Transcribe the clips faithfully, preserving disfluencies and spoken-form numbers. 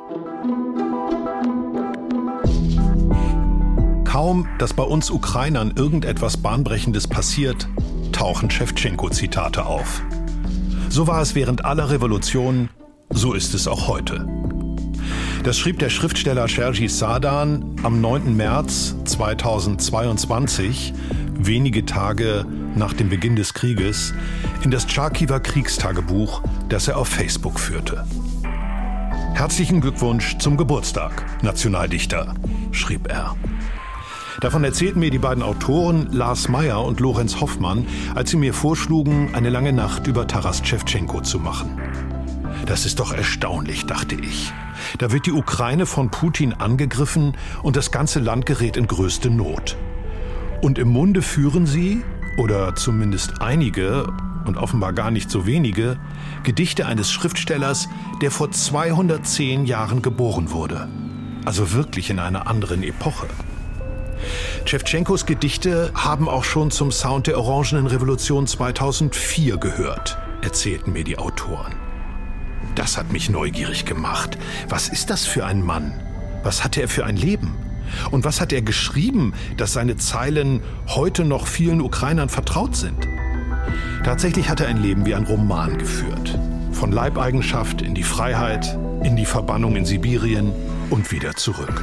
Kaum, dass bei uns Ukrainern irgendetwas Bahnbrechendes passiert, tauchen Schewtschenko-Zitate auf. So war es während aller Revolutionen, so ist es auch heute. Das schrieb der Schriftsteller Serhii Sadan am neunten März zweitausendzweiundzwanzig, wenige Tage nach dem Beginn des Krieges, in das Charkiwer Kriegstagebuch, das er auf Facebook führte. Herzlichen Glückwunsch zum Geburtstag, Nationaldichter, schrieb er. Davon erzählten mir die beiden Autoren Lars Meyer und Lorenz Hoffmann, als sie mir vorschlugen, eine lange Nacht über Taras Schewtschenko zu machen. Das ist doch erstaunlich, dachte ich. Da wird die Ukraine von Putin angegriffen und das ganze Land gerät in größte Not. Und im Munde führen sie, oder zumindest einige, und offenbar gar nicht so wenige, Gedichte eines Schriftstellers, der vor zweihundertzehn Jahren geboren wurde. Also wirklich in einer anderen Epoche. Schewtschenkos Gedichte haben auch schon zum Sound der Orangenen Revolution zweitausendvier gehört, erzählten mir die Autoren. Das hat mich neugierig gemacht. Was ist das für ein Mann? Was hatte er für ein Leben? Und was hat er geschrieben, dass seine Zeilen heute noch vielen Ukrainern vertraut sind? Tatsächlich hat er ein Leben wie ein Roman geführt. Von Leibeigenschaft in die Freiheit, in die Verbannung in Sibirien und wieder zurück.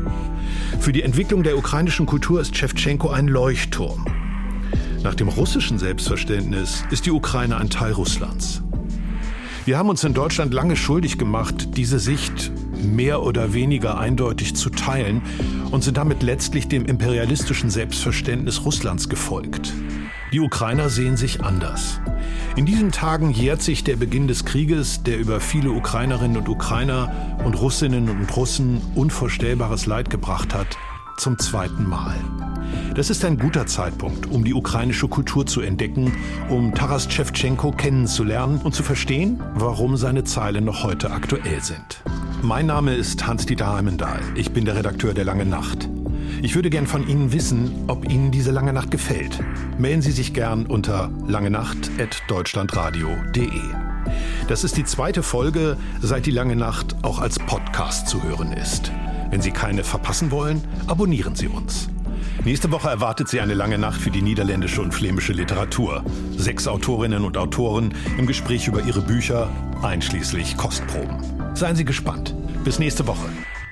Für die Entwicklung der ukrainischen Kultur ist Schewtschenko ein Leuchtturm. Nach dem russischen Selbstverständnis ist die Ukraine ein Teil Russlands. Wir haben uns in Deutschland lange schuldig gemacht, diese Sicht mehr oder weniger eindeutig zu teilen und sind damit letztlich dem imperialistischen Selbstverständnis Russlands gefolgt. Die Ukrainer sehen sich anders. In diesen Tagen jährt sich der Beginn des Krieges, der über viele Ukrainerinnen und Ukrainer und Russinnen und Russen unvorstellbares Leid gebracht hat, zum zweiten Mal. Das ist ein guter Zeitpunkt, um die ukrainische Kultur zu entdecken, um Taras Schewtschenko kennenzulernen und zu verstehen, warum seine Zeilen noch heute aktuell sind. Mein Name ist Hans-Dieter Heimendahl. Ich bin der Redakteur der Langen Nacht. Ich würde gern von Ihnen wissen, ob Ihnen diese Lange Nacht gefällt. Melden Sie sich gern unter langenacht at deutschlandradio punkt de. Das ist die zweite Folge, seit die Lange Nacht auch als Podcast zu hören ist. Wenn Sie keine verpassen wollen, abonnieren Sie uns. Nächste Woche erwartet Sie eine lange Nacht für die niederländische und flämische Literatur. Sechs Autorinnen und Autoren im Gespräch über ihre Bücher, einschließlich Kostproben. Seien Sie gespannt. Bis nächste Woche.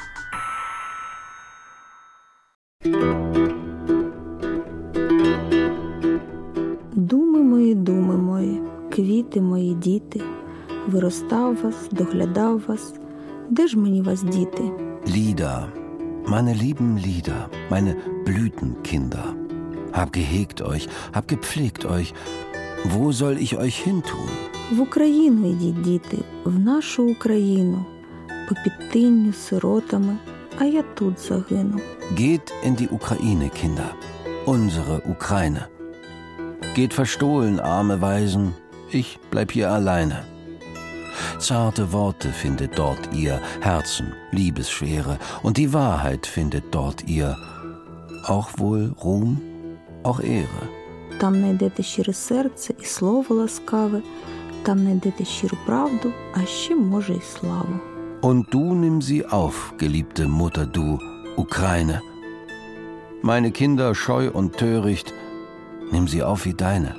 Думи мої, думи мої, квіти мої, діти, виростав вас, доглядав вас, де ж мені вас діти? Lieder, meine lieben Lieder, meine Blütenkinder. Hab gehegt euch, hab gepflegt euch. Wo soll ich euch hintun? В Україну йдіть, діти, в нашу Україну, по підтинню сиротами, а я тут загину. Geht in die Ukraine, Kinder, unsere Ukraine. Geht verstohlen, arme Waisen, ich bleib hier alleine. Zarte Worte findet dort ihr, Herzen, Liebesschwere, und die Wahrheit findet dort ihr, auch wohl Ruhm, auch Ehre. Там знайдете щире серце і слово ласкаве, там знайдете щиру правду, а ще, може, й славу. Und du nimm sie auf, geliebte Mutter, du, Ukraine. Meine Kinder scheu und töricht, nimm sie auf wie deine.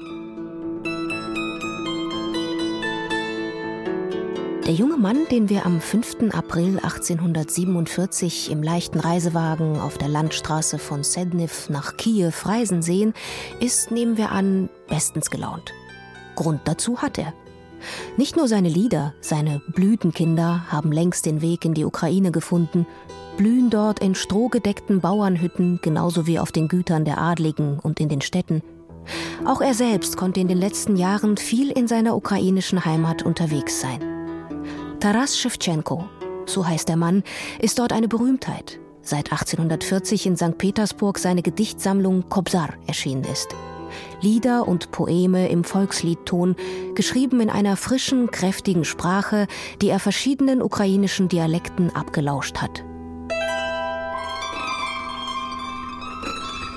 Der junge Mann, den wir am fünften April achtzehnhundertsiebenundvierzig im leichten Reisewagen auf der Landstraße von Sedniv nach Kiew reisen sehen, ist, nehmen wir an, bestens gelaunt. Grund dazu hat er. Nicht nur seine Lieder, seine Blütenkinder haben längst den Weg in die Ukraine gefunden, blühen dort in strohgedeckten Bauernhütten, genauso wie auf den Gütern der Adligen und in den Städten. Auch er selbst konnte in den letzten Jahren viel in seiner ukrainischen Heimat unterwegs sein. Taras Schewtschenko, so heißt der Mann, ist dort eine Berühmtheit. Seit achtzehnhundertvierzig in Sankt Petersburg seine Gedichtsammlung Kobzar erschienen ist. Lieder und Poeme im Volksliedton, geschrieben in einer frischen, kräftigen Sprache, die er verschiedenen ukrainischen Dialekten abgelauscht hat.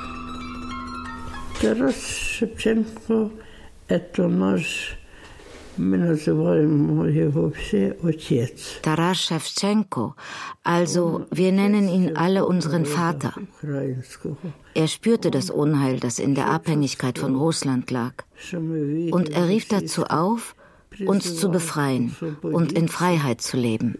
Taras Schewtschenko – это наш Taras Schewtschenko, also wir nennen ihn alle unseren Vater. Er spürte das Unheil, das in der Abhängigkeit von Russland lag. Und er rief dazu auf, uns zu befreien und in Freiheit zu leben.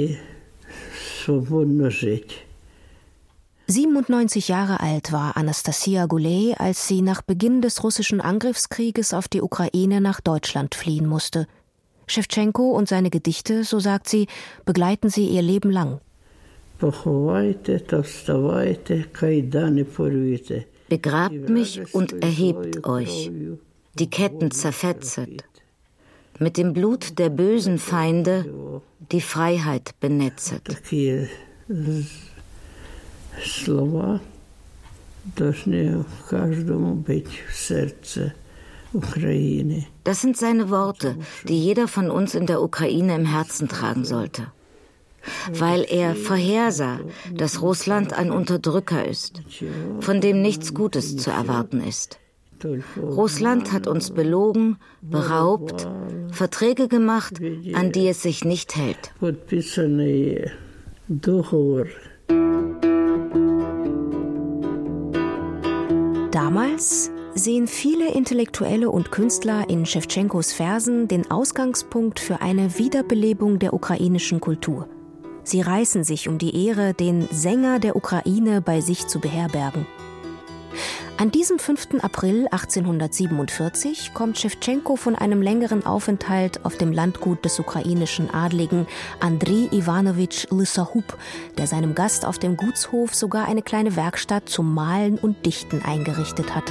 siebenundneunzig Jahre alt war Anastasia Gulej, als sie nach Beginn des russischen Angriffskrieges auf die Ukraine nach Deutschland fliehen musste. Schewtschenko und seine Gedichte, so sagt sie, begleiten sie ihr Leben lang. Begrabt mich und erhebt euch, die Ketten zerfetzet, mit dem Blut der bösen Feinde die Freiheit benetzet. Das sind seine Worte, die jeder von uns in der Ukraine im Herzen tragen sollte. Weil er vorhersah, dass Russland ein Unterdrücker ist, von dem nichts Gutes zu erwarten ist. Russland hat uns belogen, beraubt, Verträge gemacht, an die es sich nicht hält. Damals sehen viele Intellektuelle und Künstler in Schewtschenkos Versen den Ausgangspunkt für eine Wiederbelebung der ukrainischen Kultur. Sie reißen sich um die Ehre, den Sänger der Ukraine bei sich zu beherbergen. An diesem fünften April achtzehnhundertsiebenundvierzig kommt Schewtschenko von einem längeren Aufenthalt auf dem Landgut des ukrainischen Adligen Andrei Iwanowitsch Lysahub, der seinem Gast auf dem Gutshof sogar eine kleine Werkstatt zum Malen und Dichten eingerichtet hatte.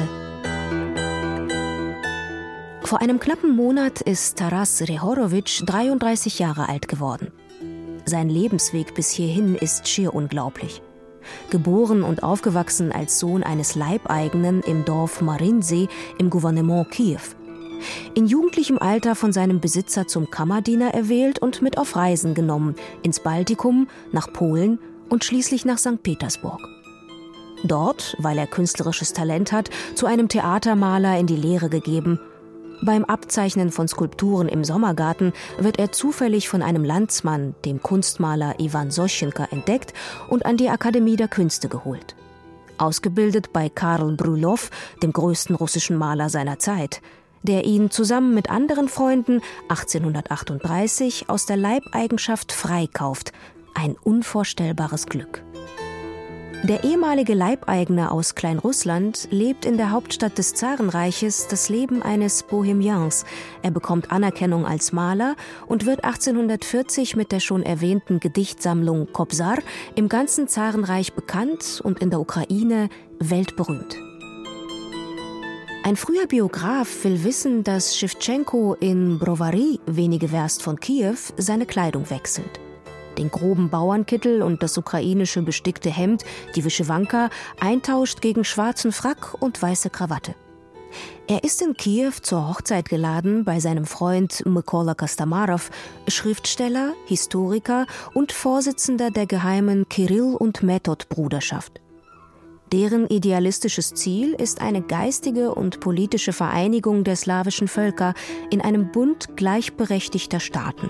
Vor einem knappen Monat ist Taras Rehorowitsch dreiunddreißig Jahre alt geworden. Sein Lebensweg bis hierhin ist schier unglaublich. Geboren und aufgewachsen als Sohn eines Leibeigenen im Dorf Marinsee im Gouvernement Kiew. In jugendlichem Alter von seinem Besitzer zum Kammerdiener erwählt und mit auf Reisen genommen, ins Baltikum, nach Polen und schließlich nach Sankt Petersburg. Dort, weil er künstlerisches Talent hat, zu einem Theatermaler in die Lehre gegeben. Beim Abzeichnen von Skulpturen im Sommergarten wird er zufällig von einem Landsmann, dem Kunstmaler Iwan Soschenka, entdeckt und an die Akademie der Künste geholt. Ausgebildet bei Karl Brylow, dem größten russischen Maler seiner Zeit, der ihn zusammen mit anderen Freunden achtzehnhundertachtunddreißig aus der Leibeigenschaft freikauft. Ein unvorstellbares Glück. Der ehemalige Leibeigene aus Kleinrussland lebt in der Hauptstadt des Zarenreiches das Leben eines Bohemians. Er bekommt Anerkennung als Maler und wird achtzehnhundertvierzig mit der schon erwähnten Gedichtsammlung Kobzar im ganzen Zarenreich bekannt und in der Ukraine weltberühmt. Ein früher Biograf will wissen, dass Schewtschenko in Brovary, wenige Werst von Kiew, seine Kleidung wechselt. Den groben Bauernkittel und das ukrainische bestickte Hemd, die Wyschewanka, eintauscht gegen schwarzen Frack und weiße Krawatte. Er ist in Kiew zur Hochzeit geladen bei seinem Freund Mykola Kostomarow, Schriftsteller, Historiker und Vorsitzender der geheimen Kirill- und Method-Bruderschaft. Deren idealistisches Ziel ist eine geistige und politische Vereinigung der slawischen Völker in einem Bund gleichberechtigter Staaten.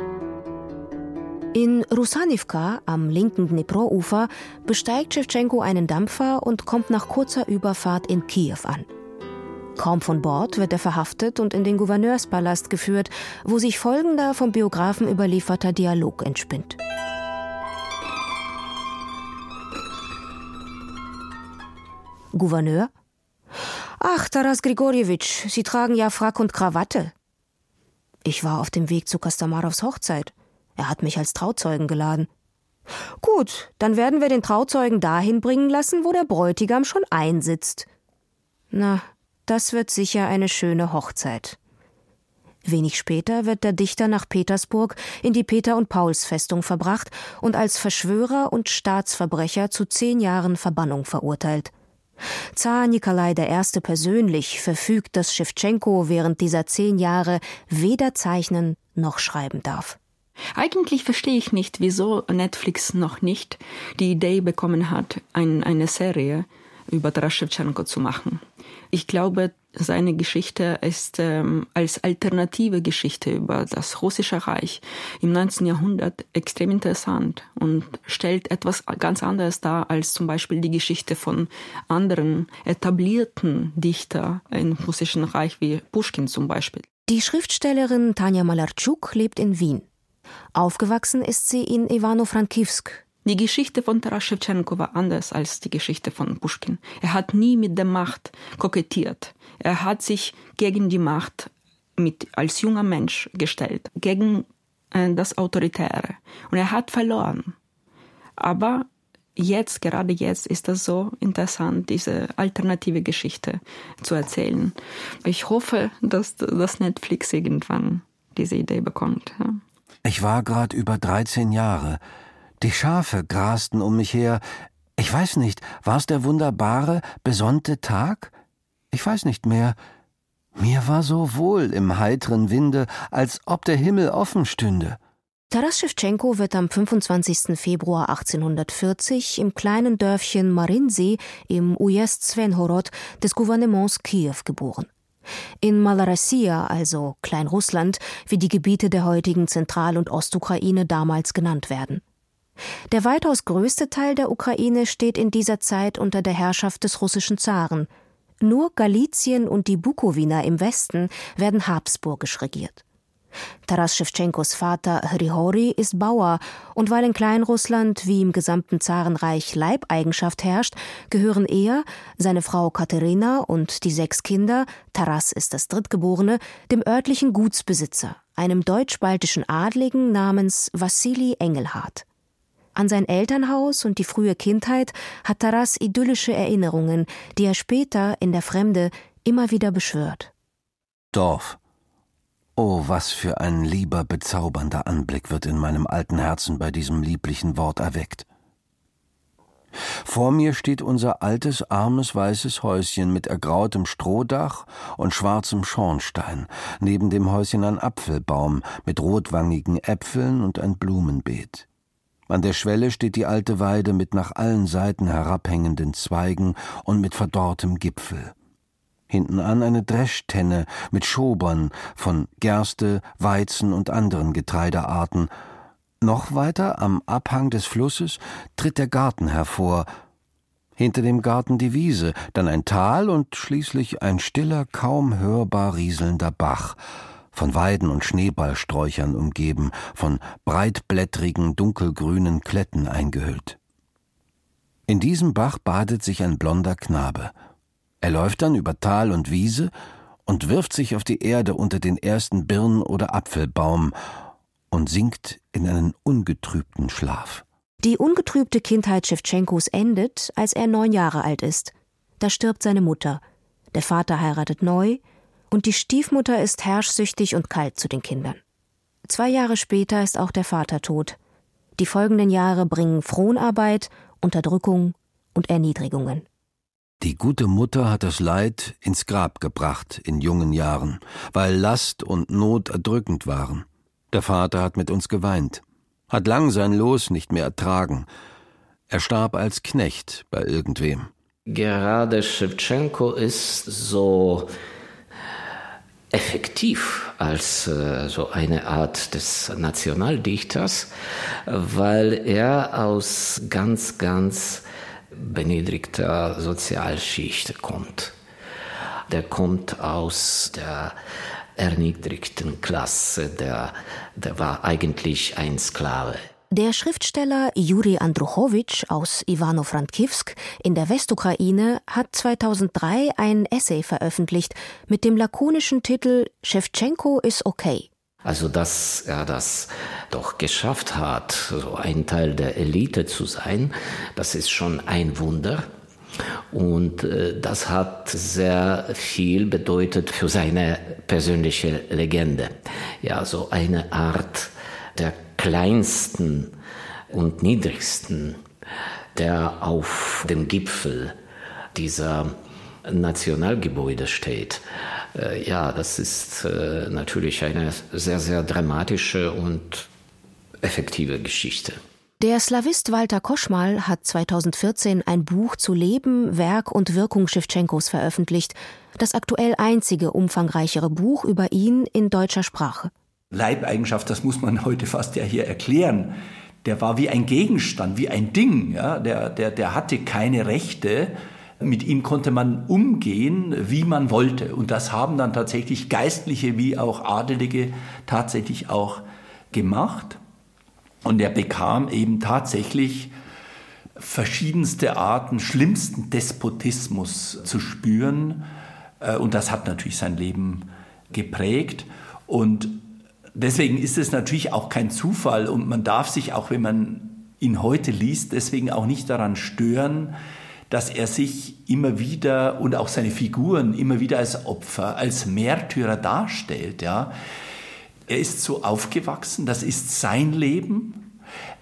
In Rusanivka am linken Dnipro-Ufer besteigt Schewtschenko einen Dampfer und kommt nach kurzer Überfahrt in Kiew an. Kaum von Bord wird er verhaftet und in den Gouverneurspalast geführt, wo sich folgender vom Biografen überlieferter Dialog entspinnt. Gouverneur: Ach, Taras Grigorjewitsch, Sie tragen ja Frack und Krawatte. Ich war auf dem Weg zu Kostomarows Hochzeit. Er hat mich als Trauzeugen geladen. Gut, dann werden wir den Trauzeugen dahin bringen lassen, wo der Bräutigam schon einsitzt. Na, das wird sicher eine schöne Hochzeit. Wenig später wird der Dichter nach Petersburg in die Peter- und Pauls-Festung verbracht und als Verschwörer und Staatsverbrecher zu zehn Jahren Verbannung verurteilt. Zar Nikolai der Erste persönlich verfügt, dass Schewtschenko während dieser zehn Jahre weder zeichnen noch schreiben darf. Eigentlich verstehe ich nicht, wieso Netflix noch nicht die Idee bekommen hat, ein, eine Serie über Taras Schewtschenko zu machen. Ich glaube, seine Geschichte ist ähm, als alternative Geschichte über das Russische Reich im neunzehnten Jahrhundert extrem interessant und stellt etwas ganz anderes dar als zum Beispiel die Geschichte von anderen etablierten Dichtern im Russischen Reich, wie Puschkin zum Beispiel. Die Schriftstellerin Tanja Malartschuk lebt in Wien. Aufgewachsen ist sie in Ivano-Frankivsk. Die Geschichte von Taras Schewtschenko war anders als die Geschichte von Puschkin. Er hat nie mit der Macht kokettiert. Er hat sich gegen die Macht mit, als junger Mensch gestellt, gegen äh, das Autoritäre. Und er hat verloren. Aber jetzt, gerade jetzt, ist es so interessant, diese alternative Geschichte zu erzählen. Ich hoffe, dass das Netflix irgendwann diese Idee bekommt. Ja. Ich war gerade über dreizehn Jahre. Die Schafe grasten um mich her. Ich weiß nicht, war es der wunderbare, besonnte Tag? Ich weiß nicht mehr. Mir war so wohl im heiteren Winde, als ob der Himmel offen stünde. Taras Schewtschenko wird am fünfundzwanzigsten Februar achtzehnhundertvierzig im kleinen Dörfchen Marinsee im Ujezd Svenhorod des Gouvernements Kiew geboren. In Malorossia, also Kleinrussland, wie die Gebiete der heutigen Zentral- und Ostukraine damals genannt werden. Der weitaus größte Teil der Ukraine steht in dieser Zeit unter der Herrschaft des russischen Zaren. Nur Galizien und die Bukowina im Westen werden habsburgisch regiert. Taras Schewtschenkos Vater Hrihori ist Bauer und weil in Kleinrussland wie im gesamten Zarenreich Leibeigenschaft herrscht, gehören er, seine Frau Katharina und die sechs Kinder, Taras ist das Drittgeborene, dem örtlichen Gutsbesitzer, einem deutsch-baltischen Adligen namens Wassili Engelhardt. An sein Elternhaus und die frühe Kindheit hat Taras idyllische Erinnerungen, die er später in der Fremde immer wieder beschwört. Dorf. Oh, was für ein lieber, bezaubernder Anblick wird in meinem alten Herzen bei diesem lieblichen Wort erweckt. Vor mir steht unser altes, armes, weißes Häuschen mit ergrautem Strohdach und schwarzem Schornstein, neben dem Häuschen ein Apfelbaum mit rotwangigen Äpfeln und ein Blumenbeet. An der Schwelle steht die alte Weide mit nach allen Seiten herabhängenden Zweigen und mit verdorrtem Gipfel. Hinten an eine Dreschtenne mit Schobern von Gerste, Weizen und anderen Getreidearten. Noch weiter am Abhang des Flusses tritt der Garten hervor. Hinter dem Garten die Wiese, dann ein Tal und schließlich ein stiller, kaum hörbar rieselnder Bach, von Weiden und Schneeballsträuchern umgeben, von breitblättrigen, dunkelgrünen Kletten eingehüllt. In diesem Bach badet sich ein blonder Knabe. Er läuft dann über Tal und Wiese und wirft sich auf die Erde unter den ersten Birn- oder Apfelbaum und sinkt in einen ungetrübten Schlaf. Die ungetrübte Kindheit Schewtschenkos endet, als er neun Jahre alt ist. Da stirbt seine Mutter. Der Vater heiratet neu und die Stiefmutter ist herrschsüchtig und kalt zu den Kindern. Zwei Jahre später ist auch der Vater tot. Die folgenden Jahre bringen Fronarbeit, Unterdrückung und Erniedrigungen. Die gute Mutter hat das Leid ins Grab gebracht in jungen Jahren, weil Last und Not erdrückend waren. Der Vater hat mit uns geweint, hat lang sein Los nicht mehr ertragen. Er starb als Knecht bei irgendwem. Gerade Schewtschenko ist so effektiv als äh, so eine Art des Nationaldichters, weil er aus ganz, ganz beniedrigter Sozialschicht kommt. Der kommt aus der erniedrigten Klasse, der, der war eigentlich ein Sklave. Der Schriftsteller Juri Andruchowitsch aus Ivano-Frankivsk in der Westukraine hat zweitausenddrei ein Essay veröffentlicht mit dem lakonischen Titel »Schewtschenko ist okay«. Also, dass er das doch geschafft hat, so ein Teil der Elite zu sein, das ist schon ein Wunder. Und äh, das hat sehr viel bedeutet für seine persönliche Legende. Ja, so eine Art der kleinsten und niedrigsten, der auf dem Gipfel dieser Nationalgebäude steht. Äh, ja, das ist äh, natürlich eine sehr, sehr dramatische und effektive Geschichte. Der Slawist Walter Koschmal hat zweitausendvierzehn ein Buch zu Leben, Werk und Wirkung Schewtschenkos veröffentlicht. Das aktuell einzige umfangreichere Buch über ihn in deutscher Sprache. Leibeigenschaft, das muss man heute fast ja hier erklären. Der war wie ein Gegenstand, wie ein Ding. Ja? Der, der, der hatte keine Rechte. Mit ihm konnte man umgehen, wie man wollte. Und das haben dann tatsächlich Geistliche wie auch Adelige tatsächlich auch gemacht. Und er bekam eben tatsächlich verschiedenste Arten, schlimmsten Despotismus zu spüren. Und das hat natürlich sein Leben geprägt. Und deswegen ist es natürlich auch kein Zufall. Und man darf sich, auch wenn man ihn heute liest, deswegen auch nicht daran stören, dass er sich immer wieder und auch seine Figuren immer wieder als Opfer, als Märtyrer darstellt, ja. Er ist so aufgewachsen, das ist sein Leben,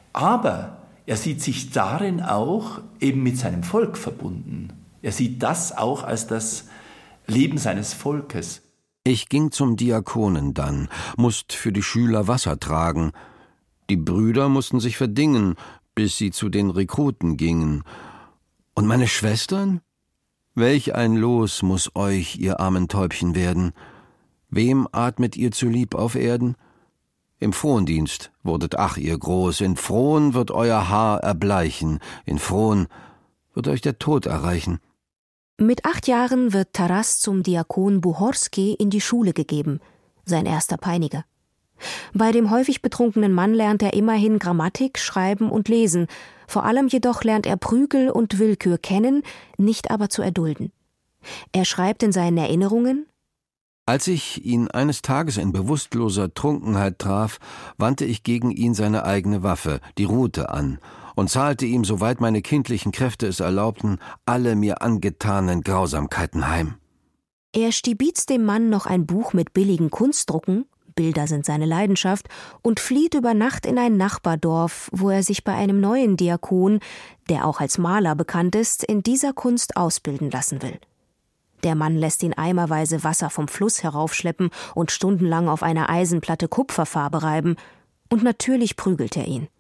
aber er sieht sich darin auch eben mit seinem Volk verbunden. Er sieht das auch als das Leben seines Volkes. Ich ging zum Diakonen dann, musst für die Schüler Wasser tragen. Die Brüder mussten sich verdingen, bis sie zu den Rekruten gingen. Und meine Schwestern? Welch ein Los muß euch, ihr armen Täubchen, werden. Wem atmet ihr zu lieb auf Erden? Im Frondienst wurdet ach ihr groß, in Fron wird euer Haar erbleichen, in Fron wird euch der Tod erreichen. Mit acht Jahren wird Taras zum Diakon Buchorski in die Schule gegeben, sein erster Peiniger. Bei dem häufig betrunkenen Mann lernt er immerhin Grammatik, Schreiben und Lesen. Vor allem jedoch lernt er Prügel und Willkür kennen, nicht aber zu erdulden. Er schreibt in seinen Erinnerungen: Als ich ihn eines Tages in bewusstloser Trunkenheit traf, wandte ich gegen ihn seine eigene Waffe, die Rute, an und zahlte ihm, soweit meine kindlichen Kräfte es erlaubten, alle mir angetanen Grausamkeiten heim. Er stibitzt dem Mann noch ein Buch mit billigen Kunstdrucken, Bilder sind seine Leidenschaft, und flieht über Nacht in ein Nachbardorf, wo er sich bei einem neuen Diakon, der auch als Maler bekannt ist, in dieser Kunst ausbilden lassen will. Der Mann lässt ihn eimerweise Wasser vom Fluss heraufschleppen und stundenlang auf einer Eisenplatte Kupferfarbe reiben. Und natürlich prügelt er ihn.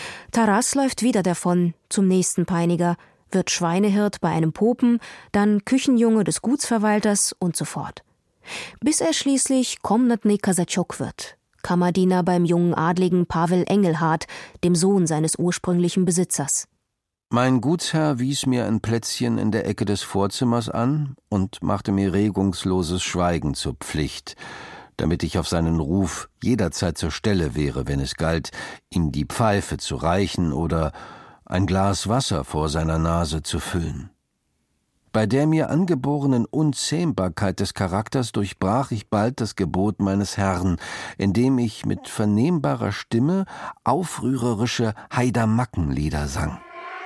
Taras läuft wieder davon zum nächsten Peiniger, wird Schweinehirt bei einem Popen, dann Küchenjunge des Gutsverwalters und so fort. Bis er schließlich Komnatny Kasachok wird, Kammerdiener beim jungen Adligen Pavel Engelhardt, dem Sohn seines ursprünglichen Besitzers. Mein Gutsherr wies mir ein Plätzchen in der Ecke des Vorzimmers an und machte mir regungsloses Schweigen zur Pflicht, damit ich auf seinen Ruf jederzeit zur Stelle wäre, wenn es galt, ihm die Pfeife zu reichen oder ein Glas Wasser vor seiner Nase zu füllen. Bei der mir angeborenen Unzähmbarkeit des Charakters durchbrach ich bald das Gebot meines Herrn, indem ich mit vernehmbarer Stimme aufrührerische Haidamackenlieder sang.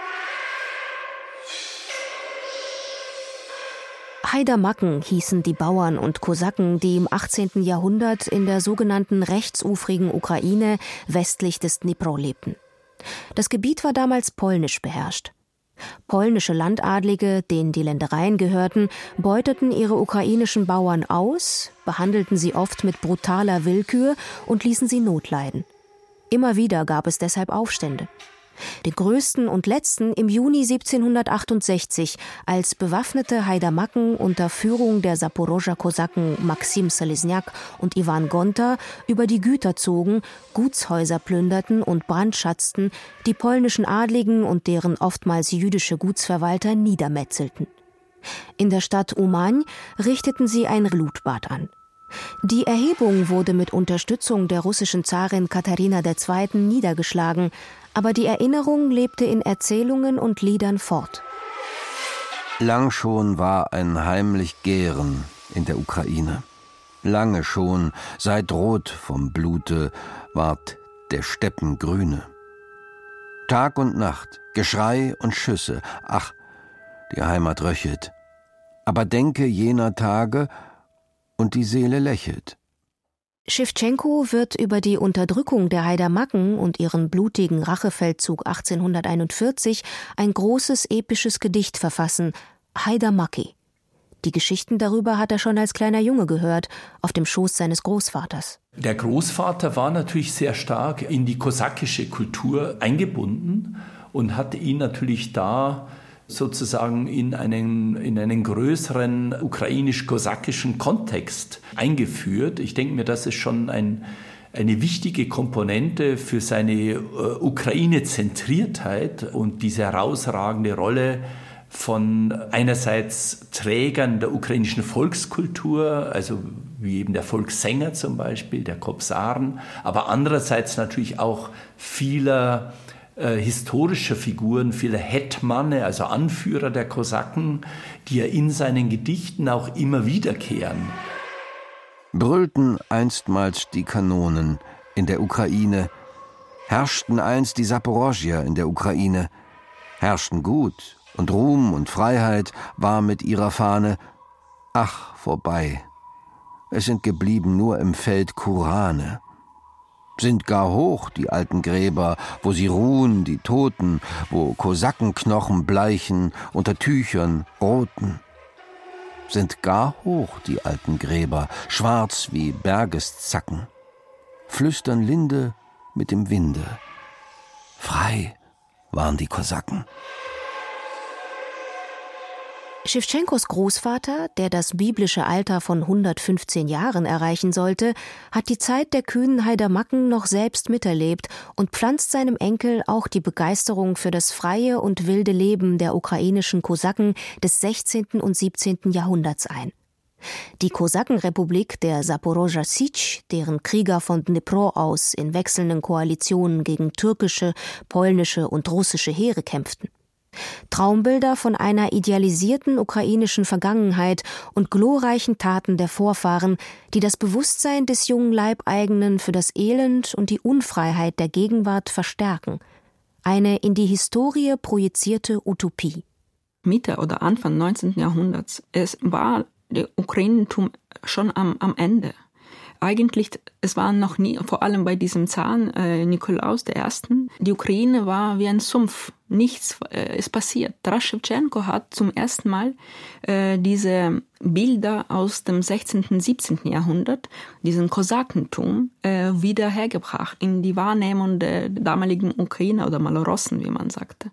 Haidamacken hießen die Bauern und Kosaken, die im achtzehnten Jahrhundert in der sogenannten rechtsufrigen Ukraine westlich des Dnipro lebten. Das Gebiet war damals polnisch beherrscht. Polnische Landadlige, denen die Ländereien gehörten, beuteten ihre ukrainischen Bauern aus, behandelten sie oft mit brutaler Willkür und ließen sie notleiden. Immer wieder gab es deshalb Aufstände. Den größten und letzten im Juni siebzehnhundertachtundsechzig, als bewaffnete Haidamacken unter Führung der Saporoger Kosaken Maxim Selesniak und Iwan Gonta über die Güter zogen, Gutshäuser plünderten und brandschatzten, die polnischen Adligen und deren oftmals jüdische Gutsverwalter niedermetzelten. In der Stadt Umań richteten sie ein Blutbad an. Die Erhebung wurde mit Unterstützung der russischen Zarin Katharina der Zweiten niedergeschlagen, aber die Erinnerung lebte in Erzählungen und Liedern fort. Lang schon war ein heimlich Gären in der Ukraine. Lange schon, seit rot vom Blute, ward der Steppen grüne. Tag und Nacht, Geschrei und Schüsse, ach, die Heimat röchelt. Aber denke jener Tage, und die Seele lächelt. Schewtschenko wird über die Unterdrückung der Haidamacken und ihren blutigen Rachefeldzug achtzehnhunderteinundvierzig ein großes episches Gedicht verfassen, Haidamaki. Die Geschichten darüber hat er schon als kleiner Junge gehört, auf dem Schoß seines Großvaters. Der Großvater war natürlich sehr stark in die kosakische Kultur eingebunden und hatte ihn natürlich da sozusagen in einen, in einen größeren ukrainisch-kosakischen Kontext eingeführt. Ich denke mir, das ist schon ein, eine wichtige Komponente für seine äh, Ukraine-Zentriertheit und diese herausragende Rolle von einerseits Trägern der ukrainischen Volkskultur, also wie eben der Volkssänger zum Beispiel, der Kobzaren, aber andererseits natürlich auch vieler äh, historischer Figuren, vieler Hetmane, also Anführer der Kosaken, die ja in seinen Gedichten auch immer wiederkehren. Brüllten einstmals die Kanonen in der Ukraine, herrschten einst die Saporoschier in der Ukraine, herrschten gut und Ruhm und Freiheit war mit ihrer Fahne, ach, vorbei. Es sind geblieben nur im Feld Kurane. Sind gar hoch die alten Gräber, wo sie ruhen, die Toten, wo Kosakenknochen bleichen unter Tüchern roten. Sind gar hoch die alten Gräber, schwarz wie Bergeszacken. Flüstern Linde mit dem Winde. Frei waren die Kosaken. Schewtschenkos Großvater, der das biblische Alter von hundertfünfzehn Jahren erreichen sollte, hat die Zeit der kühnen Haidamaken noch selbst miterlebt und pflanzt seinem Enkel auch die Begeisterung für das freie und wilde Leben der ukrainischen Kosaken des sechzehnten und siebzehnten Jahrhunderts ein. Die Kosakenrepublik der Saporoschja Sitsch, deren Krieger von Dnipro aus in wechselnden Koalitionen gegen türkische, polnische und russische Heere kämpften. Traumbilder von einer idealisierten ukrainischen Vergangenheit und glorreichen Taten der Vorfahren, die das Bewusstsein des jungen Leibeigenen für das Elend und die Unfreiheit der Gegenwart verstärken. Eine in die Historie projizierte Utopie. Mitte oder Anfang neunzehnten Jahrhunderts, es war der Ukrainentum schon am, am Ende. Eigentlich, es war noch nie, vor allem bei diesem Zaren äh, Nikolaus der Ersten, die Ukraine war wie ein Sumpf. Nichts äh, ist passiert. Taras Schewtschenko hat zum ersten Mal äh, diese Bilder aus dem sechzehnten, siebzehnten Jahrhundert, diesen Kosakentum, äh, wieder hergebracht in die Wahrnehmung der damaligen Ukrainer oder Malorossen, wie man sagte.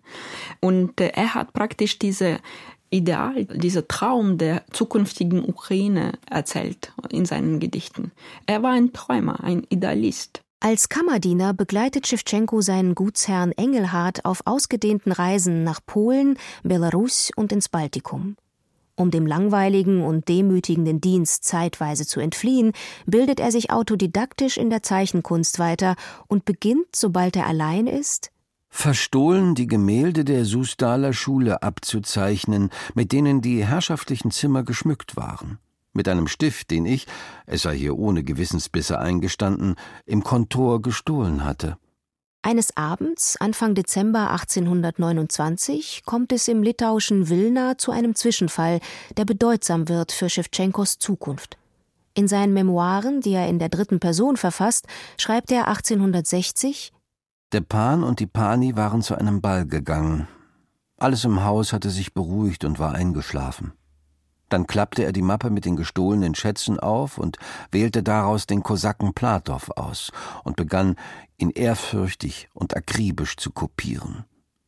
Und äh, er hat praktisch diese Ideal, dieser Traum der zukünftigen Ukraine erzählt in seinen Gedichten. Er war ein Träumer, ein Idealist. Als Kammerdiener begleitet Schewtschenko seinen Gutsherrn Engelhard auf ausgedehnten Reisen nach Polen, Belarus und ins Baltikum. Um dem langweiligen und demütigenden Dienst zeitweise zu entfliehen, bildet er sich autodidaktisch in der Zeichenkunst weiter und beginnt, sobald er allein ist, verstohlen die Gemälde der Sustaler Schule abzuzeichnen, mit denen die herrschaftlichen Zimmer geschmückt waren. Mit einem Stift, den ich, es sei hier ohne Gewissensbisse eingestanden, im Kontor gestohlen hatte. Eines Abends, Anfang Dezember achtzehnhundertneunundzwanzig, kommt es im litauischen Vilna zu einem Zwischenfall, der bedeutsam wird für Schewtschenkos Zukunft. In seinen Memoiren, die er in der dritten Person verfasst, schreibt er achtzehnhundertsechzig: Der Pan und die Pani waren zu einem Ball gegangen. Alles im Haus hatte sich beruhigt und war eingeschlafen. Dann klappte er die Mappe mit den gestohlenen Schätzen auf und wählte daraus den Kosaken Platow aus und begann, ihn ehrfürchtig und akribisch zu kopieren.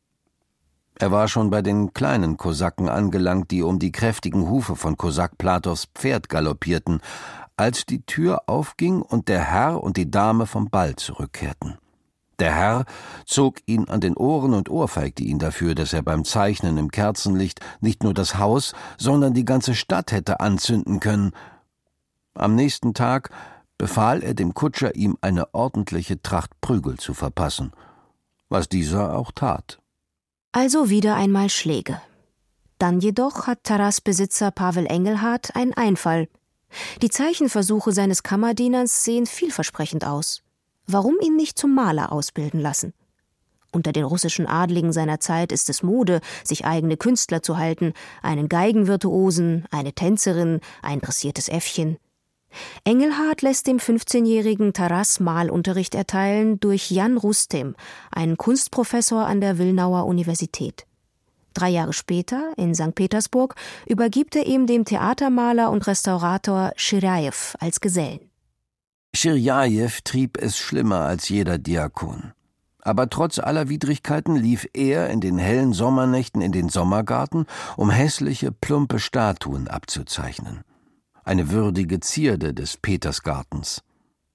Er war schon bei den kleinen Kosaken angelangt, die um die kräftigen Hufe von Kosak Platows Pferd galoppierten, als die Tür aufging und der Herr und die Dame vom Ball zurückkehrten. Der Herr zog ihn an den Ohren und ohrfeigte ihn dafür, dass er beim Zeichnen im Kerzenlicht nicht nur das Haus, sondern die ganze Stadt hätte anzünden können. Am nächsten Tag befahl er dem Kutscher, ihm eine ordentliche Tracht Prügel zu verpassen, was dieser auch tat. Also wieder einmal Schläge. Dann jedoch hat Taras Besitzer Pavel Engelhard einen Einfall. Die Zeichenversuche seines Kammerdieners sehen vielversprechend aus. Warum ihn nicht zum Maler ausbilden lassen? Unter den russischen Adligen seiner Zeit ist es Mode, sich eigene Künstler zu halten, einen Geigenvirtuosen, eine Tänzerin, ein dressiertes Äffchen. Engelhard lässt dem fünfzehnjährigen Taras Malunterricht erteilen durch Jan Rustem, einen Kunstprofessor an der Wilnauer Universität. Drei Jahre später, in Sankt Petersburg, übergibt er ihm dem Theatermaler und Restaurator Schirjajew als Gesellen. Schirjajew trieb es schlimmer als jeder Diakon. Aber trotz aller Widrigkeiten lief er in den hellen Sommernächten in den Sommergarten, um hässliche, plumpe Statuen abzuzeichnen. Eine würdige Zierde des Petersgartens.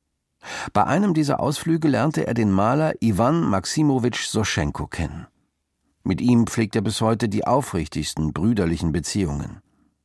Bei einem dieser Ausflüge lernte er den Maler Iwan Maximowitsch Soschenko kennen. Mit ihm pflegt er bis heute die aufrichtigsten brüderlichen Beziehungen.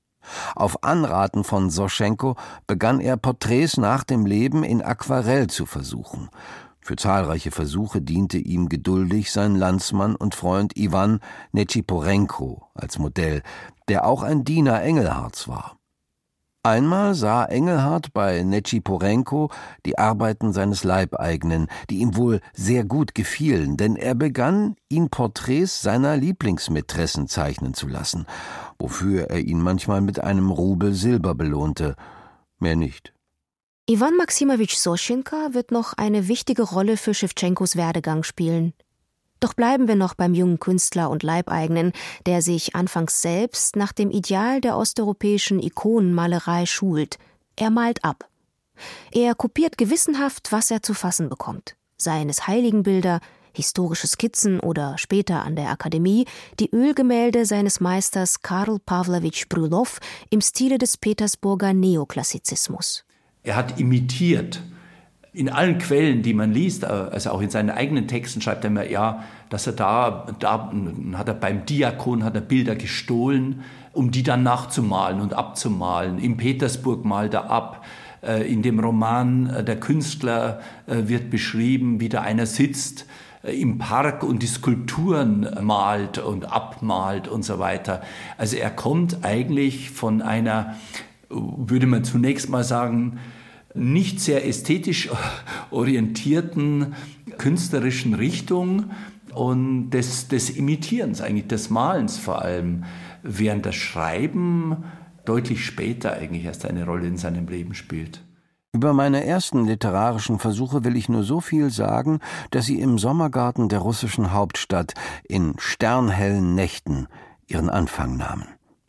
Auf Anraten von Soschenko begann er, Porträts nach dem Leben in Aquarell zu versuchen. Für zahlreiche Versuche diente ihm geduldig sein Landsmann und Freund Iwan Nechiporenko als Modell, der auch ein Diener Engelharts war. Einmal sah Engelhart bei Nechiporenko die Arbeiten seines Leibeigenen, die ihm wohl sehr gut gefielen, denn er begann, ihn Porträts seiner Lieblingsmätressen zeichnen zu lassen, wofür er ihn manchmal mit einem Rubel Silber belohnte, mehr nicht. Iwan Maximowitsch Soschenko wird noch eine wichtige Rolle für Schewtschenkos Werdegang spielen. Doch bleiben wir noch beim jungen Künstler und Leibeigenen, der sich anfangs selbst nach dem Ideal der osteuropäischen Ikonenmalerei schult. Er malt ab. Er kopiert gewissenhaft, was er zu fassen bekommt. Seien es Heiligenbilder, historische Skizzen oder später an der Akademie die Ölgemälde seines Meisters Karl Pawlowitsch Brylow im Stile des Petersburger Neoklassizismus. Er hat imitiert. In allen Quellen, die man liest, also auch in seinen eigenen Texten, schreibt er immer, ja, dass er da, da hat er beim Diakon hat er Bilder gestohlen, um die dann nachzumalen und abzumalen. In Petersburg malt er ab. In dem Roman Der Künstler wird beschrieben, wie da einer sitzt im Park und die Skulpturen malt und abmalt und so weiter. Also er kommt eigentlich von einer, würde man zunächst mal sagen, nicht sehr ästhetisch orientierten künstlerischen Richtung und des, des Imitierens, eigentlich des Malens vor allem, während das Schreiben deutlich später eigentlich erst eine Rolle in seinem Leben spielt. Über meine ersten literarischen Versuche will ich nur so viel sagen, dass sie im Sommergarten der russischen Hauptstadt in sternhellen Nächten ihren Anfang nahmen.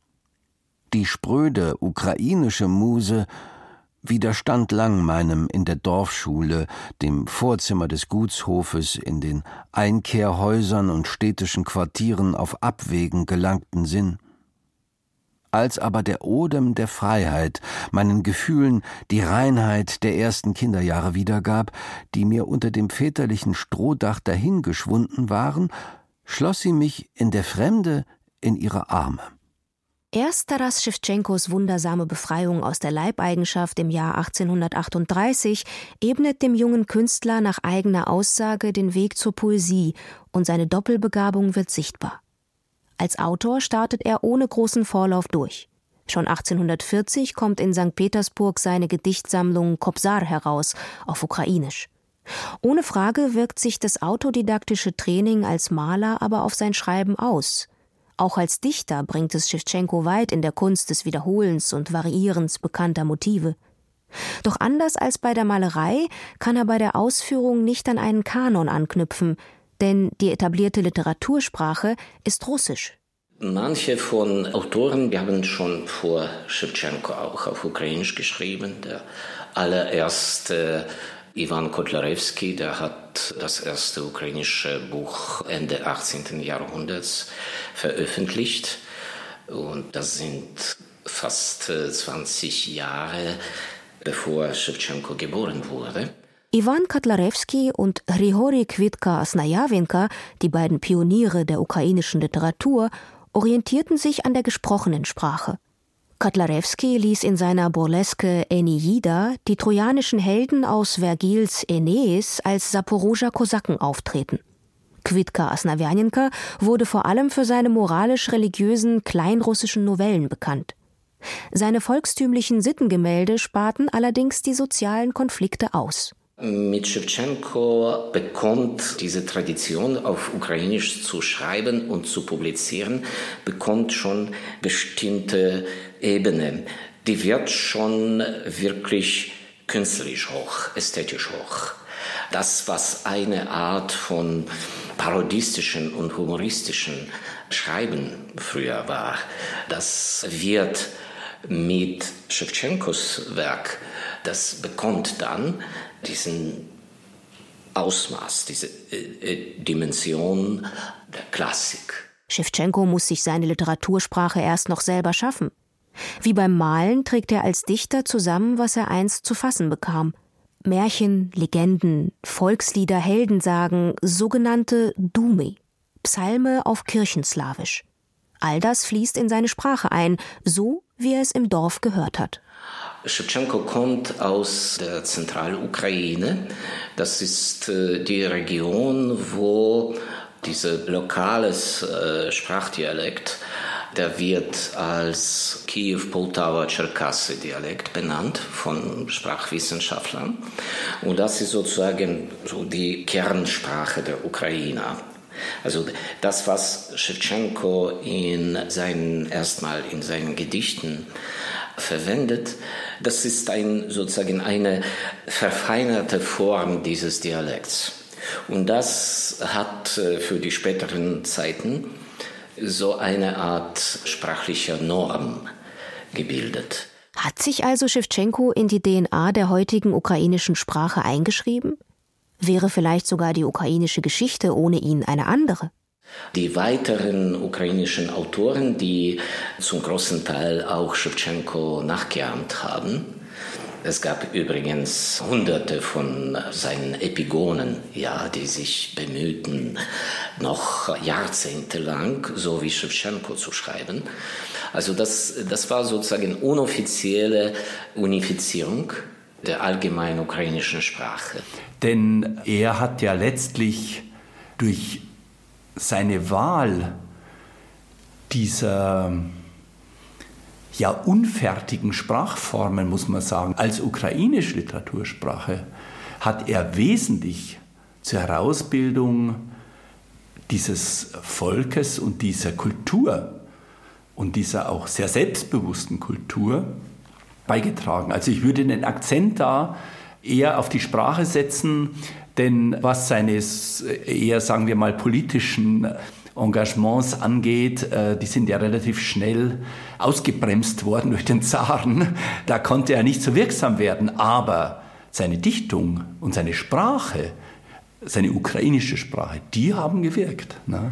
Die spröde ukrainische Muse widerstand lang meinem in der Dorfschule, dem Vorzimmer des Gutshofes, in den Einkehrhäusern und städtischen Quartieren auf Abwägen gelangten Sinn. Als aber der Odem der Freiheit meinen Gefühlen die Reinheit der ersten Kinderjahre wiedergab, die mir unter dem väterlichen Strohdach dahingeschwunden waren, schloss sie mich in der Fremde in ihre Arme. Erst Taras Schewtschenkos wundersame Befreiung aus der Leibeigenschaft im Jahr achtzehnhundertachtunddreißig ebnet dem jungen Künstler nach eigener Aussage den Weg zur Poesie und seine Doppelbegabung wird sichtbar. Als Autor startet er ohne großen Vorlauf durch. Schon achtzehnhundertvierzig kommt in Sankt Petersburg seine Gedichtsammlung Kobzar heraus, auf Ukrainisch. Ohne Frage wirkt sich das autodidaktische Training als Maler aber auf sein Schreiben aus. Auch als Dichter bringt es Schewtschenko weit in der Kunst des Wiederholens und Variierens bekannter Motive. Doch anders als bei der Malerei kann er bei der Ausführung nicht an einen Kanon anknüpfen, denn die etablierte Literatursprache ist Russisch. Manche von Autoren, die haben schon vor Schewtschenko auch auf Ukrainisch geschrieben. Der allererste Iwan Kotlarewski, der hat das erste ukrainische Buch Ende achtzehnten Jahrhunderts veröffentlicht. Und das sind fast zwanzig Jahre, bevor Schewtschenko geboren wurde. Iwan Kotlarewski und Grigorij Kwitka-Asnajawenka, die beiden Pioniere der ukrainischen Literatur, orientierten sich an der gesprochenen Sprache. Kotlarewski ließ in seiner Burleske Eneida die trojanischen Helden aus Vergils Aeneis als Saporoger Kosaken auftreten. Kwitka-Asnajawenka wurde vor allem für seine moralisch-religiösen kleinrussischen Novellen bekannt. Seine volkstümlichen Sittengemälde sparten allerdings die sozialen Konflikte aus. Mit Schewtschenko bekommt diese Tradition, auf Ukrainisch zu schreiben und zu publizieren, bekommt schon bestimmte Ebene. Die wird schon wirklich künstlerisch hoch, ästhetisch hoch. Das, was eine Art von parodistischen und humoristischen Schreiben früher war, das wird mit Schewtschenkos Werk, das bekommt dann diesen Ausmaß, diese äh, Dimension der Klassik. Schewtschenko muss sich seine Literatursprache erst noch selber schaffen. Wie beim Malen trägt er als Dichter zusammen, was er einst zu fassen bekam. Märchen, Legenden, Volkslieder, Heldensagen, sogenannte Dumy, Psalme auf Kirchenslawisch. All das fließt in seine Sprache ein, so wie er es im Dorf gehört hat. Schewtschenko kommt aus der Zentralukraine. Das ist äh, die Region, wo dieser lokales äh, Sprachdialekt, der wird als Kiew-Poltawa-Tscherkassy-Dialekt benannt von Sprachwissenschaftlern. Und das ist sozusagen so die Kernsprache der Ukrainer. Also das, was Schewtschenko in seinen, erstmal in seinen Gedichten verwendet, das ist ein, sozusagen eine verfeinerte Form dieses Dialekts. Und das hat für die späteren Zeiten so eine Art sprachlicher Norm gebildet. Hat sich also Schewtschenko in die D N A der heutigen ukrainischen Sprache eingeschrieben? Wäre vielleicht sogar die ukrainische Geschichte ohne ihn eine andere? Die weiteren ukrainischen Autoren, die zum großen Teil auch Schewtschenko nachgeahmt haben, es gab übrigens hunderte von seinen Epigonen, ja, die sich bemühten, noch jahrzehntelang so wie Schewtschenko zu schreiben. Also das, das war sozusagen unoffizielle Unifizierung der allgemeinen ukrainischen Sprache. Denn er hat ja letztlich durch seine Wahl dieser ja unfertigen Sprachformen, muss man sagen, als ukrainische Literatursprache, hat er wesentlich zur Herausbildung dieses Volkes und dieser Kultur und dieser auch sehr selbstbewussten Kultur beigetragen. Also ich würde den Akzent da eher auf die Sprache setzen, denn was seines eher, sagen wir mal, politischen Engagements angeht, die sind ja relativ schnell ausgebremst worden durch den Zaren. Da konnte er nicht so wirksam werden, aber seine Dichtung und seine Sprache, seine ukrainische Sprache, die haben gewirkt. Ne?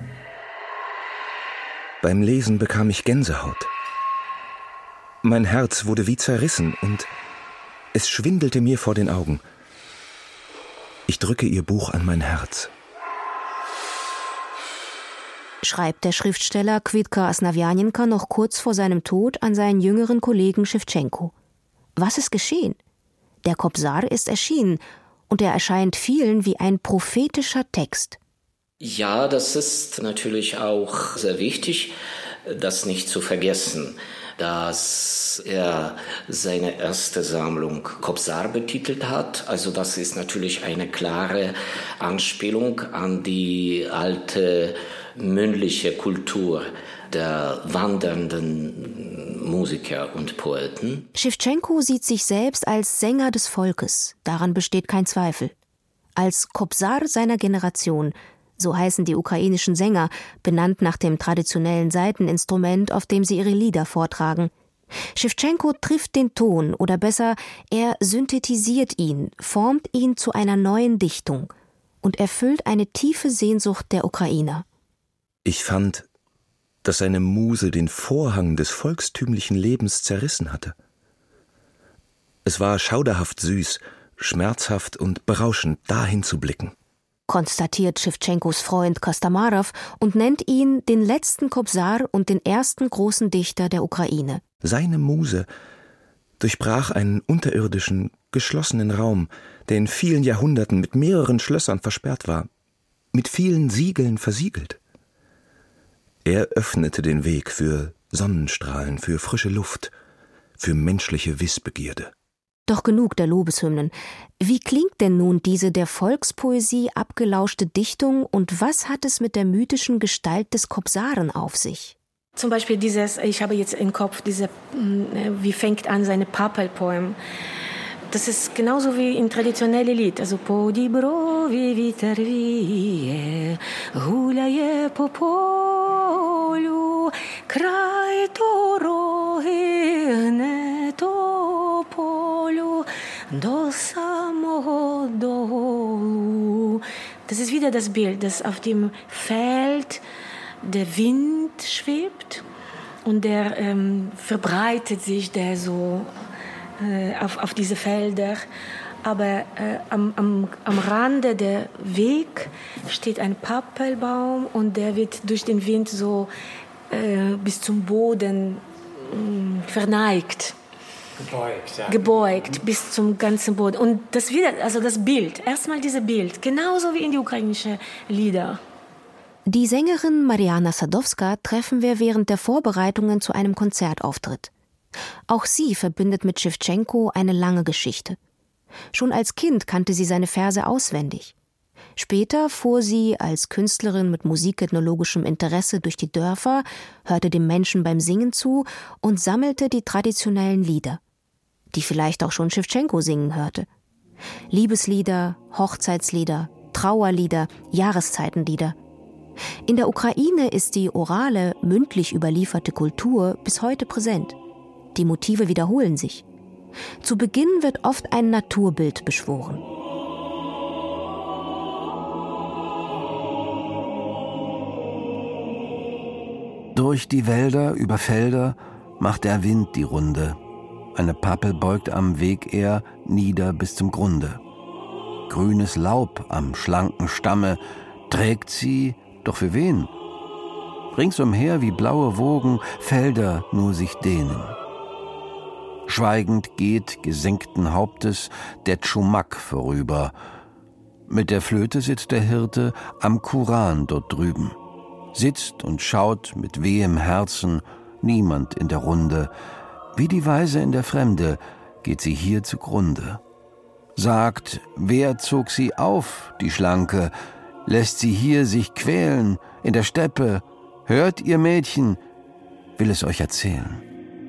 Beim Lesen bekam ich Gänsehaut. Mein Herz wurde wie zerrissen und es schwindelte mir vor den Augen. Ich drücke ihr Buch an mein Herz. Schreibt der Schriftsteller Kwitka Asnawjanenka noch kurz vor seinem Tod an seinen jüngeren Kollegen Schewtschenko. Was ist geschehen? Der Kobzar ist erschienen und er erscheint vielen wie ein prophetischer Text. Ja, das ist natürlich auch sehr wichtig, das nicht zu vergessen, dass er seine erste Sammlung Kobzar betitelt hat. Also das ist natürlich eine klare Anspielung an die alte mündliche Kultur der wandernden Musiker und Poeten. Schewtschenko sieht sich selbst als Sänger des Volkes, daran besteht kein Zweifel. Als Kobzar seiner Generation, so heißen die ukrainischen Sänger, benannt nach dem traditionellen Saiteninstrument, auf dem sie ihre Lieder vortragen. Schewtschenko trifft den Ton, oder besser, er synthetisiert ihn, formt ihn zu einer neuen Dichtung und erfüllt eine tiefe Sehnsucht der Ukrainer. Ich fand, dass seine Muse den Vorhang des volkstümlichen Lebens zerrissen hatte. Es war schauderhaft süß, schmerzhaft und berauschend, dahin zu blicken. Konstatiert Schewtschenkos Freund Kostomarow und nennt ihn den letzten Kobzar und den ersten großen Dichter der Ukraine. Seine Muse durchbrach einen unterirdischen, geschlossenen Raum, der in vielen Jahrhunderten mit mehreren Schlössern versperrt war, mit vielen Siegeln versiegelt. Er öffnete den Weg für Sonnenstrahlen, für frische Luft, für menschliche Wissbegierde. Doch genug der Lobeshymnen. Wie klingt denn nun diese der Volkspoesie abgelauschte Dichtung und was hat es mit der mythischen Gestalt des Kobzaren auf sich? Zum Beispiel dieses, ich habe jetzt im Kopf, diese, wie fängt an seine Papel-Poem. Das ist genauso wie im traditionellen Lied. Also po di brovi viter vie, gulaje po polu, kraj dorogi ne to polu, do samego dolu. Das ist wieder das Bild, dass auf dem Feld der Wind schwebt und der ähm, verbreitet sich der so äh, auf, auf diese Felder. Aber äh, am, am, am Rande der Weg steht ein Pappelbaum und der wird durch den Wind so äh, bis zum Boden äh, verneigt. Gebeugt, ja. Gebeugt bis zum ganzen Boden. Und das wieder, also das Bild, erstmal dieses Bild, genauso wie in die ukrainischen Lieder. Die Sängerin Mariana Sadowska treffen wir während der Vorbereitungen zu einem Konzertauftritt. Auch sie verbindet mit Schewtschenko eine lange Geschichte. Schon als Kind kannte sie seine Verse auswendig. Später fuhr sie als Künstlerin mit musikethnologischem Interesse durch die Dörfer, hörte dem Menschen beim Singen zu und sammelte die traditionellen Lieder, die vielleicht auch schon Schewtschenko singen hörte. Liebeslieder, Hochzeitslieder, Trauerlieder, Jahreszeitenlieder. In der Ukraine ist die orale, mündlich überlieferte Kultur bis heute präsent. Die Motive wiederholen sich. Zu Beginn wird oft ein Naturbild beschworen. Durch die Wälder, über Felder macht der Wind die Runde. Eine Pappel beugt am Weg er nieder bis zum Grunde. Grünes Laub am schlanken Stamme trägt sie, doch für wen? Ringsumher wie blaue Wogen Felder nur sich dehnen. Schweigend geht gesenkten Hauptes der Tschumak vorüber. Mit der Flöte sitzt der Hirte am Kuran dort drüben. Sitzt und schaut mit wehem Herzen, niemand in der Runde. Wie die Weise in der Fremde geht sie hier zugrunde. Sagt, wer zog sie auf, die Schlanke? Lässt sie hier sich quälen, in der Steppe? Hört ihr Mädchen, will es euch erzählen.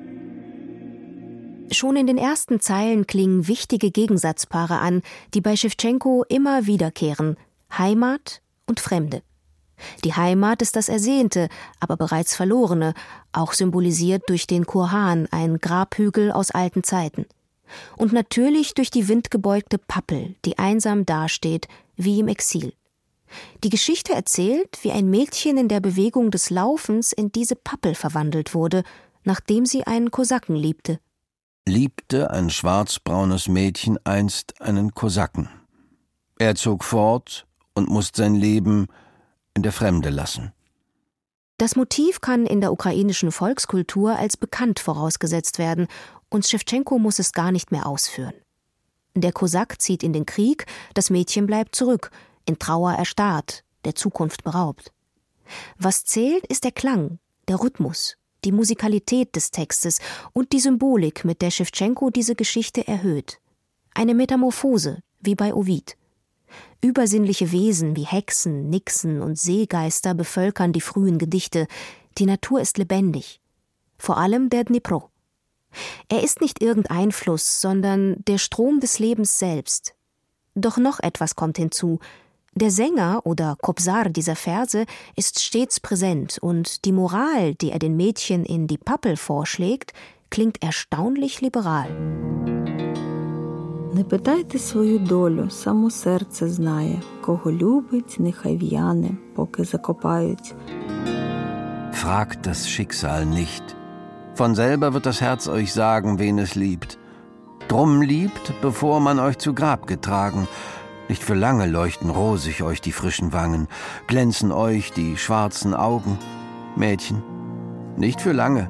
Schon in den ersten Zeilen klingen wichtige Gegensatzpaare an, die bei Schewtschenko immer wiederkehren: Heimat und Fremde. Die Heimat ist das Ersehnte, aber bereits Verlorene, auch symbolisiert durch den Kurhan, ein Grabhügel aus alten Zeiten. Und natürlich durch die windgebeugte Pappel, die einsam dasteht, wie im Exil. Die Geschichte erzählt, wie ein Mädchen in der Bewegung des Laufens in diese Pappel verwandelt wurde, nachdem sie einen Kosaken liebte. Liebte ein schwarzbraunes Mädchen einst einen Kosaken. Er zog fort und musste sein Leben in der Fremde lassen. Das Motiv kann in der ukrainischen Volkskultur als bekannt vorausgesetzt werden und Schewtschenko muss es gar nicht mehr ausführen. Der Kosak zieht in den Krieg, das Mädchen bleibt zurück, in Trauer erstarrt, der Zukunft beraubt. Was zählt, ist der Klang, der Rhythmus, die Musikalität des Textes und die Symbolik, mit der Schewtschenko diese Geschichte erhöht. Eine Metamorphose, wie bei Ovid. Übersinnliche Wesen wie Hexen, Nixen und Seegeister bevölkern die frühen Gedichte. Die Natur ist lebendig. Vor allem der Dnipro. Er ist nicht irgendein Fluss, sondern der Strom des Lebens selbst. Doch noch etwas kommt hinzu. Der Sänger oder Kobzar dieser Verse ist stets präsent und die Moral, die er den Mädchen in die Pappel vorschlägt, klingt erstaunlich liberal. Не питайте свою долю, само серце знає. Кого любить, нехай в'яне, поки закопають. Fragt das Schicksal nicht. Von selber wird das Herz euch sagen, wen es liebt. Drum liebt, bevor man euch zu Grab getragen. Nicht für lange leuchten rosig euch die frischen Wangen, glänzen euch die schwarzen Augen. Mädchen, nicht für lange.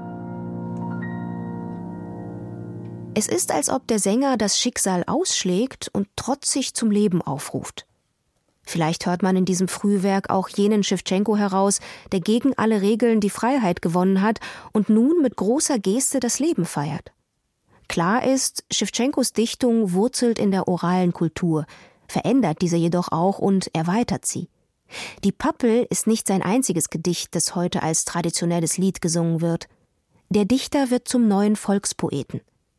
Es ist, als ob der Sänger das Schicksal ausschlägt und trotzig zum Leben aufruft. Vielleicht hört man in diesem Frühwerk auch jenen Schewtschenko heraus, der gegen alle Regeln die Freiheit gewonnen hat und nun mit großer Geste das Leben feiert. Klar ist, Schewtschenkos Dichtung wurzelt in der oralen Kultur, verändert diese jedoch auch und erweitert sie. Die Pappel ist nicht sein einziges Gedicht, das heute als traditionelles Lied gesungen wird. Der Dichter wird zum neuen Volkspoeten.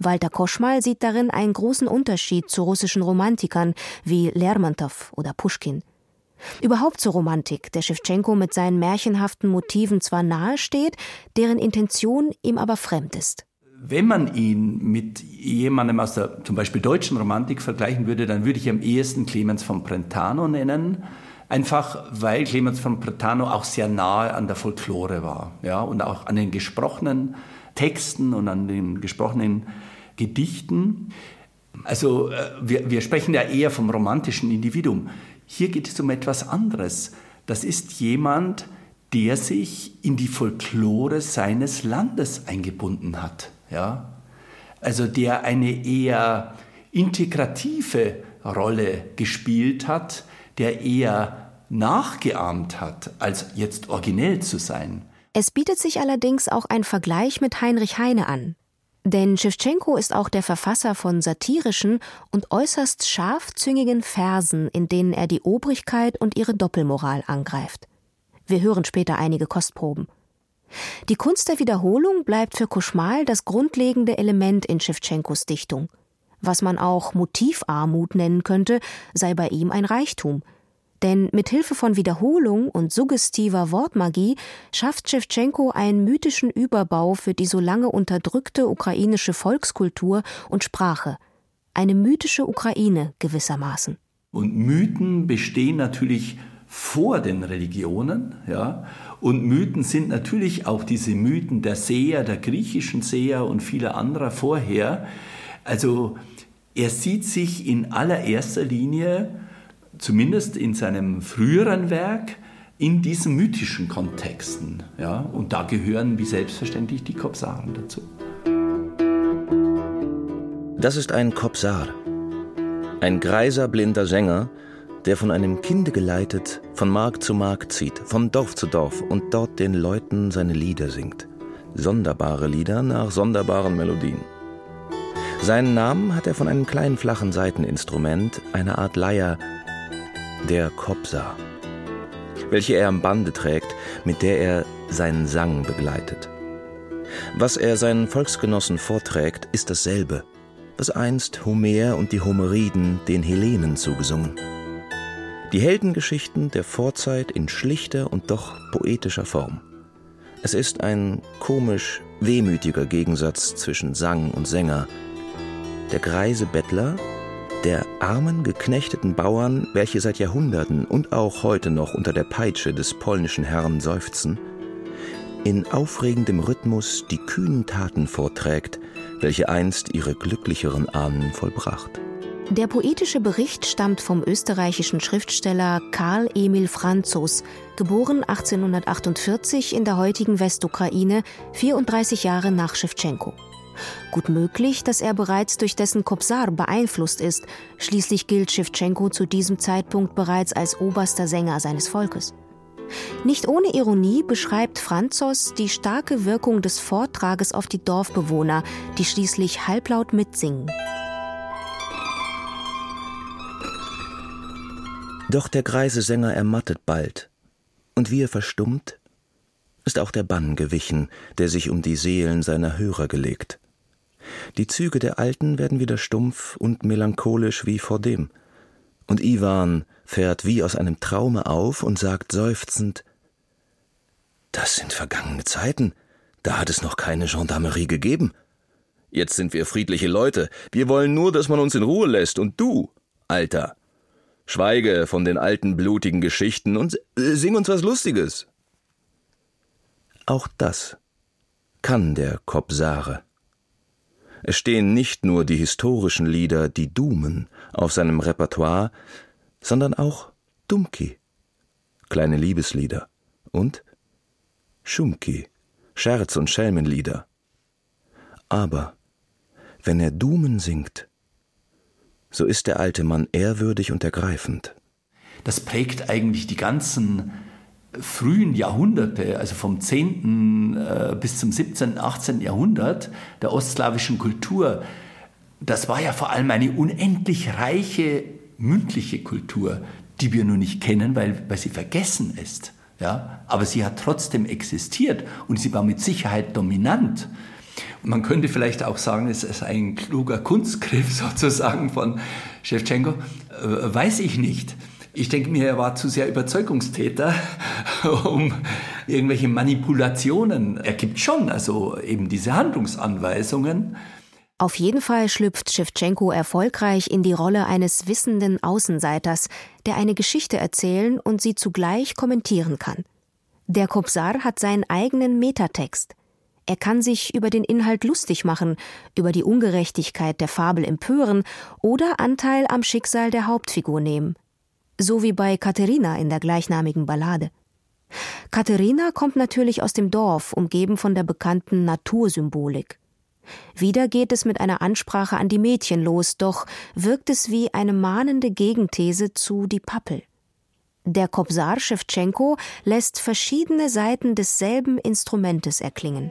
Walter Koschmal sieht darin einen großen Unterschied zu russischen Romantikern wie Lermontow oder Puschkin. Überhaupt zur Romantik, der Schewtschenko mit seinen märchenhaften Motiven zwar nahe steht, deren Intention ihm aber fremd ist. Wenn man ihn mit jemandem aus der zum Beispiel deutschen Romantik vergleichen würde, dann würde ich am ehesten Clemens von Brentano nennen. Einfach weil Clemens von Brentano auch sehr nahe an der Folklore war, ja, und auch an den gesprochenen Texten und an den gesprochenen Gedichten. Also wir, wir sprechen ja eher vom romantischen Individuum. Hier geht es um etwas anderes. Das ist jemand, der sich in die Folklore seines Landes eingebunden hat. Ja? Also der eine eher integrative Rolle gespielt hat, der eher nachgeahmt hat, als jetzt originell zu sein. Es bietet sich allerdings auch ein Vergleich mit Heinrich Heine an. Denn Schewtschenko ist auch der Verfasser von satirischen und äußerst scharfzüngigen Versen, in denen er die Obrigkeit und ihre Doppelmoral angreift. Wir hören später einige Kostproben. Die Kunst der Wiederholung bleibt für Koschmal das grundlegende Element in Schewtschenkos Dichtung. Was man auch Motivarmut nennen könnte, sei bei ihm ein Reichtum. Denn mit Hilfe von Wiederholung und suggestiver Wortmagie schafft Schewtschenko einen mythischen Überbau für die so lange unterdrückte ukrainische Volkskultur und Sprache. Eine mythische Ukraine gewissermaßen. Und Mythen bestehen natürlich vor den Religionen, ja. Und Mythen sind natürlich auch diese Mythen der Seher, der griechischen Seher und vieler anderer vorher. Also er sieht sich in allererster Linie, zumindest in seinem früheren Werk, in diesen mythischen Kontexten. Ja? Und da gehören wie selbstverständlich die Kobsaren dazu. Das ist ein Kobsar, ein greiser, blinder Sänger, der von einem Kinde geleitet von Markt zu Markt zieht, von Dorf zu Dorf und dort den Leuten seine Lieder singt. Sonderbare Lieder nach sonderbaren Melodien. Seinen Namen hat er von einem kleinen flachen Saiteninstrument, einer Art Leier, der Kobsar, welche er am Bande trägt, mit der er seinen Sang begleitet. Was er seinen Volksgenossen vorträgt, ist dasselbe, was einst Homer und die Homeriden den Hellenen zugesungen. Die Heldengeschichten der Vorzeit in schlichter und doch poetischer Form. Es ist ein komisch wehmütiger Gegensatz zwischen Sang und Sänger. Der greise Bettler, der armen, geknechteten Bauern, welche seit Jahrhunderten und auch heute noch unter der Peitsche des polnischen Herrn seufzen, in aufregendem Rhythmus die kühnen Taten vorträgt, welche einst ihre glücklicheren Ahnen vollbracht. Der poetische Bericht stammt vom österreichischen Schriftsteller Karl Emil Franzos, geboren achtzehnhundertachtundvierzig in der heutigen Westukraine, vierunddreißig Jahre nach Schewtschenko. Gut möglich, dass er bereits durch dessen Kobsar beeinflusst ist. Schließlich gilt Schewtschenko zu diesem Zeitpunkt bereits als oberster Sänger seines Volkes. Nicht ohne Ironie beschreibt Franzos die starke Wirkung des Vortrages auf die Dorfbewohner, die schließlich halblaut mitsingen. Doch der greise Sänger ermattet bald, und wie er verstummt, ist auch der Bann gewichen, der sich um die Seelen seiner Hörer gelegt. Die Züge der Alten werden wieder stumpf und melancholisch wie vordem, und Iwan fährt wie aus einem Traume auf und sagt seufzend: »Das sind vergangene Zeiten, da hat es noch keine Gendarmerie gegeben. Jetzt sind wir friedliche Leute, wir wollen nur, dass man uns in Ruhe lässt, und du, Alter, schweige von den alten blutigen Geschichten und sing uns was Lustiges.« Auch das kann der Kobsare. Es stehen nicht nur die historischen Lieder, die Dumen, auf seinem Repertoire, sondern auch Dumki, kleine Liebeslieder, und Schumki, Scherz- und Schelmenlieder. Aber wenn er Dumen singt, so ist der alte Mann ehrwürdig und ergreifend. Das prägt eigentlich die ganzen frühen Jahrhunderte, also vom zehnten äh, bis zum siebzehnten, achtzehnten Jahrhundert der ostslawischen Kultur. Das war ja vor allem eine unendlich reiche mündliche Kultur, die wir nur nicht kennen, weil, weil sie vergessen ist. Ja? Aber sie hat trotzdem existiert und sie war mit Sicherheit dominant. Man könnte vielleicht auch sagen, es ist ein kluger Kunstgriff sozusagen von Schewtschenko. Äh, weiß ich nicht. Ich denke mir, er war zu sehr Überzeugungstäter, um irgendwelche Manipulationen. Er gibt schon also eben diese Handlungsanweisungen. Auf jeden Fall schlüpft Schewtschenko erfolgreich in die Rolle eines wissenden Außenseiters, der eine Geschichte erzählen und sie zugleich kommentieren kann. Der Kobzar hat seinen eigenen Metatext. Er kann sich über den Inhalt lustig machen, über die Ungerechtigkeit der Fabel empören oder Anteil am Schicksal der Hauptfigur nehmen. So wie bei Katerina in der gleichnamigen Ballade. Katerina kommt natürlich aus dem Dorf, umgeben von der bekannten Natursymbolik. Wieder geht es mit einer Ansprache an die Mädchen los, doch wirkt es wie eine mahnende Gegenthese zu Die Pappel. Der Kobzar Schewtschenko lässt verschiedene Seiten desselben Instrumentes erklingen.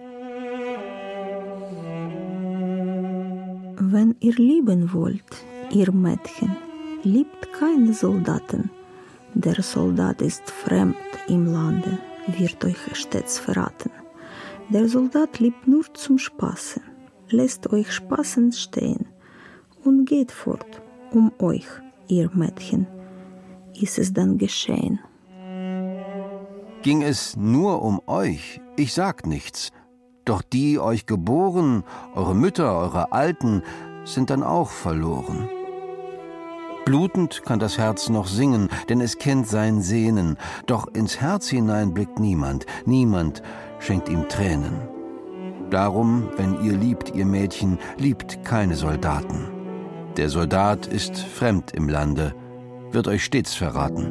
Wenn ihr lieben wollt, ihr Mädchen, liebt keine Soldaten. Der Soldat ist fremd im Lande, wird euch stets verraten. Der Soldat liebt nur zum Spaße, lässt euch spaßend stehen und geht fort. Um euch, ihr Mädchen, ist es dann geschehen. Ging es nur um euch, ich sag nichts. Doch die euch geboren, eure Mütter, eure Alten, sind dann auch verloren. Blutend kann das Herz noch singen, denn es kennt sein Sehnen. Doch ins Herz hinein blickt niemand, niemand schenkt ihm Tränen. Darum, wenn ihr liebt, ihr Mädchen, liebt keine Soldaten. Der Soldat ist fremd im Lande, wird euch stets verraten.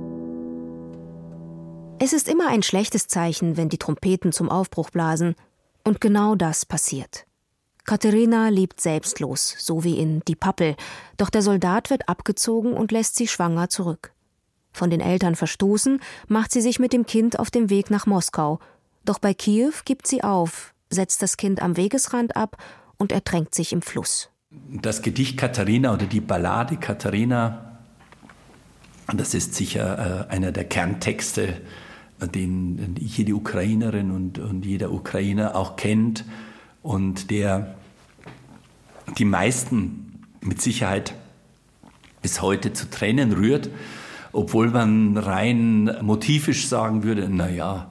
Es ist immer ein schlechtes Zeichen, wenn die Trompeten zum Aufbruch blasen. Und genau das passiert. Katerina lebt selbstlos, so wie in Die Pappel, doch der Soldat wird abgezogen und lässt sie schwanger zurück. Von den Eltern verstoßen, macht sie sich mit dem Kind auf den Weg nach Moskau. Doch bei Kiew gibt sie auf, setzt das Kind am Wegesrand ab und ertränkt sich im Fluss. Das Gedicht Katharina oder die Ballade Katharina, das ist sicher äh, einer der Kerntexte, den jede Ukrainerin und, und jeder Ukrainer auch kennt und der die meisten mit Sicherheit bis heute zu Tränen rührt, obwohl man rein motivisch sagen würde, naja,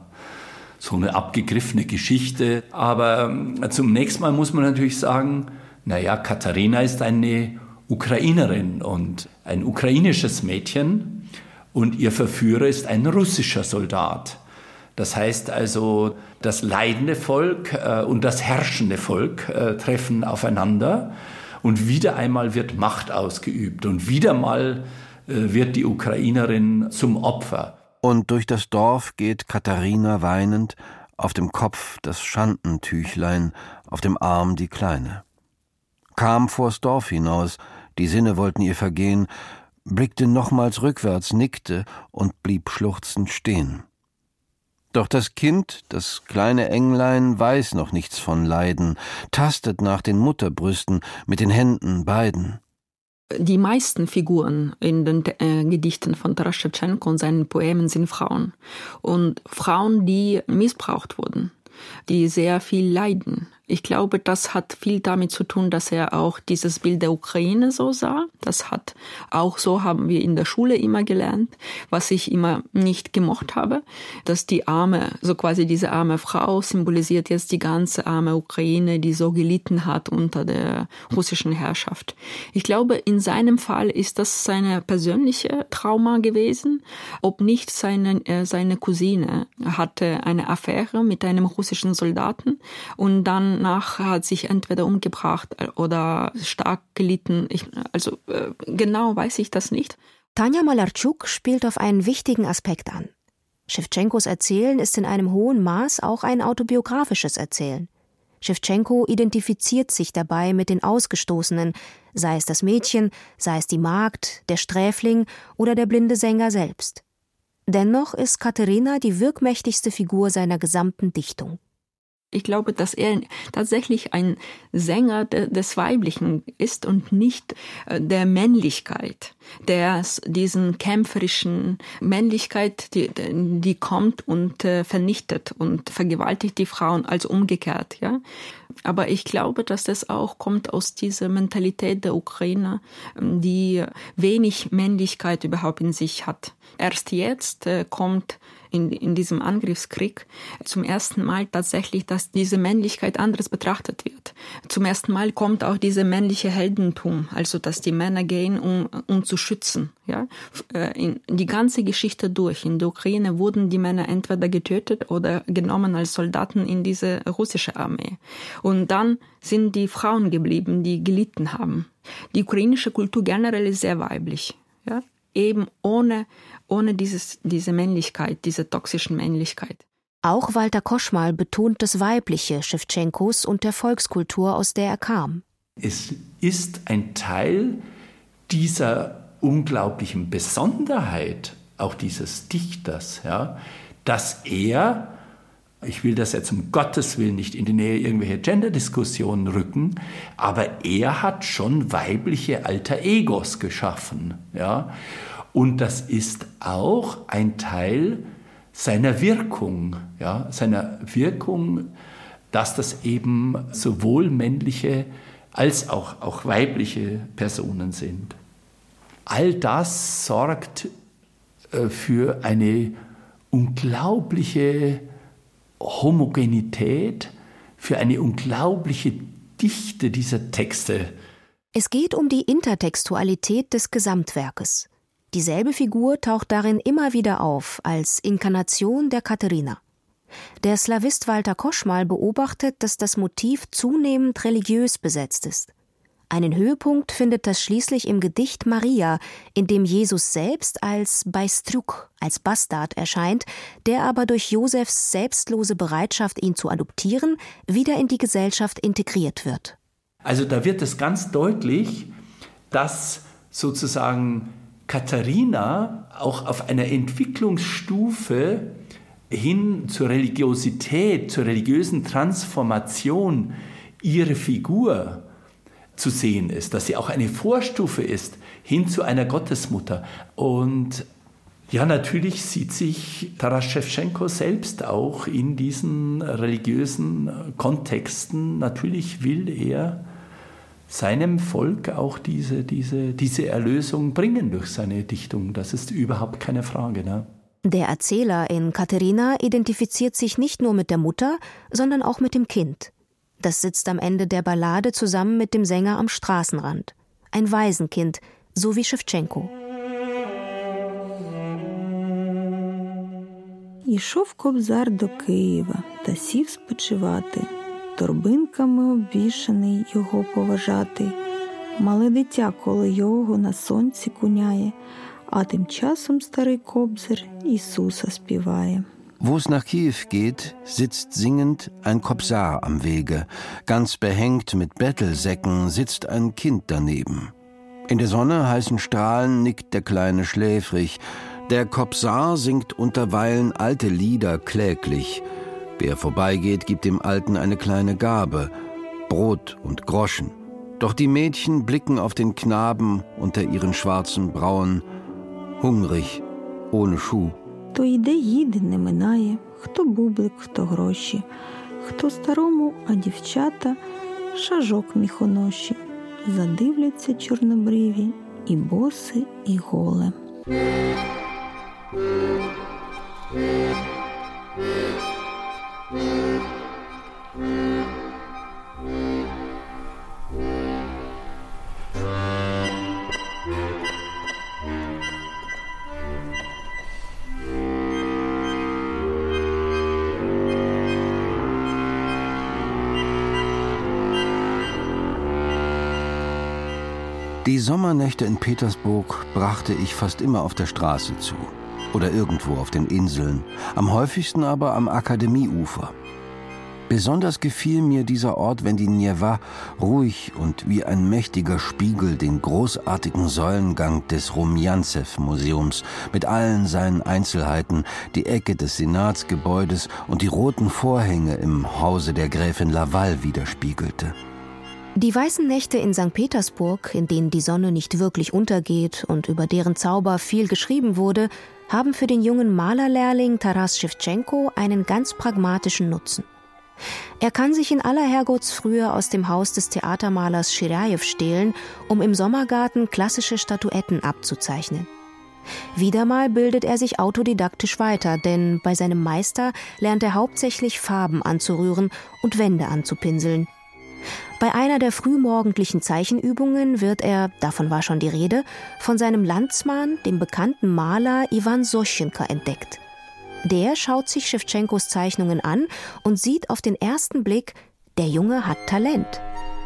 so eine abgegriffene Geschichte. Aber zunächst mal muss man natürlich sagen, naja, Katharina ist eine Ukrainerin und ein ukrainisches Mädchen. Und ihr Verführer ist ein russischer Soldat. Das heißt also, das leidende Volk äh, und das herrschende Volk äh, treffen aufeinander. Und wieder einmal wird Macht ausgeübt. Und wieder mal äh, wird die Ukrainerin zum Opfer. Und durch das Dorf geht Katharina weinend, auf dem Kopf das Schandentüchlein, auf dem Arm die Kleine. Kam vors Dorf hinaus, die Sinne wollten ihr vergehen, blickte nochmals rückwärts, nickte und blieb schluchzend stehen. Doch das Kind, das kleine Englein, weiß noch nichts von Leiden, tastet nach den Mutterbrüsten mit den Händen beiden. Die meisten Figuren in den äh, Gedichten von Taras Schewtschenko und seinen Poemen sind Frauen. Und Frauen, die missbraucht wurden, die sehr viel leiden. Ich glaube, das hat viel damit zu tun, dass er auch dieses Bild der Ukraine so sah. Das hat auch so haben wir in der Schule immer gelernt, was ich immer nicht gemocht habe, dass die arme, so quasi diese arme Frau symbolisiert jetzt die ganze arme Ukraine, die so gelitten hat unter der russischen Herrschaft. Ich glaube, in seinem Fall ist das seine persönliche Trauma gewesen. Ob nicht seine, äh, seine Cousine hatte eine Affäre mit einem russischen Soldaten und dann nach hat sich entweder umgebracht oder stark gelitten. Ich, also äh, genau weiß ich das nicht. Tanja Malarczuk spielt auf einen wichtigen Aspekt an. Schewtschenkos Erzählen ist in einem hohen Maß auch ein autobiografisches Erzählen. Schewtschenko identifiziert sich dabei mit den Ausgestoßenen, sei es das Mädchen, sei es die Magd, der Sträfling oder der blinde Sänger selbst. Dennoch ist Katerina die wirkmächtigste Figur seiner gesamten Dichtung. Ich glaube, dass er tatsächlich ein Sänger des Weiblichen ist und nicht der Männlichkeit, der diesen kämpferischen Männlichkeit, die, die kommt und vernichtet und vergewaltigt die Frauen, als umgekehrt, ja. Aber ich glaube, dass das auch kommt aus dieser Mentalität der Ukrainer, die wenig Männlichkeit überhaupt in sich hat. Erst jetzt kommt in, in diesem Angriffskrieg zum ersten Mal tatsächlich, dass diese Männlichkeit anders betrachtet wird. Zum ersten Mal kommt auch diese männliche Heldentum, also dass die Männer gehen, um, um zu schützen. Ja? In die ganze Geschichte durch. In der Ukraine wurden die Männer entweder getötet oder genommen als Soldaten in diese russische Armee. Und dann sind die Frauen geblieben, die gelitten haben. Die ukrainische Kultur generell ist sehr weiblich. Ja? Eben ohne, ohne dieses, diese Männlichkeit, diese toxischen Männlichkeit. Auch Walter Koschmal betont das Weibliche Schewtschenkos und der Volkskultur, aus der er kam. Es ist ein Teil dieser unglaublichen Besonderheit, auch dieses Dichters, ja, dass er, ich will das jetzt um Gottes Willen nicht in die Nähe irgendwelcher Gender-Diskussionen rücken, aber er hat schon weibliche Alter Egos geschaffen. Ja? Und das ist auch ein Teil seiner Wirkung, ja? seiner Wirkung, dass das eben sowohl männliche als auch, auch weibliche Personen sind. All das sorgt äh, für eine unglaubliche Homogenität, für eine unglaubliche Dichte dieser Texte. Es geht um die Intertextualität des Gesamtwerkes. Dieselbe Figur taucht darin immer wieder auf, als Inkarnation der Katharina. Der Slawist Walter Koschmal beobachtet, dass das Motiv zunehmend religiös besetzt ist. Einen Höhepunkt findet das schließlich im Gedicht Maria, in dem Jesus selbst als Beistruk, als Bastard erscheint, der aber durch Josefs selbstlose Bereitschaft, ihn zu adoptieren, wieder in die Gesellschaft integriert wird. Also da wird es ganz deutlich, dass sozusagen Katharina auch auf einer Entwicklungsstufe hin zur Religiosität, zur religiösen Transformation ihre Figur zu sehen ist, dass sie auch eine Vorstufe ist hin zu einer Gottesmutter. Und ja, natürlich sieht sich Taras Schewtschenko selbst auch in diesen religiösen Kontexten. Natürlich will er seinem Volk auch diese, diese, diese Erlösung bringen durch seine Dichtung. Das ist überhaupt keine Frage, ne? Der Erzähler in Katharina identifiziert sich nicht nur mit der Mutter, sondern auch mit dem Kind. Das sitzt am Ende der Ballade zusammen mit dem Sänger am Straßenrand. Ein Waisenkind, so wie Schewtschenko. Ішов Кобзар до Києва та сів спочивати, торбинками обвішаний його поважати. Мале дитя коло його на сонці куняє, а тим часом старий Кобзар Ісуса співає. Wo es nach Kiew geht, sitzt singend ein Kobzar am Wege. Ganz behängt mit Bettelsäcken sitzt ein Kind daneben. In der Sonne heißen Strahlen nickt der Kleine schläfrig. Der Kobzar singt unterweilen alte Lieder kläglich. Wer vorbeigeht, gibt dem Alten eine kleine Gabe, Brot und Groschen. Doch die Mädchen blicken auf den Knaben unter ihren schwarzen Brauen, hungrig, ohne Schuh. То йде, їде, не минає, хто бублик, хто гроші, хто старому, а дівчата шажок міхоноші. Задивляться чорнобриві, і боси, і голе. Die Sommernächte in Petersburg brachte ich fast immer auf der Straße zu oder irgendwo auf den Inseln, am häufigsten aber am Akademieufer. Besonders gefiel mir dieser Ort, wenn die Njewa ruhig und wie ein mächtiger Spiegel den großartigen Säulengang des Rumjantsew-Museums mit allen seinen Einzelheiten, die Ecke des Senatsgebäudes und die roten Vorhänge im Hause der Gräfin Laval widerspiegelte. Die weißen Nächte in Sankt Petersburg, in denen die Sonne nicht wirklich untergeht und über deren Zauber viel geschrieben wurde, haben für den jungen Malerlehrling Taras Schewtschenko einen ganz pragmatischen Nutzen. Er kann sich in aller Herrgottsfrühe aus dem Haus des Theatermalers Schirjajew stehlen, um im Sommergarten klassische Statuetten abzuzeichnen. Wieder mal bildet er sich autodidaktisch weiter, denn bei seinem Meister lernt er hauptsächlich Farben anzurühren und Wände anzupinseln. Bei einer der frühmorgendlichen Zeichenübungen wird er, davon war schon die Rede, von seinem Landsmann, dem bekannten Maler Iwan Soschenka, entdeckt. Der schaut sich Schewtschenkos Zeichnungen an und sieht auf den ersten Blick, der Junge hat Talent.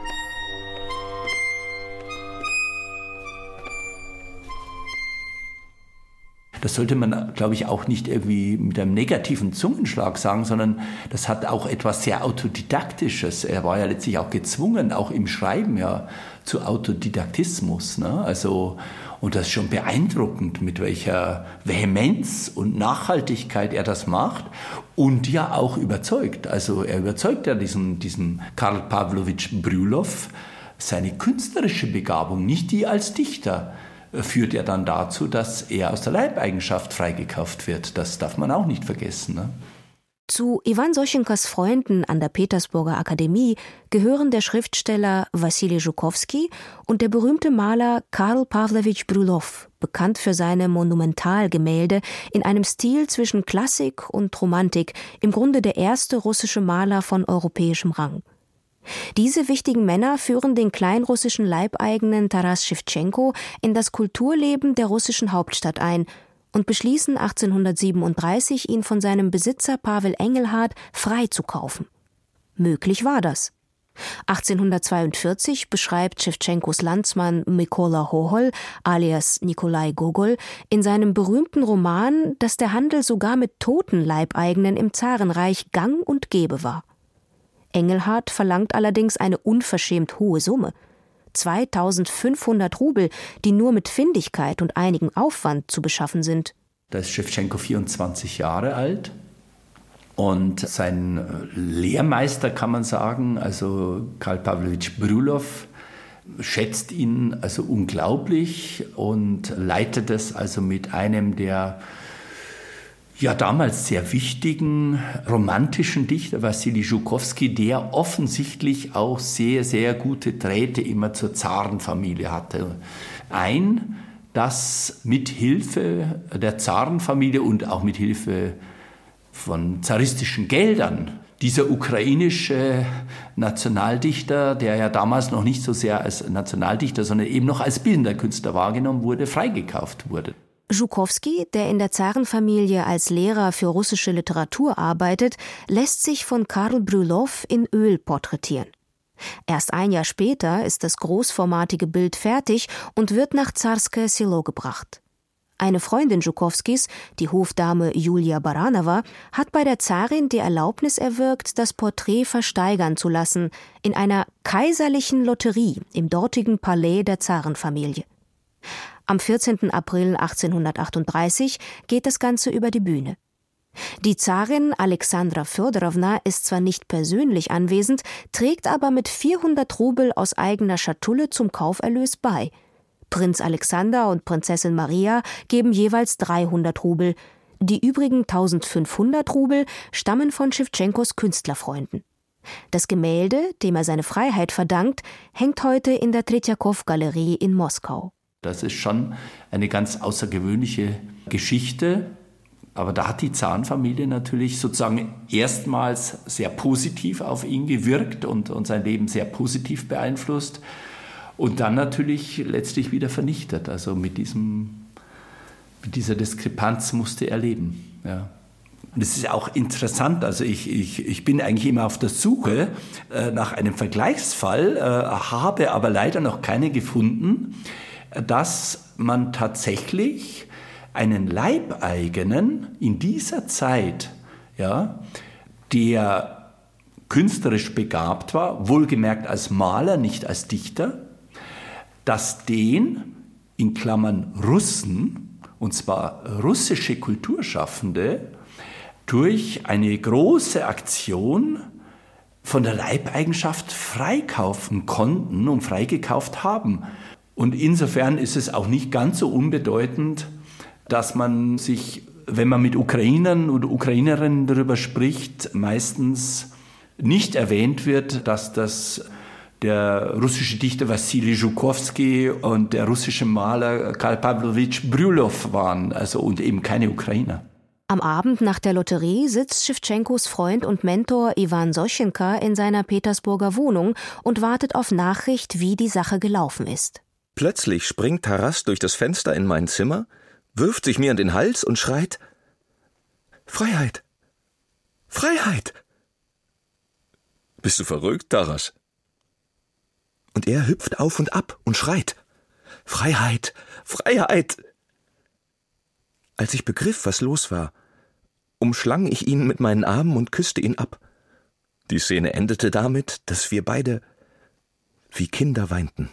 Das sollte man, glaube ich, auch nicht irgendwie mit einem negativen Zungenschlag sagen, sondern das hat auch etwas sehr Autodidaktisches. Er war ja letztlich auch gezwungen, auch im Schreiben ja zu Autodidaktismus. Ne? Also, und das ist schon beeindruckend, mit welcher Vehemenz und Nachhaltigkeit er das macht und ja auch überzeugt. Also er überzeugt ja diesen, diesen Karl Pawlowitsch Brjullov, seine künstlerische Begabung, nicht die als Dichter, führt er dann dazu, dass er aus der Leibeigenschaft freigekauft wird. Das darf man auch nicht vergessen. Ne? Zu Iwan Soschenkas Freunden an der Petersburger Akademie gehören der Schriftsteller Wassili Żukowski und der berühmte Maler Karl Pawlowitsch Brjullov, bekannt für seine Monumentalgemälde in einem Stil zwischen Klassik und Romantik, im Grunde der erste russische Maler von europäischem Rang. Diese wichtigen Männer führen den kleinrussischen Leibeigenen Taras Schewtschenko in das Kulturleben der russischen Hauptstadt ein und beschließen achtzehnhundertsiebenunddreißig, ihn von seinem Besitzer Pawel Engelhardt freizukaufen. Möglich war das. achtzehnhundertzweiundvierzig beschreibt Schewtschenkos Landsmann Mykola Hohol alias Nikolai Gogol in seinem berühmten Roman, dass der Handel sogar mit toten Leibeigenen im Zarenreich gang und gäbe war. Engelhardt verlangt allerdings eine unverschämt hohe Summe. zweitausendfünfhundert Rubel, die nur mit Findigkeit und einigem Aufwand zu beschaffen sind. Da ist Schewtschenko vierundzwanzig Jahre alt und sein Lehrmeister, kann man sagen, also Karl Pawlowitsch Brjullov, schätzt ihn also unglaublich und leitet es also mit einem der ja damals sehr wichtigen romantischen Dichter, Wassili Żukowski, der offensichtlich auch sehr, sehr gute Drähte immer zur Zarenfamilie hatte. Ein, das mit Hilfe der Zarenfamilie und auch mit Hilfe von zaristischen Geldern dieser ukrainische Nationaldichter, der ja damals noch nicht so sehr als Nationaldichter, sondern eben noch als bildender Künstler wahrgenommen wurde, freigekauft wurde. Żukowski, der in der Zarenfamilie als Lehrer für russische Literatur arbeitet, lässt sich von Karl Brjullov in Öl porträtieren. Erst ein Jahr später ist das großformatige Bild fertig und wird nach Zarskoje Selo gebracht. Eine Freundin Żukowskis, die Hofdame Julia Baranowa, hat bei der Zarin die Erlaubnis erwirkt, das Porträt versteigern zu lassen in einer kaiserlichen Lotterie im dortigen Palais der Zarenfamilie. Am vierzehnten April achtzehnhundertachtunddreißig geht das Ganze über die Bühne. Die Zarin Alexandra Fjodorowna ist zwar nicht persönlich anwesend, trägt aber mit vierhundert Rubel aus eigener Schatulle zum Kauferlös bei. Prinz Alexander und Prinzessin Maria geben jeweils dreihundert Rubel. Die übrigen eintausendfünfhundert Rubel stammen von Schewtschenkos Künstlerfreunden. Das Gemälde, dem er seine Freiheit verdankt, hängt heute in der Tretjakow-Galerie in Moskau. Das ist schon eine ganz außergewöhnliche Geschichte. Aber da hat die Zarenfamilie natürlich sozusagen erstmals sehr positiv auf ihn gewirkt und, und sein Leben sehr positiv beeinflusst. Und dann natürlich letztlich wieder vernichtet. Also mit, diesem, mit dieser Diskrepanz musste er leben. Ja. Und es ist auch interessant, also ich, ich, ich bin eigentlich immer auf der Suche äh, nach einem Vergleichsfall, äh, habe aber leider noch keinen gefunden, dass man tatsächlich einen Leibeigenen in dieser Zeit, ja, der künstlerisch begabt war, wohlgemerkt als Maler, nicht als Dichter, dass den, in Klammern Russen, und zwar russische Kulturschaffende, durch eine große Aktion von der Leibeigenschaft freikaufen konnten und freigekauft haben. Und insofern ist es auch nicht ganz so unbedeutend, dass man sich, wenn man mit Ukrainern oder Ukrainerinnen darüber spricht, meistens nicht erwähnt wird, dass das der russische Dichter Wassili Zhukovsky und der russische Maler Karl Pawlowitsch Bryullov waren, also und eben keine Ukrainer. Am Abend nach der Lotterie sitzt Schewtschenkos Freund und Mentor Iwan Soschenka in seiner Petersburger Wohnung und wartet auf Nachricht, wie die Sache gelaufen ist. Plötzlich springt Taras durch das Fenster in mein Zimmer, wirft sich mir an den Hals und schreit: Freiheit! Freiheit! Bist du verrückt, Taras? Und er hüpft auf und ab und schreit: Freiheit! Freiheit! Als ich begriff, was los war, umschlang ich ihn mit meinen Armen und küsste ihn ab. Die Szene endete damit, dass wir beide wie Kinder weinten.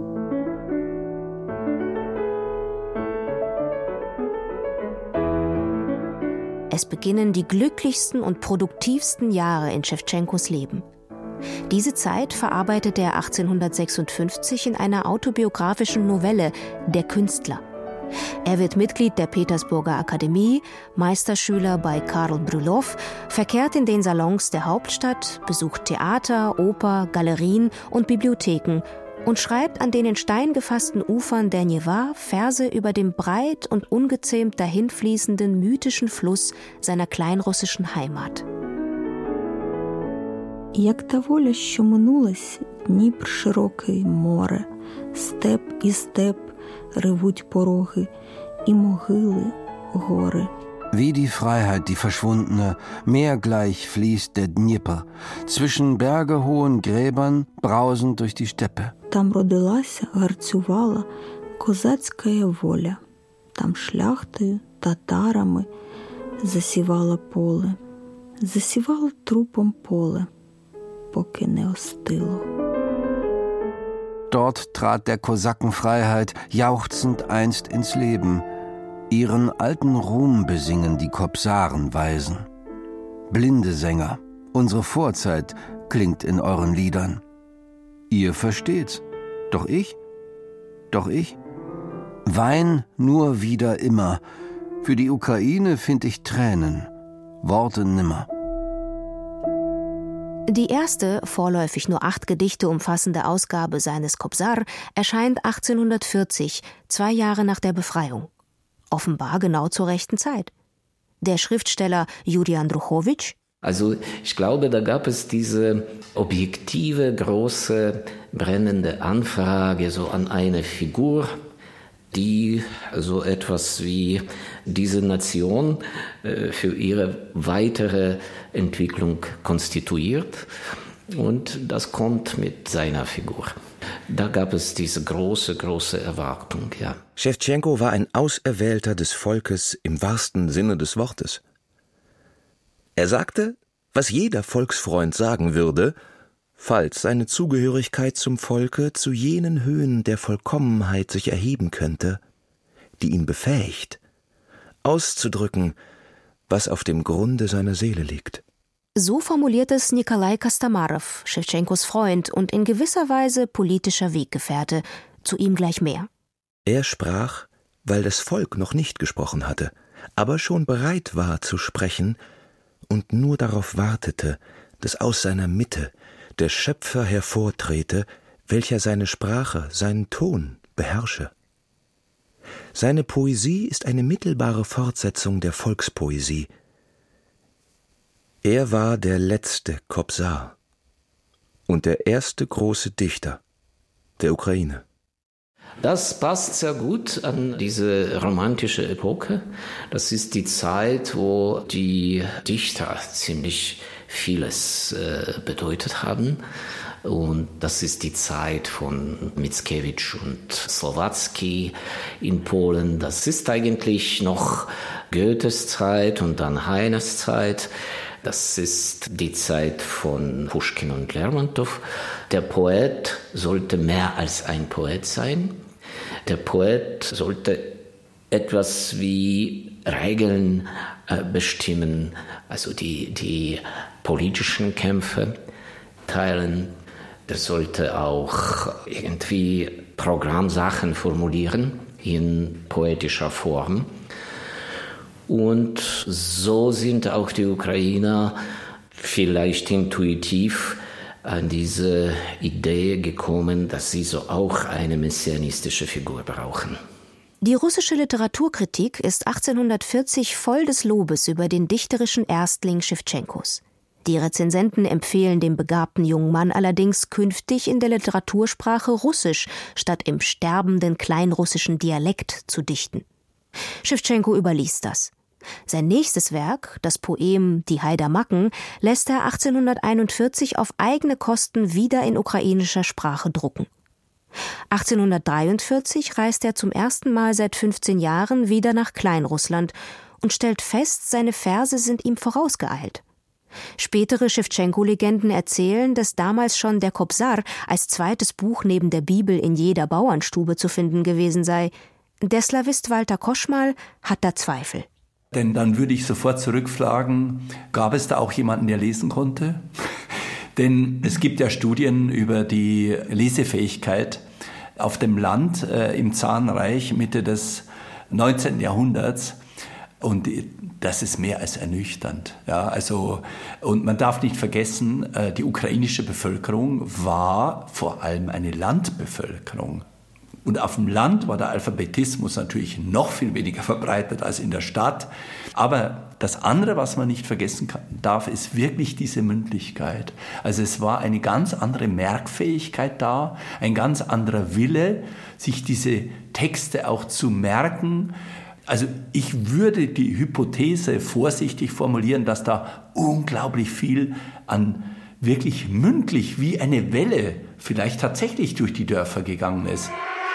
Es beginnen die glücklichsten und produktivsten Jahre in Schewtschenkos Leben. Diese Zeit verarbeitet er achtzehnhundertsechsundfünfzig in einer autobiografischen Novelle »Der Künstler«. Er wird Mitglied der Petersburger Akademie, Meisterschüler bei Karl Bryullov, verkehrt in den Salons der Hauptstadt, besucht Theater, Oper, Galerien und Bibliotheken und schreibt an den in Stein gefassten Ufern der Newa Verse über den breit und ungezähmt dahinfließenden mythischen Fluss seiner kleinrussischen Heimat. Як та воля, що минулась, Дніпр широкий море, степ і степ ревуть пороги, і могили гори. Wie die Freiheit, die verschwundene, meergleich fließt der Dnieper, zwischen bergehohen Gräbern brausend durch die Steppe. Там родилася, гарцювала козацька воля, там шляхтою, татарами засівала поле, засівала трупом поле, поки не остило. Dort trat der Kosakenfreiheit jauchzend einst ins Leben. Ihren alten Ruhm besingen die Kopsarenweisen. Blinde Sänger, unsere Vorzeit klingt in euren Liedern. Ihr versteht's, doch ich, doch ich? Wein nur wieder immer, für die Ukraine find ich Tränen, Worte nimmer. Die erste, vorläufig nur acht Gedichte umfassende Ausgabe seines Kobzar erscheint achtzehnhundertvierzig, zwei Jahre nach der Befreiung. Offenbar genau zur rechten Zeit. Der Schriftsteller Juri Andruchowitsch: Also ich glaube, da gab es diese objektive, große, brennende Anfrage so an eine Figur, die so etwas wie diese Nation äh, für ihre weitere Entwicklung konstituiert. Und das kommt mit seiner Figur. Da gab es diese große, große Erwartung, ja. Schewtschenko war ein Auserwählter des Volkes im wahrsten Sinne des Wortes. Er sagte, was jeder Volksfreund sagen würde, falls seine Zugehörigkeit zum Volke zu jenen Höhen der Vollkommenheit sich erheben könnte, die ihn befähigt, auszudrücken, was auf dem Grunde seiner Seele liegt. So formuliert es Nikolai Kostamarow, Schewtschenkos Freund und in gewisser Weise politischer Weggefährte, zu ihm gleich mehr. Er sprach, weil das Volk noch nicht gesprochen hatte, aber schon bereit war zu sprechen und nur darauf wartete, dass aus seiner Mitte der Schöpfer hervortrete, welcher seine Sprache, seinen Ton beherrsche. Seine Poesie ist eine mittelbare Fortsetzung der Volkspoesie. Er war der letzte Kobzar und der erste große Dichter der Ukraine. Das passt sehr gut an diese romantische Epoche. Das ist die Zeit, wo die Dichter ziemlich vieles äh, bedeutet haben. Und das ist die Zeit von Mickiewicz und Słowacki in Polen. Das ist eigentlich noch Goethes Zeit und dann Heines Zeit. Das ist die Zeit von Puschkin und Lermontow. Der Poet sollte mehr als ein Poet sein. Der Poet sollte etwas wie Regeln äh, bestimmen, also die, die politischen Kämpfe teilen. Er sollte auch irgendwie Programmsachen formulieren in poetischer Form. Und so sind auch die Ukrainer vielleicht intuitiv an diese Idee gekommen, dass sie so auch eine messianistische Figur brauchen. Die russische Literaturkritik ist achtzehnhundertvierzig voll des Lobes über den dichterischen Erstling Schewtschenkos. Die Rezensenten empfehlen dem begabten jungen Mann allerdings, künftig in der Literatursprache Russisch statt im sterbenden kleinrussischen Dialekt zu dichten. Schewtschenko überließ das. Sein nächstes Werk, das Poem Die Haidamaken, lässt er achtzehnhunderteinundvierzig auf eigene Kosten wieder in ukrainischer Sprache drucken. achtzehnhundertdreiundvierzig reist er zum ersten Mal seit fünfzehn Jahren wieder nach Kleinrussland und stellt fest, seine Verse sind ihm vorausgeeilt. Spätere Schewtschenko-Legenden erzählen, dass damals schon der Kobsar als zweites Buch neben der Bibel in jeder Bauernstube zu finden gewesen sei. Der Slawist Walter Koschmal hat da Zweifel. Denn dann würde ich sofort zurückfragen, gab es da auch jemanden, der lesen konnte? Denn es gibt ja Studien über die Lesefähigkeit auf dem Land äh, im Zarenreich Mitte des neunzehnten Jahrhunderts. Und das ist mehr als ernüchternd. Ja, also, und man darf nicht vergessen, äh, die ukrainische Bevölkerung war vor allem eine Landbevölkerung. Und auf dem Land war der Alphabetismus natürlich noch viel weniger verbreitet als in der Stadt. Aber das andere, was man nicht vergessen kann, darf, ist wirklich diese Mündlichkeit. Also es war eine ganz andere Merkfähigkeit da, ein ganz anderer Wille, sich diese Texte auch zu merken. Also ich würde die Hypothese vorsichtig formulieren, dass da unglaublich viel an wirklich mündlich wie eine Welle vielleicht tatsächlich durch die Dörfer gegangen ist.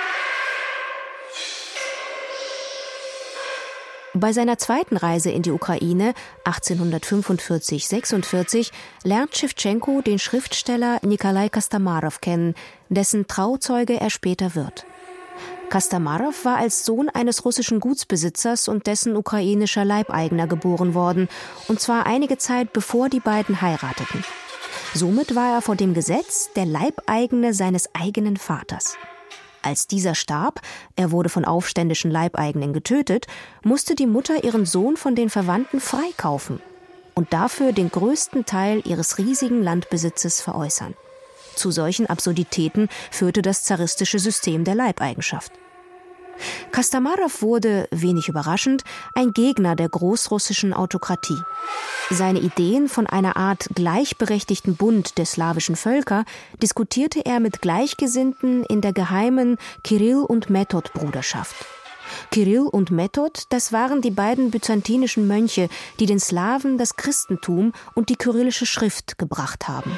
Bei seiner zweiten Reise in die Ukraine, achtzehnhundertfünfundvierzig sechsundvierzig, lernt Schewtschenko den Schriftsteller Nikolai Kostamarow kennen, dessen Trauzeuge er später wird. Kostamarow war als Sohn eines russischen Gutsbesitzers und dessen ukrainischer Leibeigener geboren worden, und zwar einige Zeit bevor die beiden heirateten. Somit war er vor dem Gesetz der Leibeigene seines eigenen Vaters. Als dieser starb, er wurde von aufständischen Leibeigenen getötet, musste die Mutter ihren Sohn von den Verwandten freikaufen und dafür den größten Teil ihres riesigen Landbesitzes veräußern. Zu solchen Absurditäten führte das zaristische System der Leibeigenschaft. Kostamarow wurde, wenig überraschend, ein Gegner der großrussischen Autokratie. Seine Ideen von einer Art gleichberechtigten Bund der slawischen Völker diskutierte er mit Gleichgesinnten in der geheimen Kirill- und Method-Bruderschaft. Kirill und Method, das waren die beiden byzantinischen Mönche, die den Slawen das Christentum und die kyrillische Schrift gebracht haben.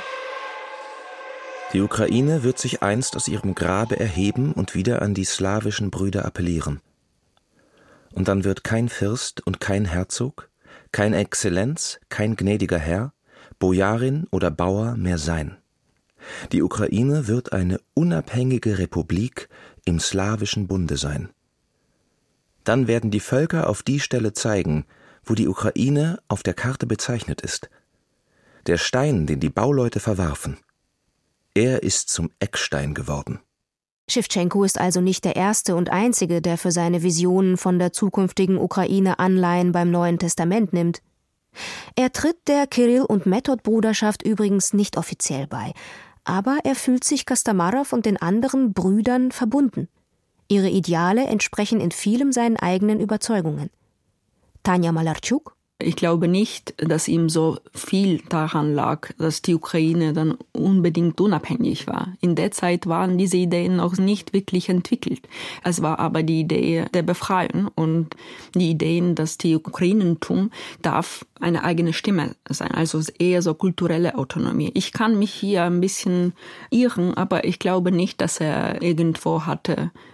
Die Ukraine wird sich einst aus ihrem Grabe erheben und wieder an die slawischen Brüder appellieren. Und dann wird kein Fürst und kein Herzog, kein Exzellenz, kein gnädiger Herr, Bojarin oder Bauer mehr sein. Die Ukraine wird eine unabhängige Republik im slawischen Bunde sein. Dann werden die Völker auf die Stelle zeigen, wo die Ukraine auf der Karte bezeichnet ist. Der Stein, den die Bauleute verwarfen, er ist zum Eckstein geworden. Schewtschenko ist also nicht der erste und einzige, der für seine Visionen von der zukünftigen Ukraine Anleihen beim Neuen Testament nimmt. Er tritt der Kirill- und Method-Bruderschaft übrigens nicht offiziell bei, aber er fühlt sich Kostamarow und den anderen Brüdern verbunden. Ihre Ideale entsprechen in vielem seinen eigenen Überzeugungen. Tanja Malarchuk: Ich glaube nicht, dass ihm so viel daran lag, dass die Ukraine dann unbedingt unabhängig war. In der Zeit waren diese Ideen noch nicht wirklich entwickelt. Es war aber die Idee der Befreiung und die Ideen, dass die Ukrainentum darf eine eigene Stimme sein, also eher so kulturelle Autonomie. Ich kann mich hier ein bisschen irren, aber ich glaube nicht, dass er irgendwo hatte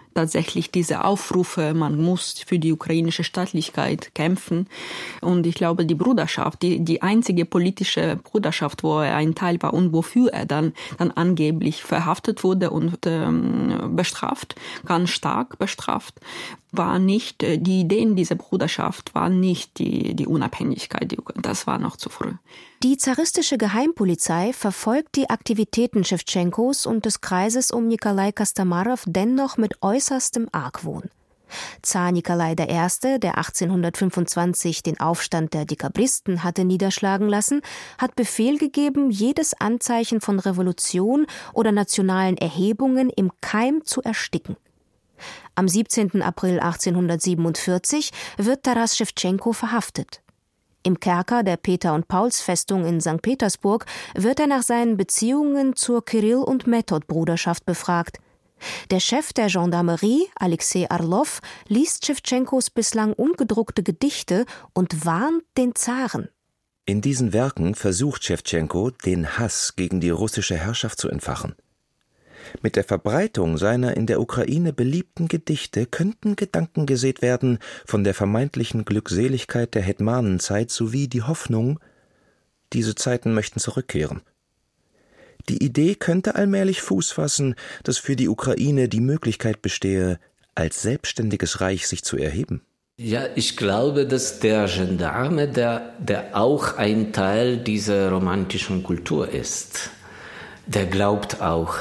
tatsächlich diese Aufrufe, man muss für die ukrainische Staatlichkeit kämpfen. Und ich glaube, die Bruderschaft, die, die einzige politische Bruderschaft, wo er ein Teil war und wofür er dann, dann angeblich verhaftet wurde und ähm, bestraft, ganz stark bestraft, war nicht, die Ideen dieser Bruderschaft waren nicht die, die Unabhängigkeit. Das war noch zu früh. Die zaristische Geheimpolizei verfolgt die Aktivitäten Schewtschenkos und des Kreises um Nikolai Kostamarow dennoch mit äußerstem Argwohn. Zar Nikolai der Erste., der achtzehnhundertfünfundzwanzig den Aufstand der Dekabristen hatte niederschlagen lassen, hat Befehl gegeben, jedes Anzeichen von Revolution oder nationalen Erhebungen im Keim zu ersticken. Am siebzehnten April achtzehnhundertsiebenundvierzig wird Taras Schewtschenko verhaftet. Im Kerker der Peter- und Pauls-Festung in Sankt Petersburg wird er nach seinen Beziehungen zur Kirill- und Method-Bruderschaft befragt. Der Chef der Gendarmerie, Alexei Orlov, liest Schewtschenkos bislang ungedruckte Gedichte und warnt den Zaren. In diesen Werken versucht Schewtschenko, den Hass gegen die russische Herrschaft zu entfachen. Mit der Verbreitung seiner in der Ukraine beliebten Gedichte könnten Gedanken gesät werden von der vermeintlichen Glückseligkeit der Hetmanenzeit sowie die Hoffnung, diese Zeiten möchten zurückkehren. Die Idee könnte allmählich Fuß fassen, dass für die Ukraine die Möglichkeit bestehe, als selbstständiges Reich sich zu erheben. Ja, ich glaube, dass der Gendarme, der, der auch ein Teil dieser romantischen Kultur ist, der glaubt auch,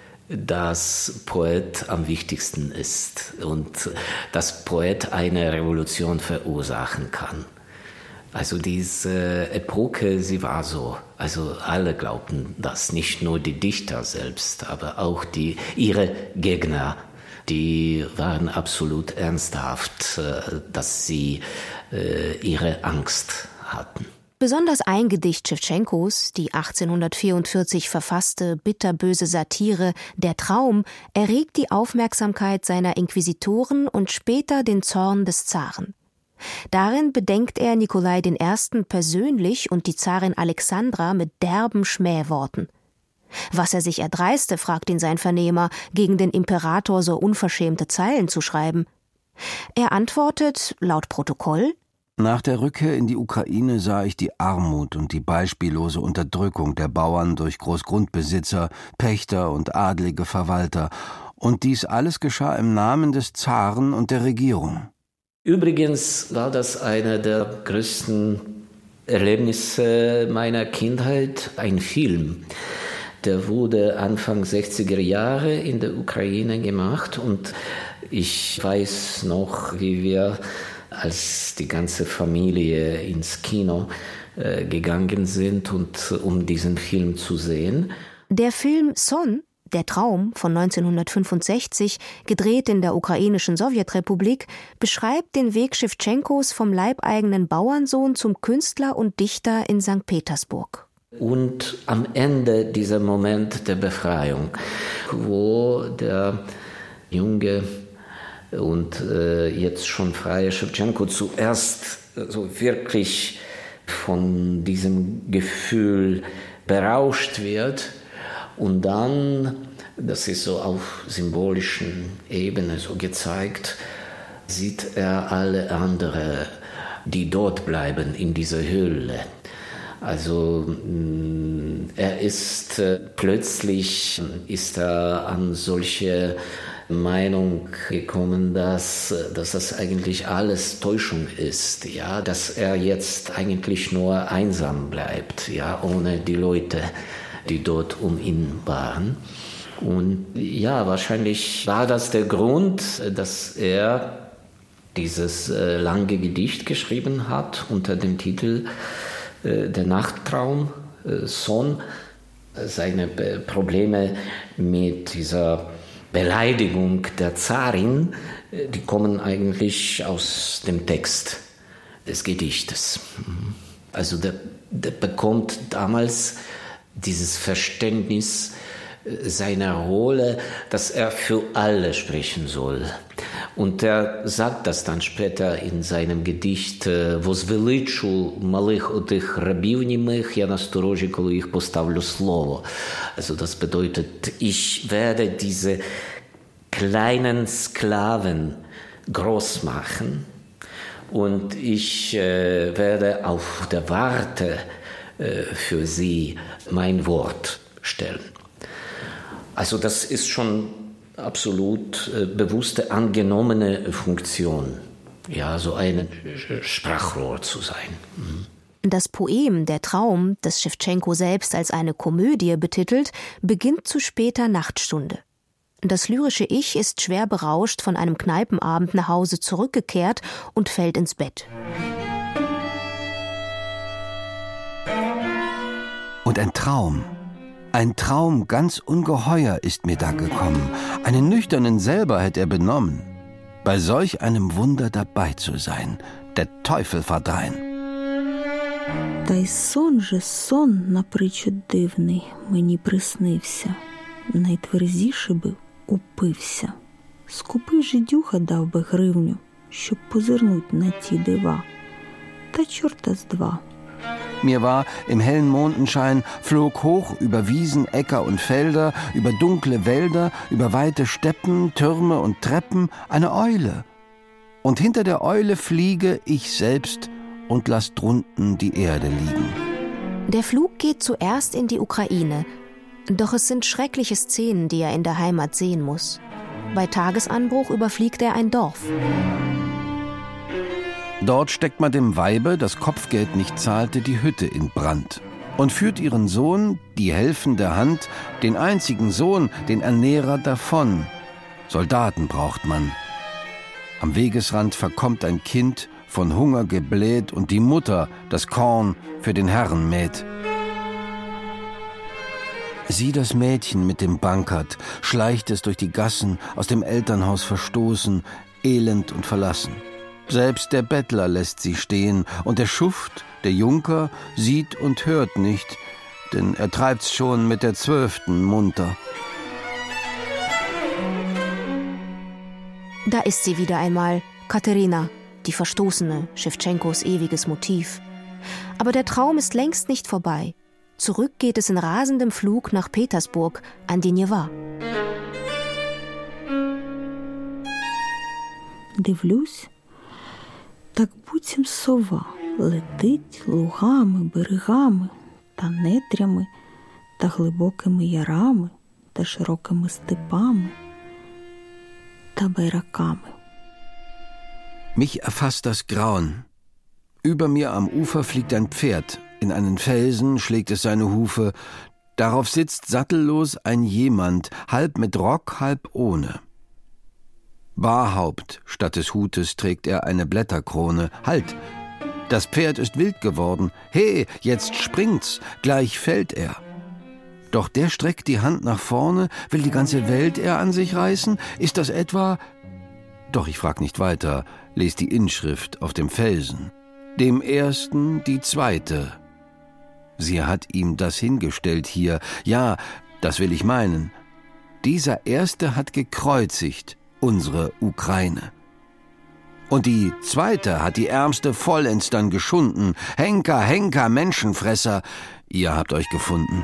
dass Poet am wichtigsten ist und dass Poet eine Revolution verursachen kann. Also diese Epoche, sie war so. Also alle glaubten das, nicht nur die Dichter selbst, aber auch die, ihre Gegner, die waren absolut ernsthaft, dass sie ihre Angst hatten. Besonders ein Gedicht Schewtschenkos, die achtzehnhundertvierundvierzig verfasste bitterböse Satire »Der Traum«, erregt die Aufmerksamkeit seiner Inquisitoren und später den Zorn des Zaren. Darin bedenkt er Nikolai den Ersten persönlich und die Zarin Alexandra mit derben Schmähworten. Was er sich erdreiste, fragt ihn sein Vernehmer, gegen den Imperator so unverschämte Zeilen zu schreiben. Er antwortet, laut Protokoll: Nach der Rückkehr in die Ukraine sah ich die Armut und die beispiellose Unterdrückung der Bauern durch Großgrundbesitzer, Pächter und adlige Verwalter. Und dies alles geschah im Namen des Zaren und der Regierung. Übrigens war das eine der größten Erlebnisse meiner Kindheit, ein Film. Der wurde Anfang sechziger Jahre in der Ukraine gemacht und ich weiß noch, wie wir als die ganze Familie ins Kino äh, gegangen sind, und um diesen Film zu sehen. Der Film Son, der Traum von neunzehnhundertfünfundsechzig, gedreht in der ukrainischen Sowjetrepublik, beschreibt den Weg Schewtschenkos vom leibeigenen Bauernsohn zum Künstler und Dichter in Sankt Petersburg. Und am Ende dieser Moment der Befreiung, wo der junge und äh, jetzt schon freie Schewtschenko zuerst so wirklich von diesem Gefühl berauscht wird und dann, das ist so auf symbolischen Ebene so gezeigt, sieht er alle anderen, die dort bleiben in dieser Höhle. Also er ist äh, plötzlich ist er an solche Meinung gekommen, dass, dass das eigentlich alles Täuschung ist, ja, dass er jetzt eigentlich nur einsam bleibt, ja, ohne die Leute, die dort um ihn waren. Und ja, wahrscheinlich war das der Grund, dass er dieses äh, lange Gedicht geschrieben hat unter dem Titel äh, Der Nachttraum, äh, Son. Seine äh, Probleme mit dieser Beleidigung der Zarin, die kommen eigentlich aus dem Text des Gedichtes. Also der, der bekommt damals dieses Verständnis seiner Rolle, dass er für alle sprechen soll. Und er sagt das dann später in seinem Gedicht «Возвеличу малих отих рабів німих, я насторожі, коли їх поставлю слово». Also das bedeutet, ich werde diese kleinen Sklaven groß machen. Und ich äh, werde auf der Warte äh, für sie mein Wort stellen. Also das ist schon absolut äh, bewusste, angenommene Funktion, ja, so ein Sprachrohr zu sein. Mhm. Das Poem »Der Traum«, das Schewtschenko selbst als eine Komödie betitelt, beginnt zu später Nachtstunde. Das lyrische Ich ist schwer berauscht von einem Kneipenabend nach Hause zurückgekehrt und fällt ins Bett. Und ein Traum, ein Traum ganz ungeheuer ist mir da gekommen. Einen Nüchternen selber hätte er benommen. Bei solch einem Wunder dabei zu sein, der Teufel verdrein. Та й сон же сон напричуд дивний мені приснився. Найтверзіше би упився. Скупий жидюха дав би гривню, щоб позирнуть на ті дива. Та чорта з два. Mir war im hellen Mondenschein, flog hoch über Wiesen, Äcker und Felder, über dunkle Wälder, über weite Steppen, Türme und Treppen eine Eule. Und hinter der Eule fliege ich selbst und lass drunten die Erde liegen. Der Flug geht zuerst in die Ukraine. Doch es sind schreckliche Szenen, die er in der Heimat sehen muss. Bei Tagesanbruch überfliegt er ein Dorf. Dort steckt man dem Weibe, das Kopfgeld nicht zahlte, die Hütte in Brand und führt ihren Sohn, die helfende Hand, den einzigen Sohn, den Ernährer davon. Soldaten braucht man. Am Wegesrand verkommt ein Kind, von Hunger gebläht, und die Mutter das Korn für den Herrn mäht. Sieh das Mädchen mit dem Bankert, schleicht es durch die Gassen, aus dem Elternhaus verstoßen, elend und verlassen. Selbst der Bettler lässt sie stehen, und der Schuft, der Junker, sieht und hört nicht, denn er treibt's schon mit der Zwölften munter. Da ist sie wieder einmal, Katerina, die Verstoßene, Schewtschenkos ewiges Motiv. Aber der Traum ist längst nicht vorbei. Zurück geht es in rasendem Flug nach Petersburg, an die Newa. Дивлюсь, так буцім сова летить лугами, берегами та нетрями, та глибокими ярами, та широкими степами, та байраками. Mich erfasst das Grauen. Über mir am Ufer fliegt ein Pferd. In einen Felsen schlägt es seine Hufe. Darauf sitzt sattellos ein Jemand, halb mit Rock, halb ohne. Barhaupt statt des Hutes trägt er eine Blätterkrone. Halt! Das Pferd ist wild geworden. He, jetzt springt's, gleich fällt er. Doch der streckt die Hand nach vorne, will die ganze Welt er an sich reißen? Ist das etwa... Doch ich frag nicht weiter, les die Inschrift auf dem Felsen. Dem Ersten die Zweite. Sie hat ihm das hingestellt hier. Ja, das will ich meinen. Dieser Erste hat gekreuzigt unsere Ukraine. Und die Zweite hat die Ärmste vollends dann geschunden. Henker, Henker, Menschenfresser, ihr habt euch gefunden.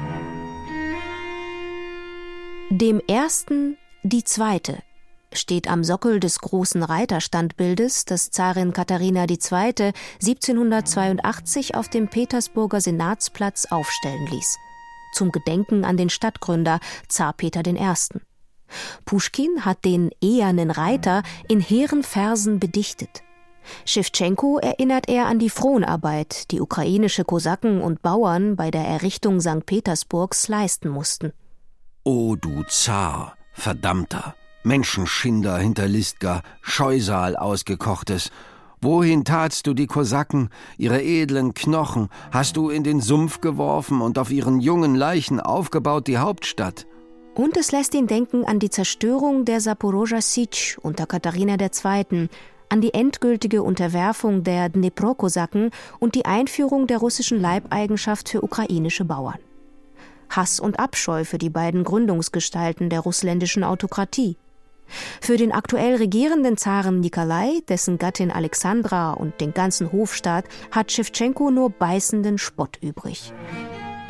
Dem Ersten die Zweite steht am Sockel des großen Reiterstandbildes, das Zarin Katharina die Zweite siebzehnhundertzweiundachtzig auf dem Petersburger Senatsplatz aufstellen ließ. Zum Gedenken an den Stadtgründer Zar Peter den Ersten. Puschkin hat den ehernen Reiter in hehren Versen bedichtet. Schewtschenko erinnert er an die Fronarbeit, die ukrainische Kosaken und Bauern bei der Errichtung Sankt Petersburgs leisten mussten. O du Zar, Verdammter, Menschenschinder Hinterlistger, Scheusal ausgekochtes, wohin tatst du die Kosaken, ihre edlen Knochen, hast du in den Sumpf geworfen und auf ihren jungen Leichen aufgebaut die Hauptstadt? Und es lässt ihn denken an die Zerstörung der Saporoschja Sitsch unter Katharina der Zweiten, an die endgültige Unterwerfung der Dnepro-Kosaken und die Einführung der russischen Leibeigenschaft für ukrainische Bauern. Hass und Abscheu für die beiden Gründungsgestalten der russländischen Autokratie. Für den aktuell regierenden Zaren Nikolai, dessen Gattin Alexandra und den ganzen Hofstaat hat Schewtschenko nur beißenden Spott übrig.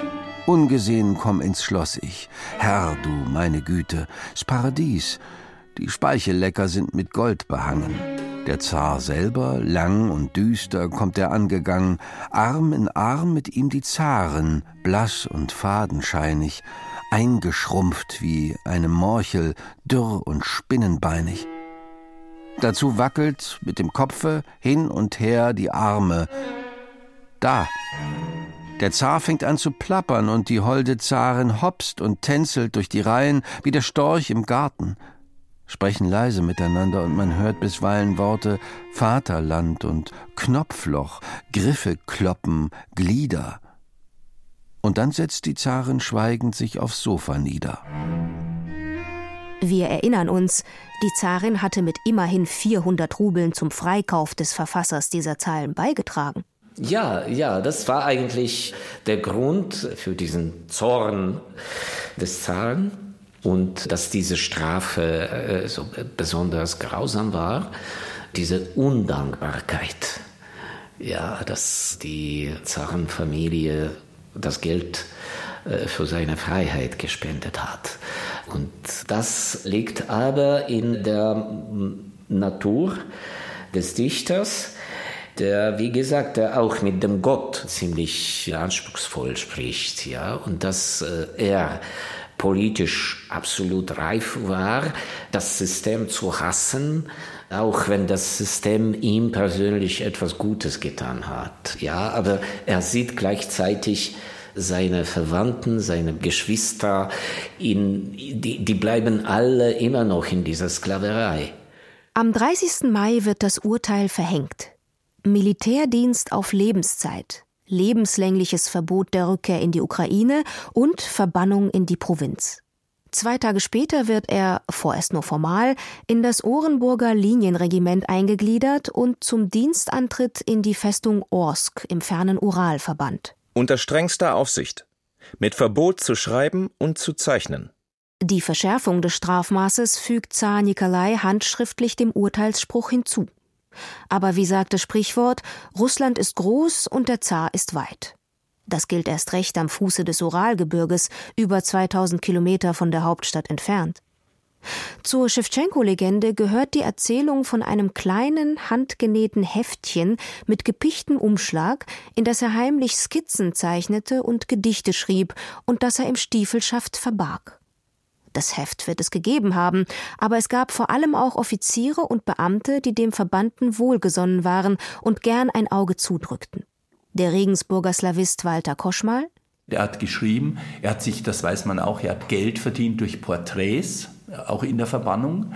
Ungesehen komm ins Schloss ich, Herr, du meine Güte, s Paradies. die Speichellecker sind mit Gold behangen. Der Zar selber, lang und düster, kommt er angegangen, Arm in Arm mit ihm die Zarin, blass und fadenscheinig, eingeschrumpft wie eine Morchel, dürr und spinnenbeinig. Dazu wackelt mit dem Kopfe hin und her die Arme. Da! Der Zar fängt an zu plappern und die holde Zarin hopst und tänzelt durch die Reihen wie der Storch im Garten. Sprechen leise miteinander und man hört bisweilen Worte Vaterland und Knopfloch, Griffe kloppen, Glieder. Und dann setzt die Zarin schweigend sich aufs Sofa nieder. Wir erinnern uns, die Zarin hatte mit immerhin vierhundert Rubeln zum Freikauf des Verfassers dieser Zeilen beigetragen. Ja, ja, das war eigentlich der Grund für diesen Zorn des Zaren. Und dass diese Strafe äh, so besonders grausam war, diese Undankbarkeit, ja, dass die Zarenfamilie das Geld äh, für seine Freiheit gespendet hat. Und das liegt aber in der Natur des Dichters, der, wie gesagt, der auch mit dem Gott ziemlich anspruchsvoll spricht, ja, und dass äh, er politisch absolut reif war, das System zu hassen, auch wenn das System ihm persönlich etwas Gutes getan hat. Ja, aber er sieht gleichzeitig seine Verwandten, seine Geschwister, in, die, die bleiben alle immer noch in dieser Sklaverei. Am dreißigsten Mai wird das Urteil verhängt. Militärdienst auf Lebenszeit. Lebenslängliches Verbot der Rückkehr in die Ukraine und Verbannung in die Provinz. Zwei Tage später wird er, vorerst nur formal, in das Orenburger Linienregiment eingegliedert und zum Dienstantritt in die Festung Orsk im fernen Ural verbannt. Unter strengster Aufsicht, mit Verbot zu schreiben und zu zeichnen. Die Verschärfung des Strafmaßes fügt Zar Nikolai handschriftlich dem Urteilsspruch hinzu. Aber wie sagt das Sprichwort, Russland ist groß und der Zar ist weit. Das gilt erst recht am Fuße des Uralgebirges, über zweitausend Kilometer von der Hauptstadt entfernt. Zur Schewtschenko-Legende gehört die Erzählung von einem kleinen, handgenähten Heftchen mit gepichtem Umschlag, in das er heimlich Skizzen zeichnete und Gedichte schrieb und das er im Stiefelschaft verbarg. Das Heft wird es gegeben haben, aber es gab vor allem auch Offiziere und Beamte, die dem Verbannten wohlgesonnen waren und gern ein Auge zudrückten. Der Regensburger Slawist Walter Koschmal. Er hat geschrieben, er hat sich, das weiß man auch, er hat Geld verdient durch Porträts, auch in der Verbannung.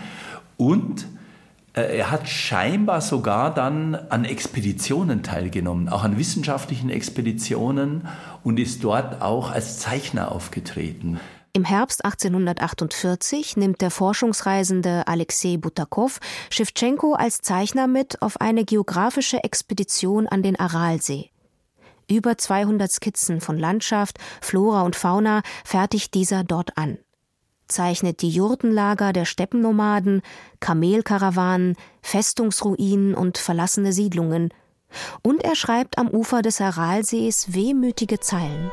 Und äh, er hat scheinbar sogar dann an Expeditionen teilgenommen, auch an wissenschaftlichen Expeditionen und ist dort auch als Zeichner aufgetreten. Im Herbst achtzehnhundertachtundvierzig nimmt der Forschungsreisende Alexei Butakow Schewtschenko als Zeichner mit auf eine geografische Expedition an den Aralsee. Über zweihundert Skizzen von Landschaft, Flora und Fauna fertigt dieser dort an. Zeichnet die Jurtenlager der Steppennomaden, Kamelkarawanen, Festungsruinen und verlassene Siedlungen. Und er schreibt am Ufer des Aralsees wehmütige Zeilen.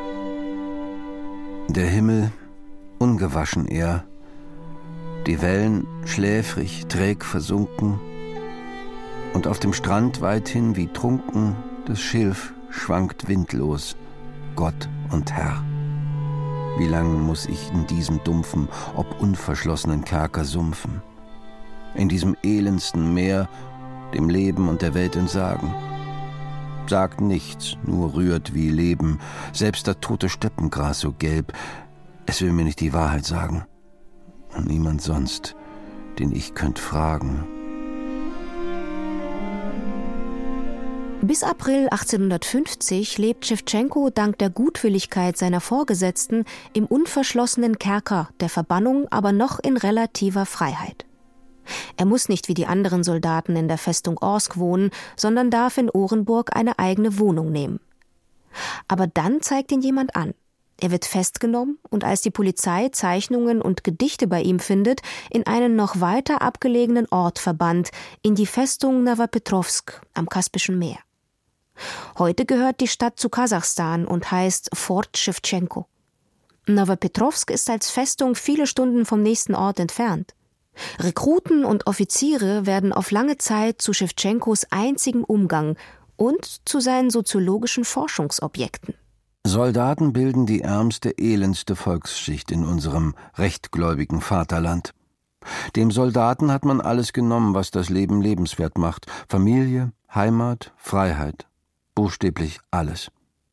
Der Himmel, ungewaschen er, die Wellen schläfrig, träg versunken, und auf dem Strand weithin wie trunken das Schilf schwankt windlos, Gott und Herr. Wie lang muss ich in diesem dumpfen, ob unverschlossenen Kerker sumpfen, in diesem elendsten Meer dem Leben und der Welt entsagen? Sagt nichts, nur rührt wie Leben, selbst das tote Steppengras so gelb. Es will mir nicht die Wahrheit sagen. Und niemand sonst, den ich könnt fragen. Bis April achtzehnhundertfünfzig lebt Schewtschenko dank der Gutwilligkeit seiner Vorgesetzten im unverschlossenen Kerker der Verbannung, aber noch in relativer Freiheit. Er muss nicht wie die anderen Soldaten in der Festung Orsk wohnen, sondern darf in Orenburg eine eigene Wohnung nehmen. Aber dann zeigt ihn jemand an. Er wird festgenommen und als die Polizei Zeichnungen und Gedichte bei ihm findet, in einen noch weiter abgelegenen Ort verbannt, in die Festung Nowopetrovsk am Kaspischen Meer. Heute gehört die Stadt zu Kasachstan und heißt Fort Schewtschenko. Nowopetrovsk ist als Festung viele Stunden vom nächsten Ort entfernt. Rekruten und Offiziere werden auf lange Zeit zu Schewtschenkos einzigem Umgang und zu seinen soziologischen Forschungsobjekten. Soldaten bilden die ärmste, elendste Volksschicht in unserem rechtgläubigen Vaterland. Dem Soldaten hat man alles genommen, was das Leben lebenswert macht. Familie, Heimat, Freiheit. Buchstäblich alles.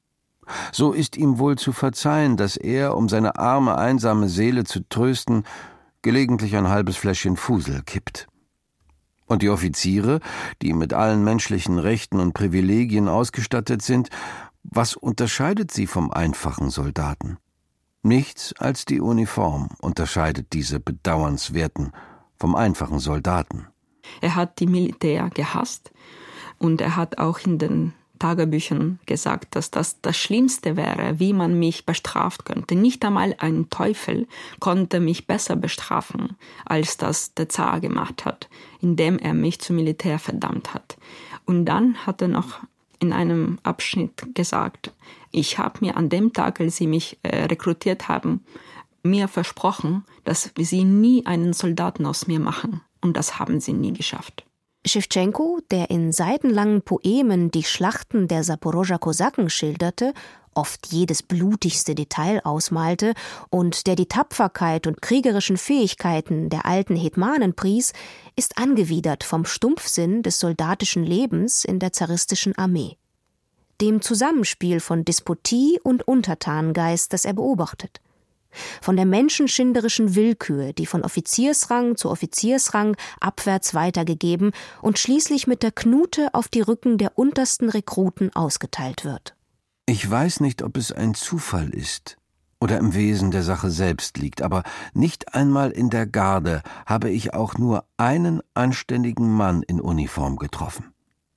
So ist ihm wohl zu verzeihen, dass er, um seine arme, einsame Seele zu trösten, gelegentlich ein halbes Fläschchen Fusel kippt. Und die Offiziere, die mit allen menschlichen Rechten und Privilegien ausgestattet sind, was unterscheidet sie vom einfachen Soldaten? Nichts als die Uniform unterscheidet diese Bedauernswerten vom einfachen Soldaten. Er hat die Militär gehasst und er hat auch in den Tagebüchern gesagt, dass das das Schlimmste wäre, wie man mich bestraft könnte. Nicht einmal ein Teufel konnte mich besser bestrafen, als das der Zar gemacht hat, indem er mich zum Militär verdammt hat. Und dann hat er noch in einem Abschnitt gesagt, ich habe mir an dem Tag, als sie mich äh, rekrutiert haben, mir versprochen, dass sie nie einen Soldaten aus mir machen. Und das haben sie nie geschafft. Schewtschenko, der in seitenlangen Poemen die Schlachten der Saporoger Kosaken schilderte, oft jedes blutigste Detail ausmalte und der die Tapferkeit und kriegerischen Fähigkeiten der alten Hetmanen pries, ist angewidert vom Stumpfsinn des soldatischen Lebens in der zaristischen Armee. Dem Zusammenspiel von Despotie und Untertanengeist, das er beobachtet. Von der menschenschinderischen Willkür, die von Offiziersrang zu Offiziersrang abwärts weitergegeben und schließlich mit der Knute auf die Rücken der untersten Rekruten ausgeteilt wird. Ich weiß nicht, ob es ein Zufall ist oder im Wesen der Sache selbst liegt, aber nicht einmal in der Garde habe ich auch nur einen anständigen Mann in Uniform getroffen.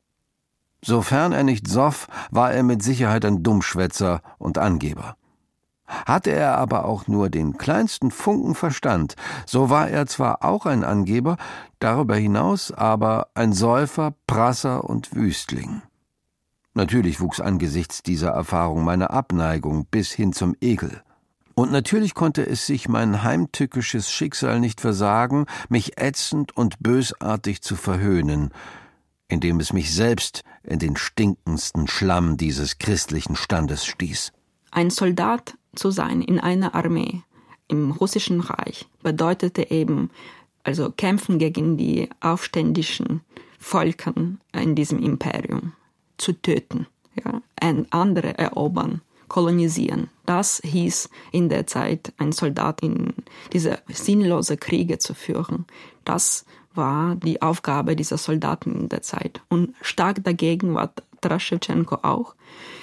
Sofern er nicht soff, war er mit Sicherheit ein Dummschwätzer und Angeber. Hatte er aber auch nur den kleinsten Funken Verstand, so war er zwar auch ein Angeber, darüber hinaus aber ein Säufer, Prasser und Wüstling. Natürlich wuchs angesichts dieser Erfahrung meine Abneigung bis hin zum Ekel. Und natürlich konnte es sich mein heimtückisches Schicksal nicht versagen, mich ätzend und bösartig zu verhöhnen, indem es mich selbst in den stinkendsten Schlamm dieses christlichen Standes stieß. Ein Soldat zu sein in einer Armee im Russischen Reich bedeutete eben, also kämpfen gegen die aufständischen Völker in diesem Imperium, zu töten, ja, ein andere erobern, kolonisieren. Das hieß in der Zeit, ein Soldat in diese sinnlose Kriege zu führen. Das war die Aufgabe dieser Soldaten in der Zeit. Und stark dagegen war Taras Schewtschenko auch.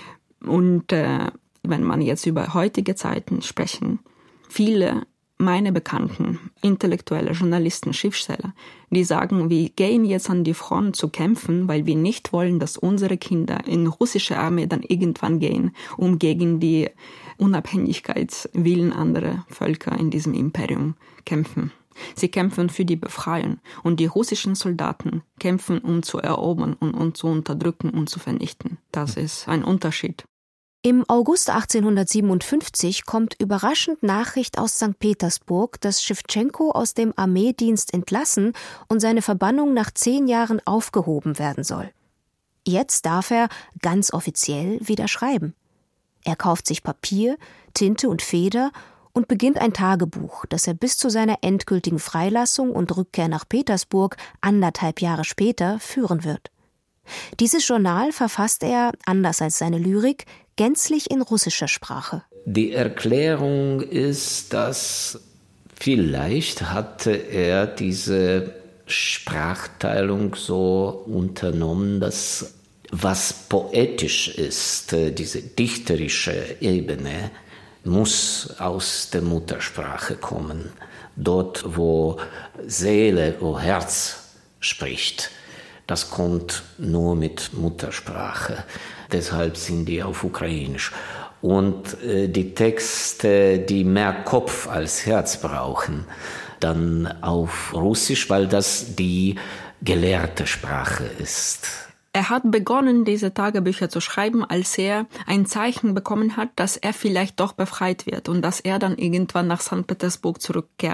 Und äh, wenn man jetzt über heutige Zeiten sprechen, viele meiner Bekannten, Intellektuelle, Journalisten, Schriftsteller, die sagen, wir gehen jetzt an die Front zu kämpfen, weil wir nicht wollen, dass unsere Kinder in russische Armee dann irgendwann gehen, um gegen die Unabhängigkeitswillen anderer Völker in diesem Imperium kämpfen. Sie kämpfen für die Befreiung und die russischen Soldaten kämpfen, um zu erobern und um zu unterdrücken und zu vernichten. Das ist ein Unterschied. Im August achtzehnhundertsiebenundfünfzig kommt überraschend Nachricht aus Sankt Petersburg, dass Schewtschenko aus dem Armeedienst entlassen und seine Verbannung nach zehn Jahren aufgehoben werden soll. Jetzt darf er ganz offiziell wieder schreiben. Er kauft sich Papier, Tinte und Feder und beginnt ein Tagebuch, das er bis zu seiner endgültigen Freilassung und Rückkehr nach Petersburg anderthalb Jahre später führen wird. Dieses Journal verfasst er, anders als seine Lyrik, gänzlich in russischer Sprache. Die Erklärung ist, dass vielleicht hatte er diese Sprachteilung so unternommen, dass was poetisch ist, diese dichterische Ebene, muss aus der Muttersprache kommen. Dort, wo Seele, wo Herz spricht, das kommt nur mit Muttersprache. Deshalb sind die auf Ukrainisch. Und äh, die Texte, die mehr Kopf als Herz brauchen, dann auf Russisch, weil das die gelehrte Sprache ist. Er hat begonnen, diese Tagebücher zu schreiben, als er ein Zeichen bekommen hat, dass er vielleicht doch befreit wird und dass er dann irgendwann nach Sankt Petersburg zurückkehren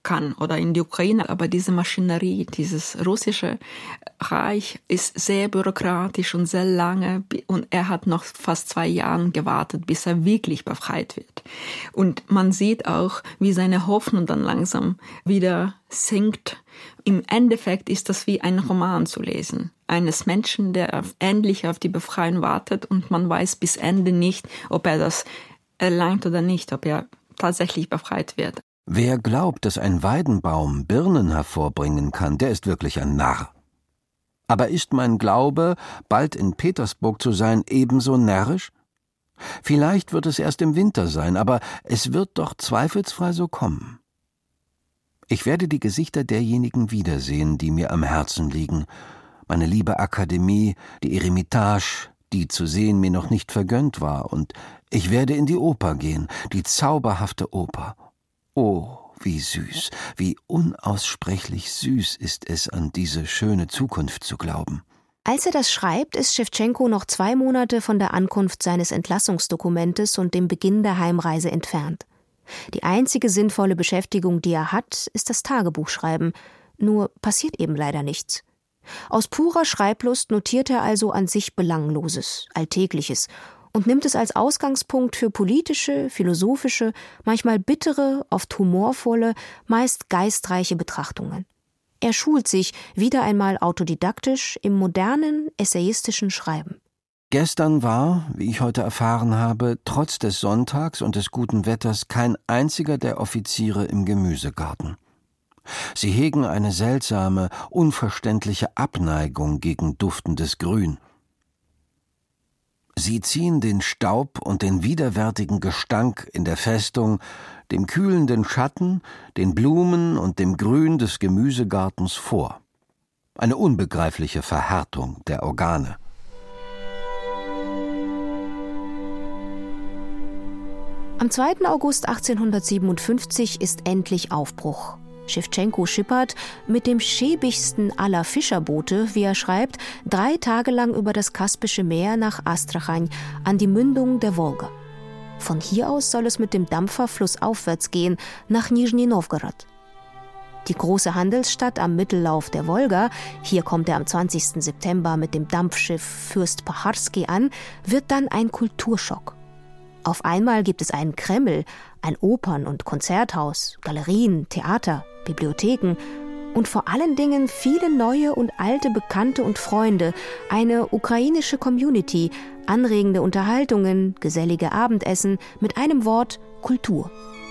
kann oder in die Ukraine. Aber diese Maschinerie, dieses russische Reich ist sehr bürokratisch und sehr lange. Und er hat noch fast zwei Jahre gewartet, bis er wirklich befreit wird. Und man sieht auch, wie seine Hoffnung dann langsam wieder sinkt. Im Endeffekt ist das wie ein Roman zu lesen. Eines Menschen, der endlich auf die Befreiung wartet und man weiß bis Ende nicht, ob er das erlangt oder nicht, ob er tatsächlich befreit wird. Wer glaubt, dass ein Weidenbaum Birnen hervorbringen kann, der ist wirklich ein Narr. Aber ist mein Glaube, bald in Petersburg zu sein, ebenso närrisch? Vielleicht wird es erst im Winter sein, aber es wird doch zweifelsfrei so kommen. Ich werde die Gesichter derjenigen wiedersehen, die mir am Herzen liegen. Meine liebe Akademie, die Eremitage, die zu sehen mir noch nicht vergönnt war, und ich werde in die Oper gehen, die zauberhafte Oper. Oh, wie süß, wie unaussprechlich süß ist es, an diese schöne Zukunft zu glauben. Als er das schreibt, ist Schewtschenko noch zwei Monate von der Ankunft seines Entlassungsdokumentes und dem Beginn der Heimreise entfernt. Die einzige sinnvolle Beschäftigung, die er hat, ist das Tagebuchschreiben. Nur passiert eben leider nichts. Aus purer Schreiblust notiert er also an sich Belangloses, Alltägliches und nimmt es als Ausgangspunkt für politische, philosophische, manchmal bittere, oft humorvolle, meist geistreiche Betrachtungen. Er schult sich wieder einmal autodidaktisch im modernen, essayistischen Schreiben. Gestern war, wie ich heute erfahren habe, trotz des Sonntags und des guten Wetters kein einziger der Offiziere im Gemüsegarten. Sie hegen eine seltsame, unverständliche Abneigung gegen duftendes Grün. Sie ziehen den Staub und den widerwärtigen Gestank in der Festung, dem kühlenden Schatten, den Blumen und dem Grün des Gemüsegartens vor. Eine unbegreifliche Verhärtung der Organe. Am zweiten August achtzehnhundertsiebenundfünfzig ist endlich Aufbruch. Schewtschenko schippert mit dem schäbigsten aller Fischerboote, wie er schreibt, drei Tage lang über das Kaspische Meer nach Astrachan an die Mündung der Wolga. Von hier aus soll es mit dem Dampfer flussaufwärts gehen, nach Nischni Nowgorod. Die große Handelsstadt am Mittellauf der Wolga, hier kommt er am zwanzigsten September mit dem Dampfschiff Fürst Pacharski an, wird dann ein Kulturschock. Auf einmal gibt es einen Kreml, ein Opern- und Konzerthaus, Galerien, Theater, Bibliotheken und vor allen Dingen viele neue und alte Bekannte und Freunde, eine ukrainische Community, anregende Unterhaltungen, gesellige Abendessen, mit einem Wort Kultur.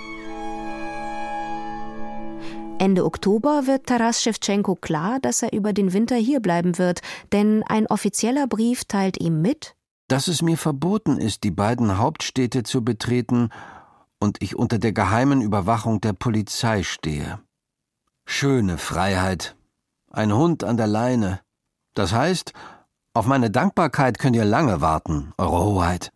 Ende Oktober wird Taras Schewtschenko klar, dass er über den Winter hier bleiben wird, denn ein offizieller Brief teilt ihm mit, dass es mir verboten ist, die beiden Hauptstädte zu betreten und ich unter der geheimen Überwachung der Polizei stehe. Schöne Freiheit. Ein Hund an der Leine. Das heißt, auf meine Dankbarkeit könnt ihr lange warten, Eure Hoheit.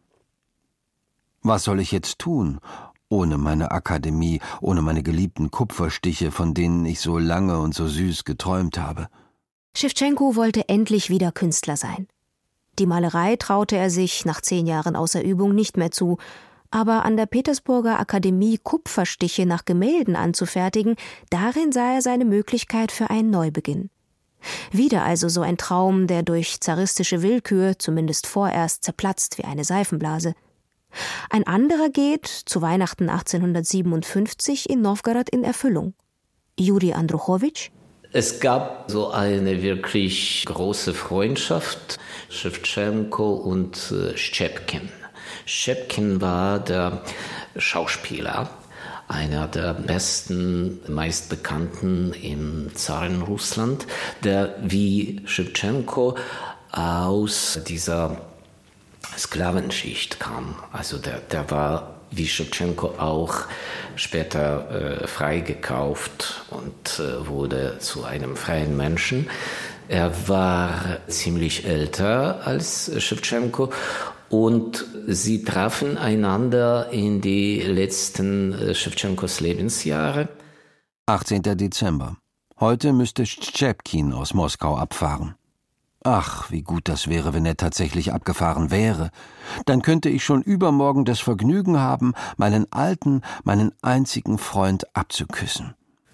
Was soll ich jetzt tun, ohne meine Akademie, ohne meine geliebten Kupferstiche, von denen ich so lange und so süß geträumt habe? Schewtschenko wollte endlich wieder Künstler sein. Die Malerei traute er sich nach zehn Jahren außer Übung nicht mehr zu, aber an der Petersburger Akademie Kupferstiche nach Gemälden anzufertigen, darin sah er seine Möglichkeit für einen Neubeginn. Wieder also so ein Traum, der durch zaristische Willkür zumindest vorerst zerplatzt wie eine Seifenblase. Ein anderer geht, zu Weihnachten achtzehnhundertsiebenundfünfzig, in Nowgorod in Erfüllung. Juri Andruchowitsch. Es gab so eine wirklich große Freundschaft, Schewtschenko und äh, Szczepkin. Szczepkin war der Schauspieler, einer der besten, meistbekannten im Zarenrussland, der wie Schewtschenko aus dieser Sklavenschicht kam. Also der, der war wie Schewtschenko auch später äh, freigekauft und äh, wurde zu einem freien Menschen. Er war ziemlich älter als Schewtschenko und sie trafen einander in die letzten äh, Schewtschenkos Lebensjahre. achtzehnten Dezember. Heute müsste Szczepkin aus Moskau abfahren. Ach, wie gut das wäre, wenn er tatsächlich abgefahren wäre. Dann könnte ich schon übermorgen das Vergnügen haben, meinen alten, meinen einzigen Freund abzuküssen.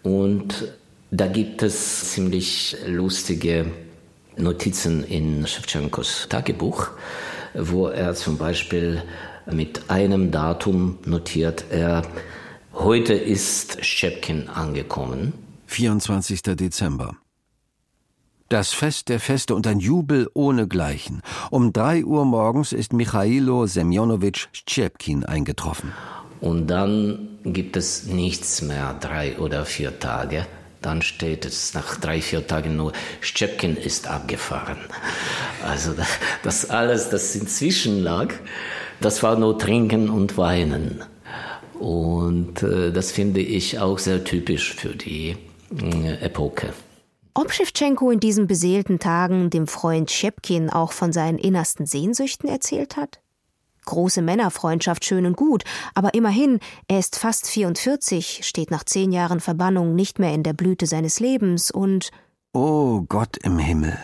Und da gibt es ziemlich lustige Notizen in Schewtschenkos Tagebuch, wo er zum Beispiel mit einem Datum notiert, er, heute ist Szczepkin angekommen. vierundzwanzigster Dezember. Das Fest der Feste und ein Jubel ohnegleichen. Um drei Uhr morgens ist Michailo Semjonowitsch Szczepkin eingetroffen. Und dann gibt es nichts mehr, drei oder vier Tage. Dann steht es nach drei, vier Tagen nur, Szczepkin ist abgefahren. Also das alles, das inzwischen lag, das war nur Trinken und Weinen. Und äh, das finde ich auch sehr typisch für die äh, Epoche. Ob Schewtschenko in diesen beseelten Tagen dem Freund Szczepkin auch von seinen innersten Sehnsüchten erzählt hat? Große Männerfreundschaft, schön und gut, aber immerhin, er ist fast vierundvierzig, steht nach zehn Jahren Verbannung nicht mehr in der Blüte seines Lebens und... Oh Gott im Himmel!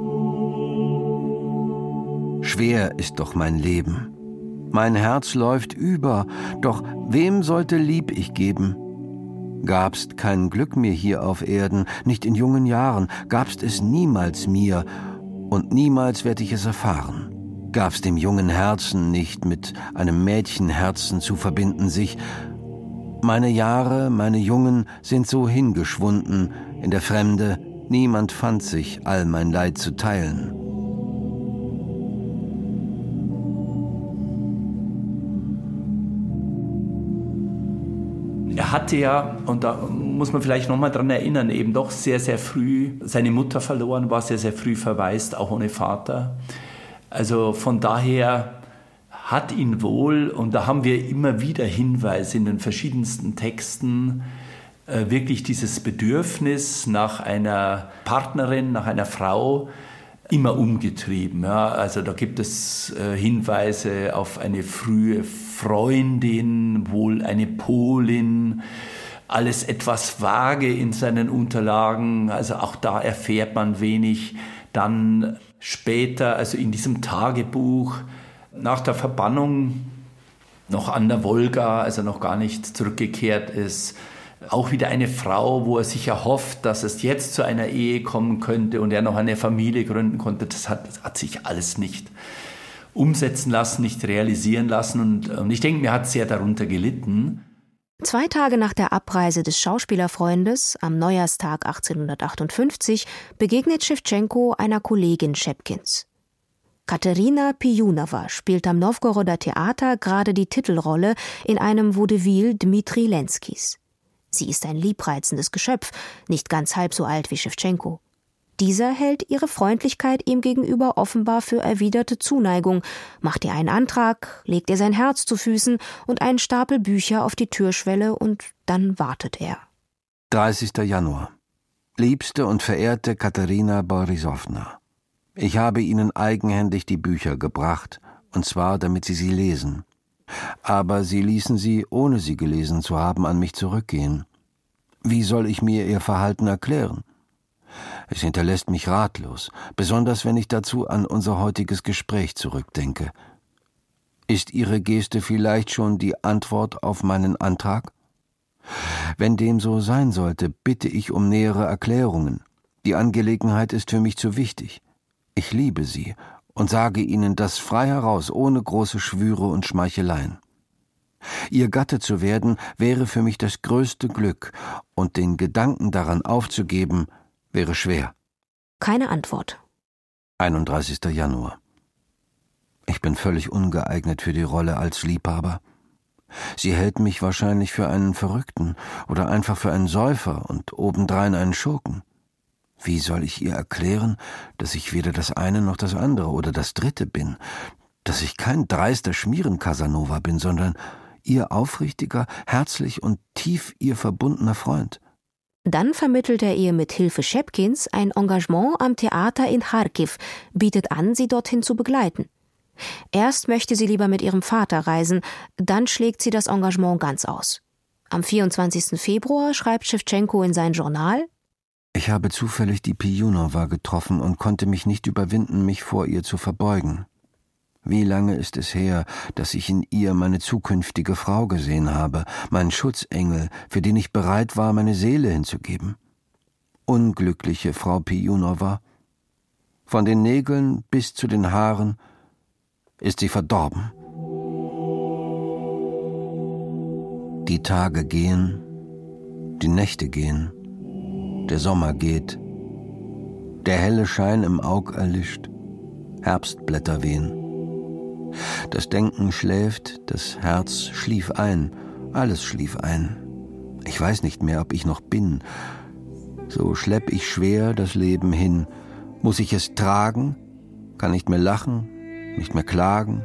Schwer ist doch mein Leben. Mein Herz läuft über, doch wem sollte Lieb ich geben? Gabst kein Glück mir hier auf Erden, nicht in jungen Jahren, gabst es niemals mir, und niemals werd ich es erfahren. Gab's dem jungen Herzen nicht mit einem Mädchenherzen zu verbinden sich. Meine Jahre, meine Jungen sind so hingeschwunden in der Fremde, niemand fand sich, all mein Leid zu teilen. Er hatte ja, und da muss man vielleicht noch mal dran erinnern, eben doch sehr, sehr früh seine Mutter verloren, war sehr, sehr früh verwaist, auch ohne Vater. Also von daher hat ihn wohl, und da haben wir immer wieder Hinweise in den verschiedensten Texten, äh, wirklich dieses Bedürfnis nach einer Partnerin, nach einer Frau immer umgetrieben. Ja. Also da gibt es äh, Hinweise auf eine frühe Freundin, wohl eine Polin, alles etwas vage in seinen Unterlagen, also auch da erfährt man wenig. Dann später, also in diesem Tagebuch, nach der Verbannung noch an der Wolga, also noch gar nicht zurückgekehrt ist, auch wieder eine Frau, wo er sich erhofft, dass es jetzt zu einer Ehe kommen könnte und er noch eine Familie gründen konnte. Das hat, das hat sich alles nicht umsetzen lassen, nicht realisieren lassen. Und, und ich denke, mir hat sehr darunter gelitten. Zwei Tage nach der Abreise des Schauspielerfreundes, am Neujahrstag achtzehnhundertachtundfünfzig, begegnet Schewtschenko einer Kollegin Szczepkins. Katerina Pijunowa spielt am Nowgoroder Theater gerade die Titelrolle in einem Vaudeville Dmitri Lenskis. Sie ist ein liebreizendes Geschöpf, nicht ganz halb so alt wie Schewtschenko. Dieser hält ihre Freundlichkeit ihm gegenüber offenbar für erwiderte Zuneigung, macht ihr einen Antrag, legt ihr sein Herz zu Füßen und einen Stapel Bücher auf die Türschwelle und dann wartet er. dreißigster Januar. Liebste und verehrte Katerina Borisowna, ich habe Ihnen eigenhändig die Bücher gebracht, und zwar, damit Sie sie lesen. Aber Sie ließen sie, ohne sie gelesen zu haben, an mich zurückgehen. Wie soll ich mir Ihr Verhalten erklären? Es hinterlässt mich ratlos, besonders wenn ich dazu an unser heutiges Gespräch zurückdenke. Ist Ihre Geste vielleicht schon die Antwort auf meinen Antrag? Wenn dem so sein sollte, bitte ich um nähere Erklärungen. Die Angelegenheit ist für mich zu wichtig. Ich liebe Sie und sage Ihnen das frei heraus, ohne große Schwüre und Schmeicheleien. Ihr Gatte zu werden, wäre für mich das größte Glück, und den Gedanken daran aufzugeben, wäre schwer. Keine Antwort. einunddreißigster Januar. Ich bin völlig ungeeignet für die Rolle als Liebhaber. Sie hält mich wahrscheinlich für einen Verrückten oder einfach für einen Säufer und obendrein einen Schurken. Wie soll ich ihr erklären, dass ich weder das eine noch das andere oder das dritte bin, dass ich kein dreister Schmieren-Casanova bin, sondern ihr aufrichtiger, herzlich und tief ihr verbundener Freund? Dann vermittelt er ihr mit Hilfe Szczepkins ein Engagement am Theater in Charkiw, bietet an, sie dorthin zu begleiten. Erst möchte sie lieber mit ihrem Vater reisen, dann schlägt sie das Engagement ganz aus. Am vierundzwanzigsten Februar schreibt Schewtschenko in sein Journal: Ich habe zufällig die Pijunowa getroffen und konnte mich nicht überwinden, mich vor ihr zu verbeugen. Wie lange ist es her, dass ich in ihr meine zukünftige Frau gesehen habe, meinen Schutzengel, für den ich bereit war, meine Seele hinzugeben. Unglückliche Frau Pijunowa. Von den Nägeln bis zu den Haaren ist sie verdorben. Die Tage gehen, die Nächte gehen, der Sommer geht, der helle Schein im Aug erlischt, Herbstblätter wehen. Das Denken schläft, das Herz schlief ein, alles schlief ein. Ich weiß nicht mehr, ob ich noch bin. So schlepp ich schwer das Leben hin. Muss ich es tragen? Kann nicht mehr lachen, nicht mehr klagen.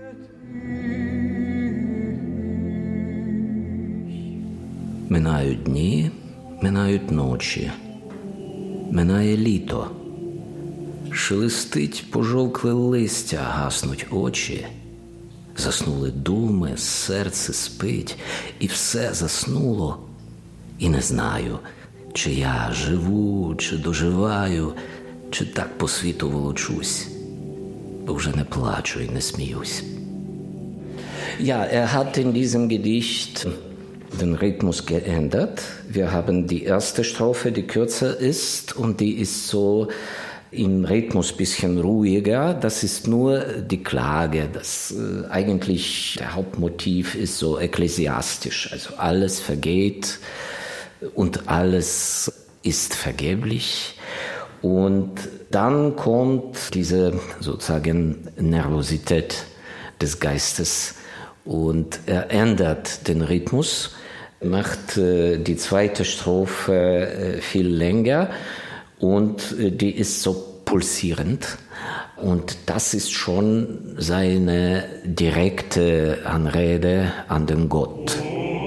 Минають дні, минають ночі, минає літо. Шелестить пожовкле листя, гаснуть очі. Заснули думи, серце спить, і все заснуло. І не знаю, чи я живу, чи доживаю, чи так по світу волочусь, бо вже не плачу і не сміюсь. Ja, er hat in diesem Gedicht den Rhythmus geändert. Wir haben die erste Strophe, die kürzer ist, und die ist so im Rhythmus ein bisschen ruhiger. Das ist nur die Klage. Das äh, eigentlich der Hauptmotiv ist so ekklesiastisch. Also alles vergeht und alles ist vergeblich. Und dann kommt diese sozusagen Nervosität des Geistes und er ändert den Rhythmus, macht äh, die zweite Strophe äh, viel länger. Und die ist so pulsierend. Und das ist schon seine direkte Anrede an den Gott.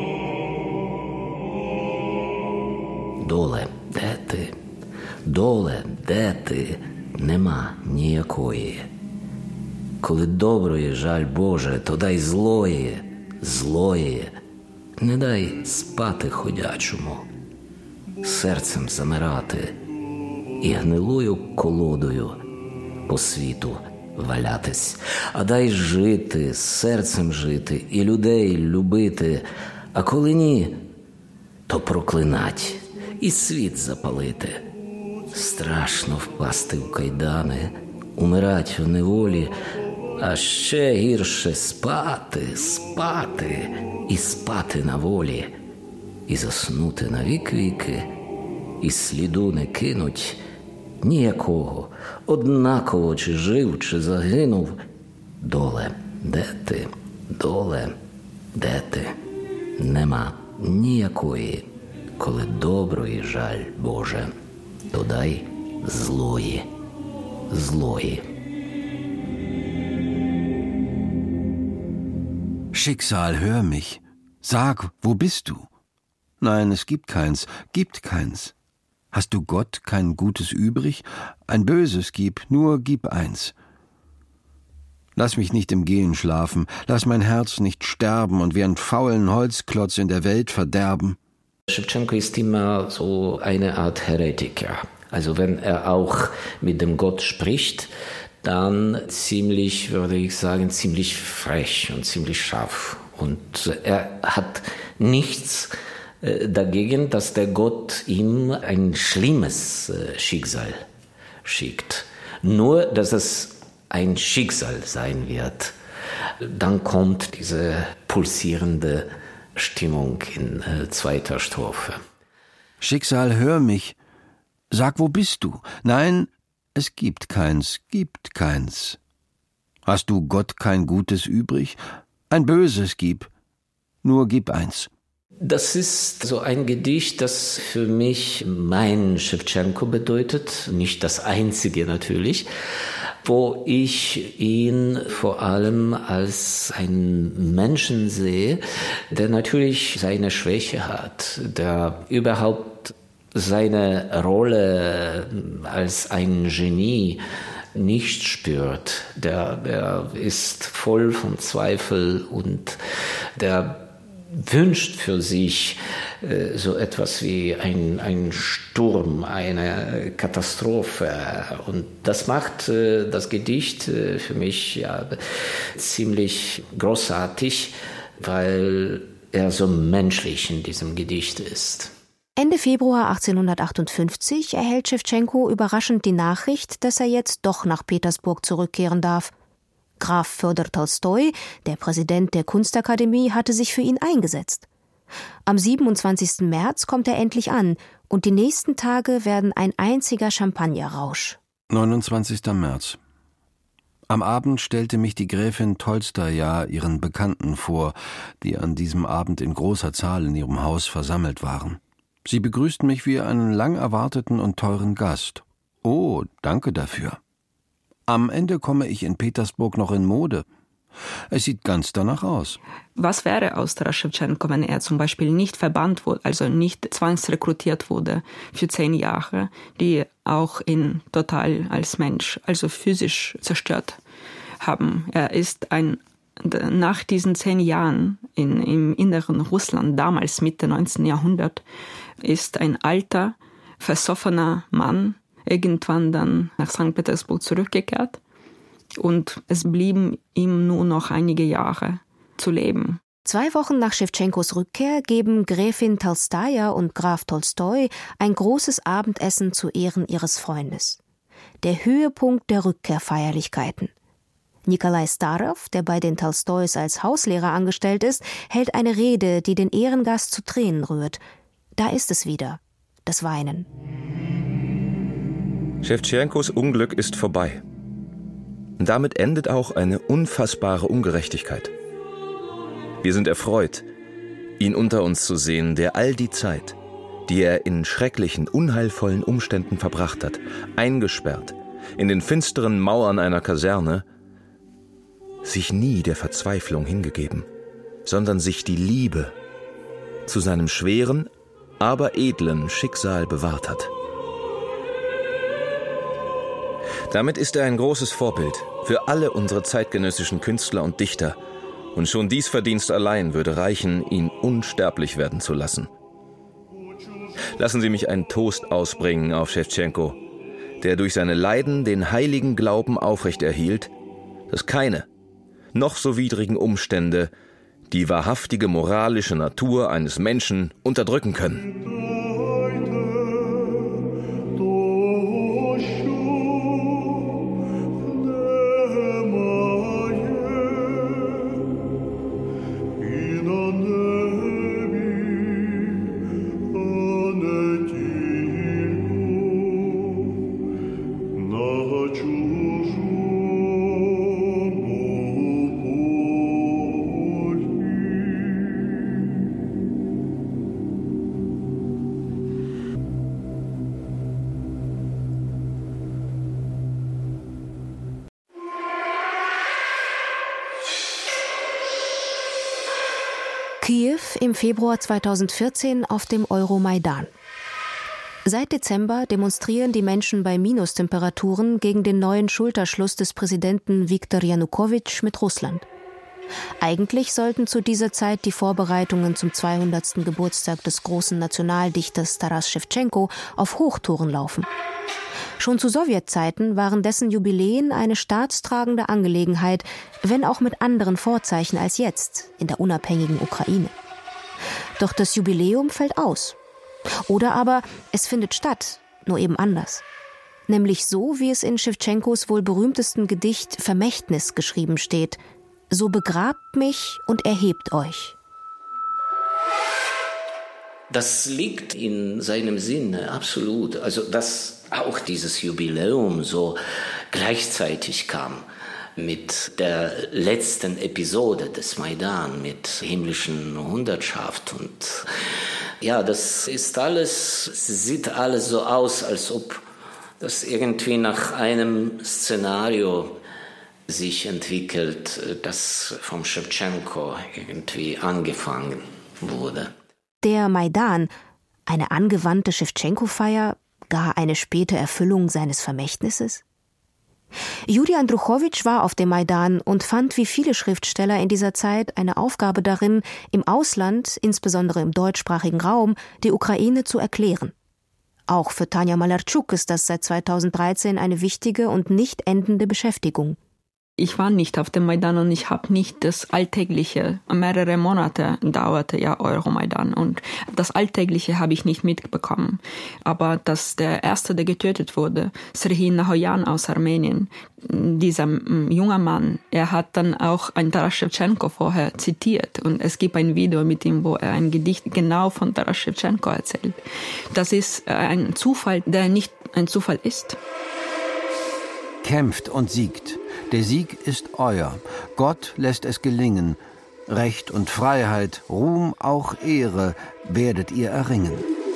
Доле, де ти? Доле, де ти? Нема ніякої. Коли доброї жаль Боже, то дай злої, злої. Не дай спати ходячому, серцем замирати. І гнилою колодою по світу валятись. А дай жити, серцем жити, і людей любити. А коли ні, то проклинать, і світ запалити. Страшно впасти в кайдани, умирать в неволі, а ще гірше спати, спати, і спати на волі, і заснути на вік-віки, і сліду не кинуть ніякого, однаково, чи жив, чи загинув. Доле, де ти? Доле, де ти? Нема ніякої, коли доброї жаль Боже, то дай злої, злої. Schicksal, hör mich. Sag, wo bist du? Nein, es gibt keins, gibt keins. Hast du Gott kein Gutes übrig? Ein Böses gib, nur gib eins. Lass mich nicht im Gehen schlafen, lass mein Herz nicht sterben und wie einen faulen Holzklotz in der Welt verderben. Schewtschenko ist immer so eine Art Heretiker. Also wenn er auch mit dem Gott spricht, dann ziemlich, würde ich sagen, ziemlich frech und ziemlich scharf. Und er hat nichts dagegen, dass der Gott ihm ein schlimmes Schicksal schickt. Nur, dass es ein Schicksal sein wird. Dann kommt diese pulsierende Stimmung in zweiter Strophe. Schicksal, hör mich. Sag, wo bist du? Nein, es gibt keins, gibt keins. Hast du Gott kein Gutes übrig? Ein Böses gib, nur gib eins. Das ist so ein Gedicht, das für mich mein Schewtschenko bedeutet, nicht das einzige natürlich, wo ich ihn vor allem als einen Menschen sehe, der natürlich seine Schwäche hat, der überhaupt seine Rolle als ein Genie nicht spürt. Der, der ist voll von Zweifel und der wünscht für sich äh, so etwas wie ein, ein Sturm, eine Katastrophe. Und das macht äh, das Gedicht äh, für mich ja, ziemlich großartig, weil er so menschlich in diesem Gedicht ist. Ende Februar achtzehnhundertachtundfünfzig erhält Schewtschenko überraschend die Nachricht, dass er jetzt doch nach Petersburg zurückkehren darf. Graf Fjodor Tolstoi, der Präsident der Kunstakademie, hatte sich für ihn eingesetzt. Am siebenundzwanzigsten März kommt er endlich an und die nächsten Tage werden ein einziger Champagnerrausch. neunundzwanzigster März. Am Abend stellte mich die Gräfin Tolstoja ihren Bekannten vor, die an diesem Abend in großer Zahl in ihrem Haus versammelt waren. Sie begrüßten mich wie einen lang erwarteten und teuren Gast. Oh, danke dafür. Am Ende komme ich in Petersburg noch in Mode. Es sieht ganz danach aus. Was wäre aus Taras Schewtschenko, wenn er zum Beispiel nicht verbannt wurde, also nicht zwangsrekrutiert wurde für zehn Jahre, die auch ihn total als Mensch, also physisch zerstört haben. Er ist ein, nach diesen zehn Jahren in, im inneren Russland, damals Mitte neunzehnten Jahrhundert, ist ein alter, versoffener Mann irgendwann dann nach Sankt Petersburg zurückgekehrt und es blieben ihm nur noch einige Jahre zu leben. Zwei Wochen nach Schewtschenkos Rückkehr geben Gräfin Tolstaja und Graf Tolstoi ein großes Abendessen zu Ehren ihres Freundes. Der Höhepunkt der Rückkehrfeierlichkeiten. Nikolai Starow, der bei den Tolstois als Hauslehrer angestellt ist, hält eine Rede, die den Ehrengast zu Tränen rührt. Da ist es wieder, das Weinen. Schewtschenkos Unglück ist vorbei. Damit endet auch eine unfassbare Ungerechtigkeit. Wir sind erfreut, ihn unter uns zu sehen, der all die Zeit, die er in schrecklichen, unheilvollen Umständen verbracht hat, eingesperrt in den finsteren Mauern einer Kaserne, sich nie der Verzweiflung hingegeben, sondern sich die Liebe zu seinem schweren, aber edlen Schicksal bewahrt hat. Damit ist er ein großes Vorbild für alle unsere zeitgenössischen Künstler und Dichter. Und schon dies Verdienst allein würde reichen, ihn unsterblich werden zu lassen. Lassen Sie mich einen Toast ausbringen auf Schewtschenko, der durch seine Leiden den heiligen Glauben aufrechterhielt, dass keine, noch so widrigen Umstände die wahrhaftige moralische Natur eines Menschen unterdrücken können. Kiew im Februar zweitausendvierzehn auf dem Euromaidan. Seit Dezember demonstrieren die Menschen bei Minustemperaturen gegen den neuen Schulterschluss des Präsidenten Viktor Janukowitsch mit Russland. Eigentlich sollten zu dieser Zeit die Vorbereitungen zum zweihundertsten Geburtstag des großen Nationaldichters Taras Schewtschenko auf Hochtouren laufen. Schon zu Sowjetzeiten waren dessen Jubiläen eine staatstragende Angelegenheit, wenn auch mit anderen Vorzeichen als jetzt in der unabhängigen Ukraine. Doch das Jubiläum fällt aus. Oder aber es findet statt, nur eben anders. Nämlich so, wie es in Schewtschenkos wohl berühmtesten Gedicht Vermächtnis geschrieben steht: So begrabt mich und erhebt euch. Das liegt in seinem Sinne, absolut. Also, dass auch dieses Jubiläum so gleichzeitig kam mit der letzten Episode des Maidan, mit himmlischen Hundertschaft. Und ja, das ist alles, sieht alles so aus, als ob das irgendwie nach einem Szenario sich entwickelt, das vom Schewtschenko irgendwie angefangen wurde. Der Maidan, eine angewandte Schewtschenko-Feier, gar eine späte Erfüllung seines Vermächtnisses? Juri Andruchowitsch war auf dem Maidan und fand wie viele Schriftsteller in dieser Zeit eine Aufgabe darin, im Ausland, insbesondere im deutschsprachigen Raum, die Ukraine zu erklären. Auch für Tanja Malarczuk ist das seit zweitausenddreizehn eine wichtige und nicht endende Beschäftigung. Ich war nicht auf dem Maidan und ich habe nicht das Alltägliche, mehrere Monate dauerte ja Euromaidan und das Alltägliche habe ich nicht mitbekommen. Aber dass der Erste, der getötet wurde, Serhii Nahoyan aus Armenien, dieser junge Mann, er hat dann auch ein Taras Schewtschenko vorher zitiert und es gibt ein Video mit ihm, wo er ein Gedicht genau von Taras Schewtschenko erzählt. Das ist ein Zufall, der nicht ein Zufall ist. Kämpft und siegt. Der Sieg ist euer. Gott lässt es gelingen. Recht und Freiheit, Ruhm, auch Ehre werdet ihr erringen.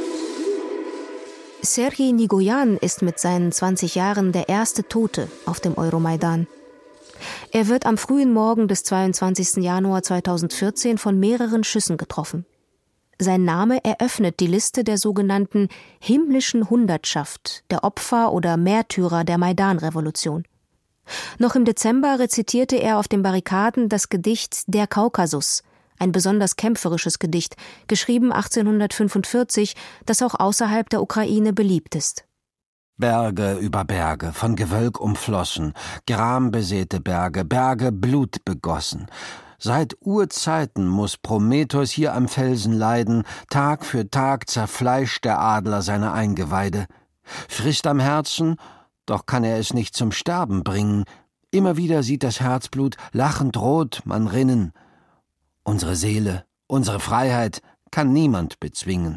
Serhii Nigoyan ist mit seinen zwanzig Jahren der erste Tote auf dem Euromaidan. Er wird am frühen Morgen des zweiundzwanzigsten Januar zweitausendvierzehn von mehreren Schüssen getroffen. Sein Name eröffnet die Liste der sogenannten himmlischen Hundertschaft, der Opfer oder Märtyrer der Maidan-Revolution. Noch im Dezember rezitierte er auf den Barrikaden das Gedicht »Der Kaukasus«, ein besonders kämpferisches Gedicht, geschrieben achtzehnhundertfünfundvierzig, das auch außerhalb der Ukraine beliebt ist. Berge über Berge, von Gewölk umflossen, grambesäte Berge, Berge blutbegossen. Seit Urzeiten muß Prometheus hier am Felsen leiden, Tag für Tag zerfleischt der Adler seine Eingeweide. Frisst am Herzen, doch kann er es nicht zum Sterben bringen. Immer wieder sieht das Herzblut lachend rot man rinnen. Unsere Seele, unsere Freiheit kann niemand bezwingen.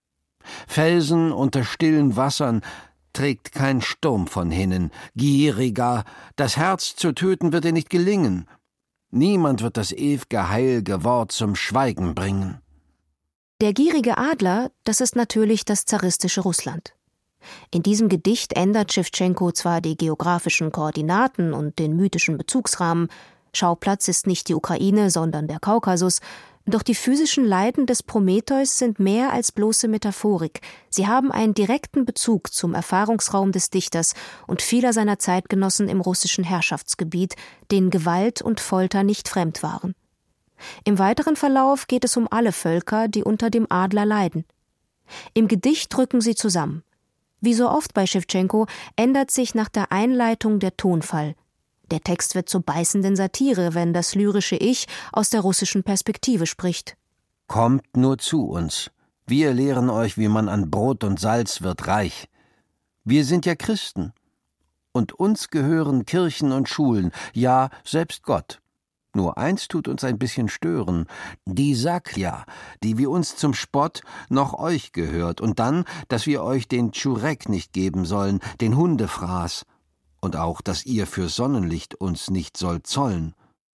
Felsen unter stillen Wassern trägt kein Sturm von hinnen. Gieriger, das Herz zu töten wird dir nicht gelingen. Niemand wird das ew'ge heil'ge Wort zum Schweigen bringen. Der gierige Adler, das ist natürlich das zaristische Russland. In diesem Gedicht ändert Schewtschenko zwar die geografischen Koordinaten und den mythischen Bezugsrahmen, Schauplatz ist nicht die Ukraine, sondern der Kaukasus, doch die physischen Leiden des Prometheus sind mehr als bloße Metaphorik. Sie haben einen direkten Bezug zum Erfahrungsraum des Dichters und vieler seiner Zeitgenossen im russischen Herrschaftsgebiet, denen Gewalt und Folter nicht fremd waren. Im weiteren Verlauf geht es um alle Völker, die unter dem Adler leiden. Im Gedicht rücken sie zusammen. Wie so oft bei Schewtschenko ändert sich nach der Einleitung der Tonfall. Der Text wird zur beißenden Satire, wenn das lyrische Ich aus der russischen Perspektive spricht. Kommt nur zu uns. Wir lehren euch, wie man an Brot und Salz wird reich. Wir sind ja Christen. Und uns gehören Kirchen und Schulen, ja, selbst Gott. Nur eins tut uns ein bisschen stören, die Saklja, die wie uns zum Spott noch euch gehört, und dann, dass wir euch den Tschurek nicht geben sollen, den Hundefraß, und auch, dass ihr für Sonnenlicht uns nicht sollt zollen.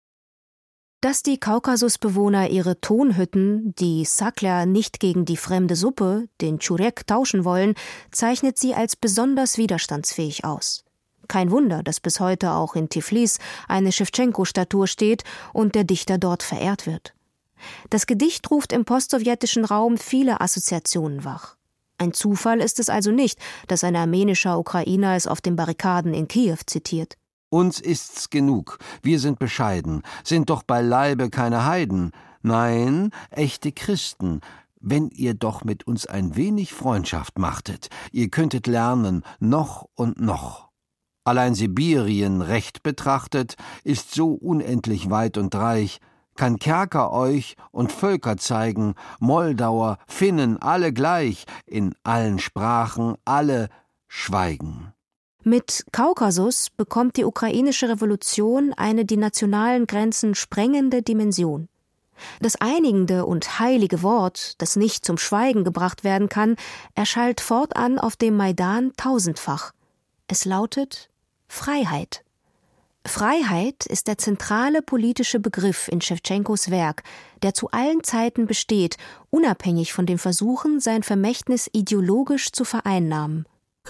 Dass die Kaukasusbewohner ihre Tonhütten, die Saklja, nicht gegen die fremde Suppe, den Tschurek, tauschen wollen, zeichnet sie als besonders widerstandsfähig aus. Kein Wunder, dass bis heute auch in Tiflis eine Schewtschenko-Statue steht und der Dichter dort verehrt wird. Das Gedicht ruft im postsowjetischen Raum viele Assoziationen wach. Ein Zufall ist es also nicht, dass ein armenischer Ukrainer es auf den Barrikaden in Kiew zitiert. Uns ist's genug, wir sind bescheiden, sind doch beileibe keine Heiden. Nein, echte Christen. Wenn ihr doch mit uns ein wenig Freundschaft machtet, ihr könntet lernen, noch und noch. Allein Sibirien recht betrachtet, ist so unendlich weit und reich, kann Kerker euch und Völker zeigen, Moldauer, Finnen, alle gleich, in allen Sprachen alle schweigen. Mit Kaukasus bekommt die ukrainische Revolution eine die nationalen Grenzen sprengende Dimension. Das einigende und heilige Wort, das nicht zum Schweigen gebracht werden kann, erschallt fortan auf dem Maidan tausendfach. Es lautet Freiheit. Freiheit ist der zentrale politische Begriff in Schewtschenkos Werk, der zu allen Zeiten besteht, unabhängig von den Versuchen, sein Vermächtnis ideologisch zu vereinnahmen.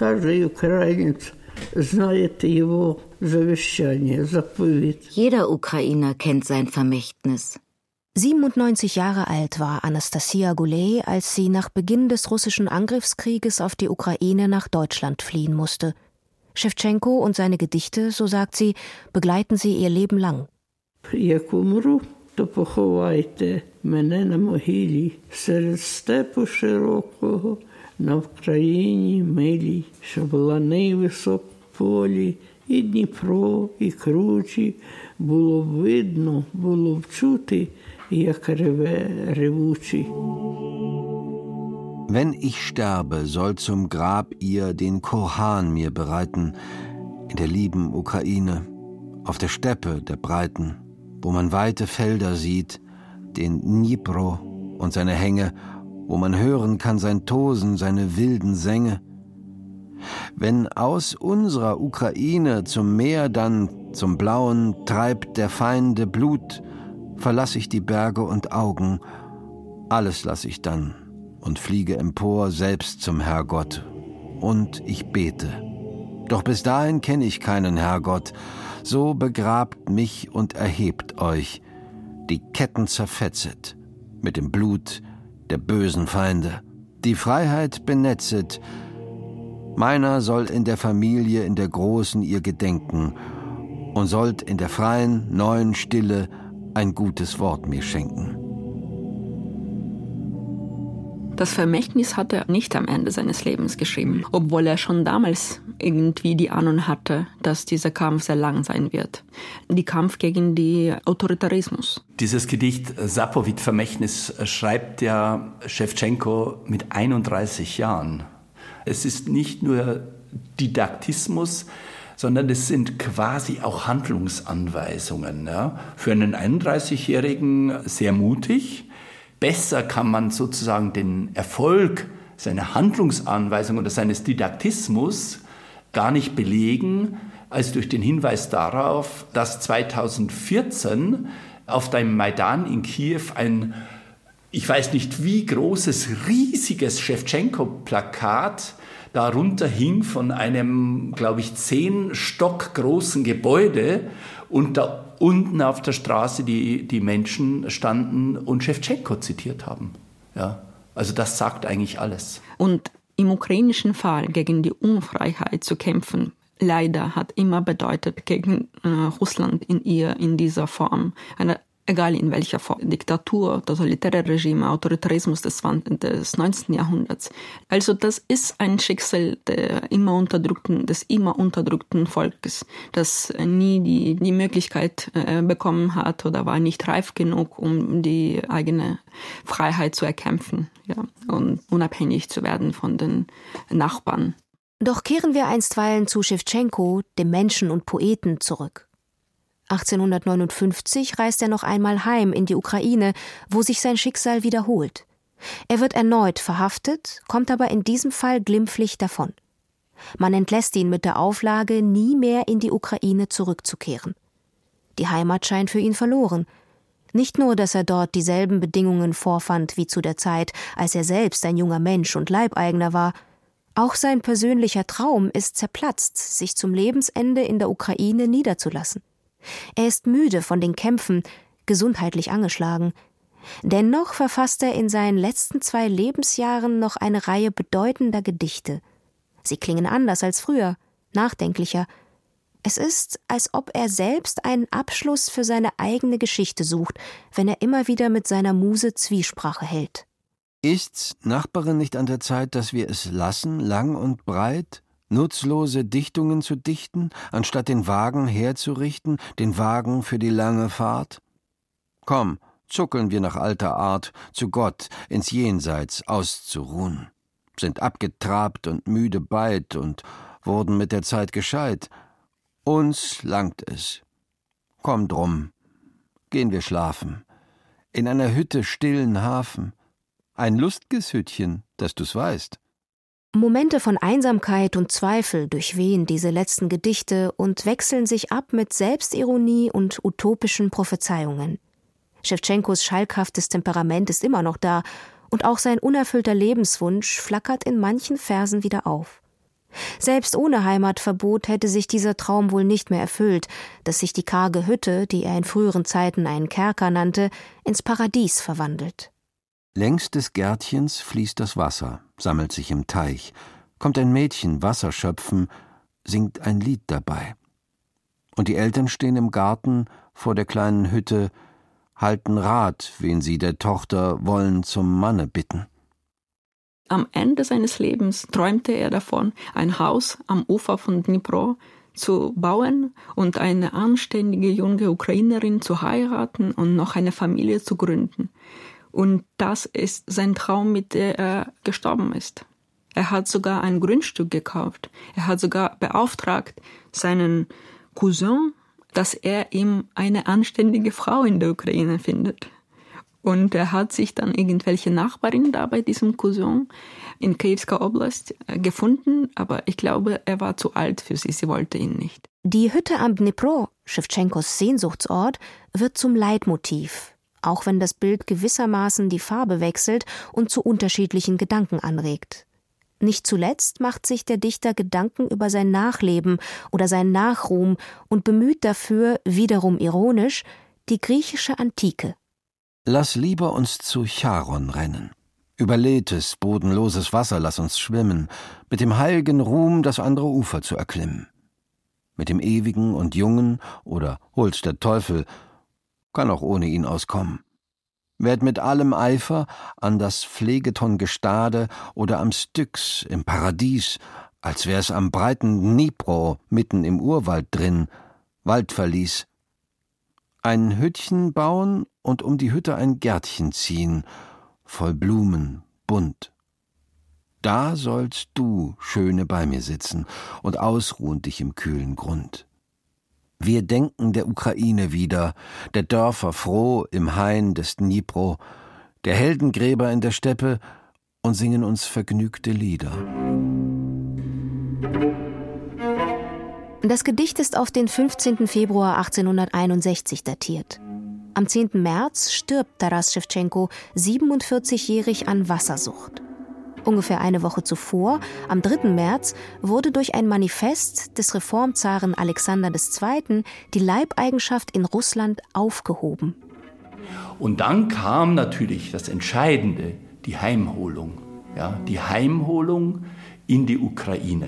Jeder Ukrainer kennt sein Vermächtnis. siebenundneunzig Jahre alt war Anastasia Gulej, als sie nach Beginn des russischen Angriffskrieges auf die Ukraine nach Deutschland fliehen musste. Schewtschenko und seine Gedichte, so sagt sie, begleiten sie ihr Leben lang. Як умру, то поховайте мене на могилі серед степу широкого, на Вкраїні милій, щоб лани висок в полі, і Дніпро, і кручі, було б видно, було б чути, як реве ревучий. Wenn ich sterbe, soll zum Grab ihr den Kurhan mir bereiten, in der lieben Ukraine, auf der Steppe der Breiten, wo man weite Felder sieht, den Dnipro und seine Hänge, wo man hören kann sein Tosen, seine wilden Sänge. Wenn aus unserer Ukraine zum Meer dann, zum Blauen, treibt der Feinde Blut, verlass ich die Berge und Augen, alles lass ich dann und fliege empor selbst zum Herrgott. Und ich bete. Doch bis dahin kenne ich keinen Herrgott. So begrabt mich und erhebt euch, die Ketten zerfetzet, mit dem Blut der bösen Feinde, die Freiheit benetzet. Meiner soll in der Familie, in der Großen ihr gedenken und sollt in der freien, neuen Stille ein gutes Wort mir schenken. Das Vermächtnis hat er nicht am Ende seines Lebens geschrieben, obwohl er schon damals irgendwie die Ahnung hatte, dass dieser Kampf sehr lang sein wird. Die Kampf gegen den Autoritarismus. Dieses Gedicht Sapowid-Vermächtnis schreibt ja Schewtschenko mit einunddreißig Jahren. Es ist nicht nur Didaktismus, sondern es sind quasi auch Handlungsanweisungen. Ja? Für einen einunddreißigjährigen sehr mutig. Besser kann man sozusagen den Erfolg seiner Handlungsanweisung oder seines Didaktismus gar nicht belegen, als durch den Hinweis darauf, dass zweitausendvierzehn auf dem Maidan in Kiew ein, ich weiß nicht wie großes, riesiges Schewtschenko-Plakat darunter hing von einem, glaube ich, zehn Stock großen Gebäude und da unten auf der Straße die, die Menschen standen und Schewtschenko zitiert haben. Ja, also das sagt eigentlich alles. Und im ukrainischen Fall gegen die Unfreiheit zu kämpfen, leider hat immer bedeutet gegen äh, Russland in ihr in dieser Form, eine, egal in welcher Form, Diktatur, totalitäre Regime, Autoritarismus des, des neunzehnten Jahrhunderts. Also das ist ein Schicksal der immer unterdrückten, des immer unterdrückten Volkes, das nie die, die Möglichkeit äh, bekommen hat oder war nicht reif genug, um die eigene Freiheit zu erkämpfen, ja, und unabhängig zu werden von den Nachbarn. Doch kehren wir einstweilen zu Schewtschenko, dem Menschen und Poeten, zurück. achtzehnhundertneunundfünfzig reist er noch einmal heim in die Ukraine, wo sich sein Schicksal wiederholt. Er wird erneut verhaftet, kommt aber in diesem Fall glimpflich davon. Man entlässt ihn mit der Auflage, nie mehr in die Ukraine zurückzukehren. Die Heimat scheint für ihn verloren. Nicht nur, dass er dort dieselben Bedingungen vorfand wie zu der Zeit, als er selbst ein junger Mensch und Leibeigener war, auch sein persönlicher Traum ist zerplatzt, sich zum Lebensende in der Ukraine niederzulassen. Er ist müde von den Kämpfen, gesundheitlich angeschlagen. Dennoch verfasst er in seinen letzten zwei Lebensjahren noch eine Reihe bedeutender Gedichte. Sie klingen anders als früher, nachdenklicher. Es ist, als ob er selbst einen Abschluss für seine eigene Geschichte sucht, wenn er immer wieder mit seiner Muse Zwiesprache hält. Ist's, Nachbarin, nicht an der Zeit, dass wir es lassen, lang und breit, nutzlose Dichtungen zu dichten, anstatt den Wagen herzurichten, den Wagen für die lange Fahrt? Komm, zuckeln wir nach alter Art, zu Gott, ins Jenseits auszuruhen, sind abgetrabt und müde beid und wurden mit der Zeit gescheit. Uns langt es. Komm drum, gehen wir schlafen, in einer Hütte stillen Hafen, ein lust'ges Hüttchen, dass du's weißt. Momente von Einsamkeit und Zweifel durchwehen diese letzten Gedichte und wechseln sich ab mit Selbstironie und utopischen Prophezeiungen. Schewtschenkos schalkhaftes Temperament ist immer noch da und auch sein unerfüllter Lebenswunsch flackert in manchen Versen wieder auf. Selbst ohne Heimatverbot hätte sich dieser Traum wohl nicht mehr erfüllt, dass sich die karge Hütte, die er in früheren Zeiten einen Kerker nannte, ins Paradies verwandelt. Längs des Gärtchens fließt das Wasser, sammelt sich im Teich, kommt ein Mädchen Wasser schöpfen, singt ein Lied dabei. Und die Eltern stehen im Garten vor der kleinen Hütte, halten Rat, wen sie der Tochter wollen zum Manne bitten. Am Ende seines Lebens träumte er davon, ein Haus am Ufer von Dnipro zu bauen und eine anständige junge Ukrainerin zu heiraten und noch eine Familie zu gründen. Und das ist sein Traum, mit dem er gestorben ist. Er hat sogar ein Grundstück gekauft. Er hat sogar beauftragt seinen Cousin, dass er ihm eine anständige Frau in der Ukraine findet. Und er hat sich dann irgendwelche Nachbarin da bei diesem Cousin in Kiewska Oblast gefunden, aber ich glaube, er war zu alt für sie, sie wollte ihn nicht. Die Hütte am Dnipro, Schewtschenkos Sehnsuchtsort, wird zum Leitmotiv, auch wenn das Bild gewissermaßen die Farbe wechselt und zu unterschiedlichen Gedanken anregt. Nicht zuletzt macht sich der Dichter Gedanken über sein Nachleben oder seinen Nachruhm und bemüht dafür, wiederum ironisch, die griechische Antike. Lass lieber uns zu Charon rennen. Überlädtes, bodenloses Wasser lass uns schwimmen, mit dem heilgen Ruhm das andere Ufer zu erklimmen. Mit dem Ewigen und Jungen, oder hol's der Teufel, kann auch ohne ihn auskommen. Werd mit allem Eifer an das Phlegeton Gestade oder am Styx im Paradies, als wär's am breiten Dnipro mitten im Urwald drin, Waldverlies. Ein Hüttchen bauen und um die Hütte ein Gärtchen ziehen, voll Blumen, bunt. Da sollst du, Schöne, bei mir sitzen und ausruhen dich im kühlen Grund. Wir denken der Ukraine wieder, der Dörfer froh im Hain des Dnipro, der Heldengräber in der Steppe und singen uns vergnügte Lieder. Das Gedicht ist auf den fünfzehnten Februar achtzehnhunderteinundsechzig datiert. Am zehnten März stirbt Taras Schewtschenko siebenundvierzigjährig an Wassersucht. Ungefähr eine Woche zuvor, am dritten März, wurde durch ein Manifest des Reformzaren Alexander der Zweite. Die Leibeigenschaft in Russland aufgehoben. Und dann kam natürlich das Entscheidende, die Heimholung. Ja, die Heimholung in die Ukraine.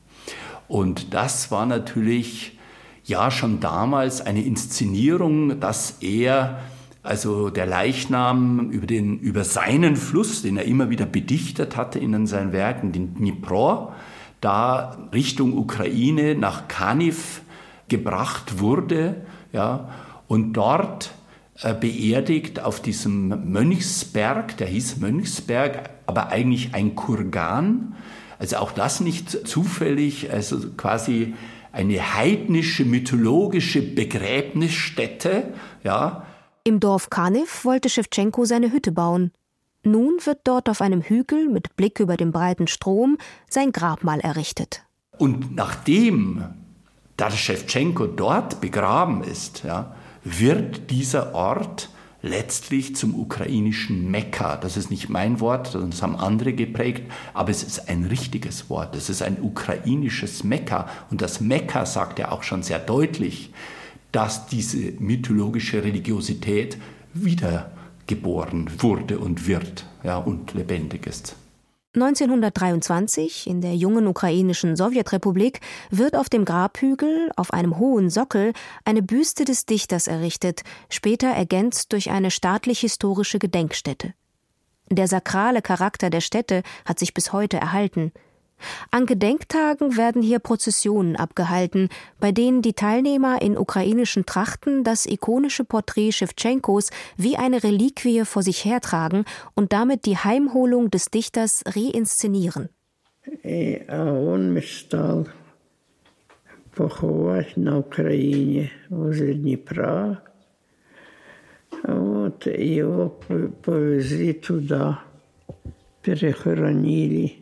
Und das war natürlich ja schon damals eine Inszenierung, dass er, also der Leichnam über, den, über seinen Fluss, den er immer wieder bedichtet hatte in seinen Werken, den Dnipro, da Richtung Ukraine nach Kaniv gebracht wurde, ja, und dort äh, beerdigt auf diesem Mönchsberg, der hieß Mönchsberg, aber eigentlich ein Kurgan, also auch das nicht zufällig, also quasi eine heidnische, mythologische Begräbnisstätte, ja. Im Dorf Kaniv wollte Schewtschenko seine Hütte bauen. Nun wird dort auf einem Hügel mit Blick über den breiten Strom sein Grabmal errichtet. Und nachdem Taras Schewtschenko dort begraben ist, ja, wird dieser Ort letztlich zum ukrainischen Mekka. Das ist nicht mein Wort, das haben andere geprägt, aber es ist ein richtiges Wort. Es ist ein ukrainisches Mekka. Und das Mekka sagt ja auch schon sehr deutlich, dass diese mythologische Religiosität wiedergeboren wurde und wird, ja, und lebendig ist. neunzehnhundertdreiundzwanzig, in der jungen ukrainischen Sowjetrepublik, wird auf dem Grabhügel, auf einem hohen Sockel, eine Büste des Dichters errichtet, später ergänzt durch eine staatlich-historische Gedenkstätte. Der sakrale Charakter der Stätte hat sich bis heute erhalten. An Gedenktagen werden hier Prozessionen abgehalten, bei denen die Teilnehmer in ukrainischen Trachten das ikonische Porträt Schewtschenkos wie eine Reliquie vor sich hertragen und damit die Heimholung des Dichters reinszenieren. Он мечтал поховать на Украине возле Днепра. Вот его повезли туда, перехоронили.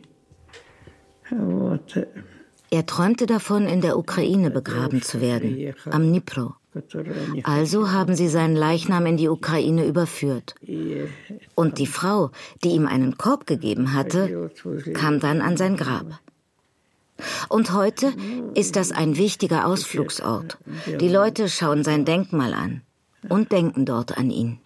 Er träumte davon, in der Ukraine begraben zu werden, am Dnipro. Also haben sie seinen Leichnam in die Ukraine überführt. Und die Frau, die ihm einen Korb gegeben hatte, kam dann an sein Grab. Und heute ist das ein wichtiger Ausflugsort. Die Leute schauen sein Denkmal an und denken dort an ihn.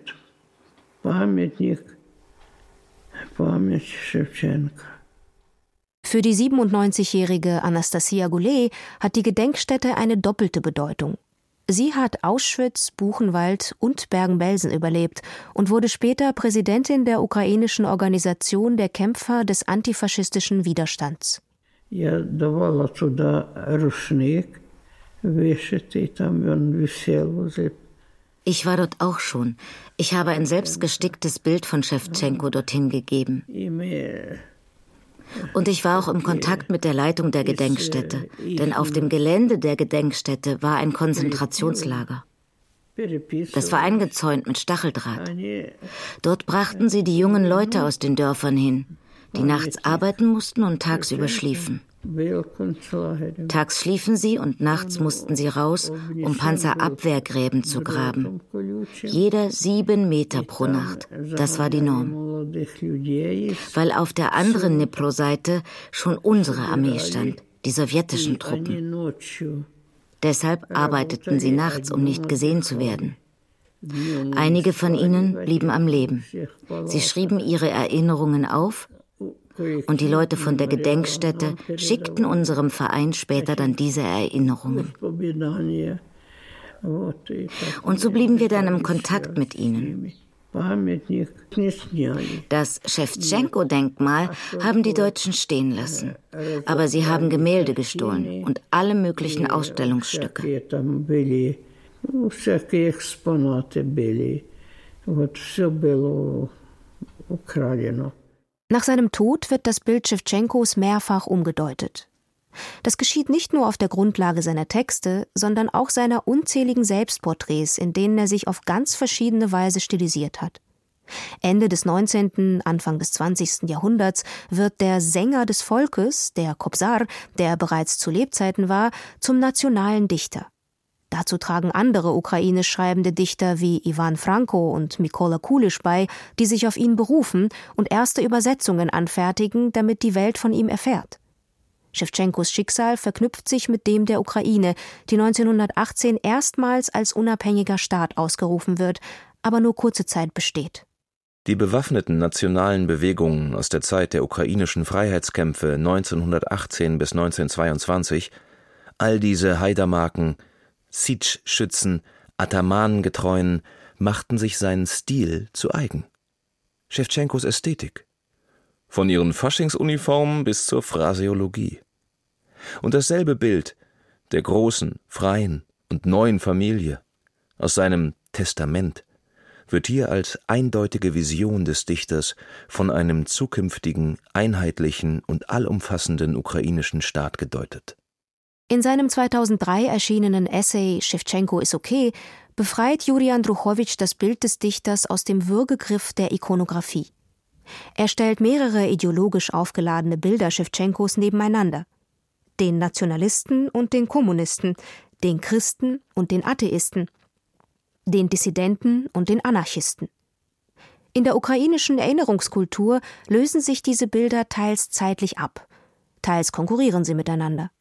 Памятник Шевченко. Für die siebenundneunzigjährige Anastasia Goulet hat die Gedenkstätte eine doppelte Bedeutung. Sie hat Auschwitz, Buchenwald und Bergen-Belsen überlebt und wurde später Präsidentin der ukrainischen Organisation der Kämpfer des antifaschistischen Widerstands. Я давала туда рушник, вешать, там он висел возле. Ich war dort auch schon. Ich habe ein selbstgesticktes Bild von Schewtschenko dorthin gegeben. Und ich war auch im Kontakt mit der Leitung der Gedenkstätte, denn auf dem Gelände der Gedenkstätte war ein Konzentrationslager. Das war eingezäunt mit Stacheldraht. Dort brachten sie die jungen Leute aus den Dörfern hin, die nachts arbeiten mussten und tagsüber schliefen. Tags schliefen sie und nachts mussten sie raus, um Panzerabwehrgräben zu graben. Jeder sieben Meter pro Nacht. Das war die Norm. Weil auf der anderen Dnipro-Seite schon unsere Armee stand, die sowjetischen Truppen. Deshalb arbeiteten sie nachts, um nicht gesehen zu werden. Einige von ihnen blieben am Leben. Sie schrieben ihre Erinnerungen auf, und die Leute von der Gedenkstätte schickten unserem Verein später dann diese Erinnerungen. Und so blieben wir dann im Kontakt mit ihnen. Das Schewtschenko-Denkmal haben die Deutschen stehen lassen. Aber sie haben Gemälde gestohlen und alle möglichen Ausstellungsstücke. Nach seinem Tod wird das Bild Schewtschenkos mehrfach umgedeutet. Das geschieht nicht nur auf der Grundlage seiner Texte, sondern auch seiner unzähligen Selbstporträts, in denen er sich auf ganz verschiedene Weise stilisiert hat. Ende des neunzehnten, Anfang des zwanzigsten Jahrhunderts wird der Sänger des Volkes, der Kobzar, der bereits zu Lebzeiten war, zum nationalen Dichter. Dazu tragen andere ukrainisch schreibende Dichter wie Ivan Franko und Mykola Kulisch bei, die sich auf ihn berufen und erste Übersetzungen anfertigen, damit die Welt von ihm erfährt. Schewtschenkos Schicksal verknüpft sich mit dem der Ukraine, die neunzehnhundertachtzehn erstmals als unabhängiger Staat ausgerufen wird, aber nur kurze Zeit besteht. Die bewaffneten nationalen Bewegungen aus der Zeit der ukrainischen Freiheitskämpfe neunzehnhundertachtzehn bis neunzehnhundertzweiundzwanzig, all diese Haidermarken, Sitsch-Schützen, Atamanengetreuen machten sich seinen Stil zu eigen. Schewtschenkos Ästhetik. Von ihren Faschingsuniformen bis zur Phraseologie. Und dasselbe Bild der großen, freien und neuen Familie aus seinem Testament wird hier als eindeutige Vision des Dichters von einem zukünftigen, einheitlichen und allumfassenden ukrainischen Staat gedeutet. In seinem zweitausenddrei erschienenen Essay »Schewtschenko ist okay« befreit Juri Andruchowitsch das Bild des Dichters aus dem Würgegriff der Ikonographie. Er stellt mehrere ideologisch aufgeladene Bilder Schewtschenkos nebeneinander. Den Nationalisten und den Kommunisten, den Christen und den Atheisten, den Dissidenten und den Anarchisten. In der ukrainischen Erinnerungskultur lösen sich diese Bilder teils zeitlich ab, teils konkurrieren sie miteinander.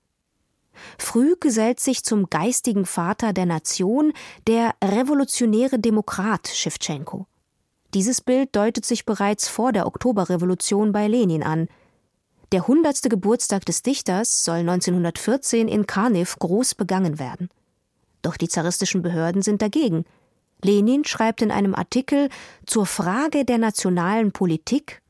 Früh gesellt sich zum geistigen Vater der Nation der revolutionäre Demokrat Schewtschenko. Dieses Bild deutet sich bereits vor der Oktoberrevolution bei Lenin an. Der hundertste Geburtstag des Dichters soll neunzehnhundertvierzehn in Karniw groß begangen werden. Doch die zaristischen Behörden sind dagegen. Lenin schreibt in einem Artikel zur Frage der nationalen Politik: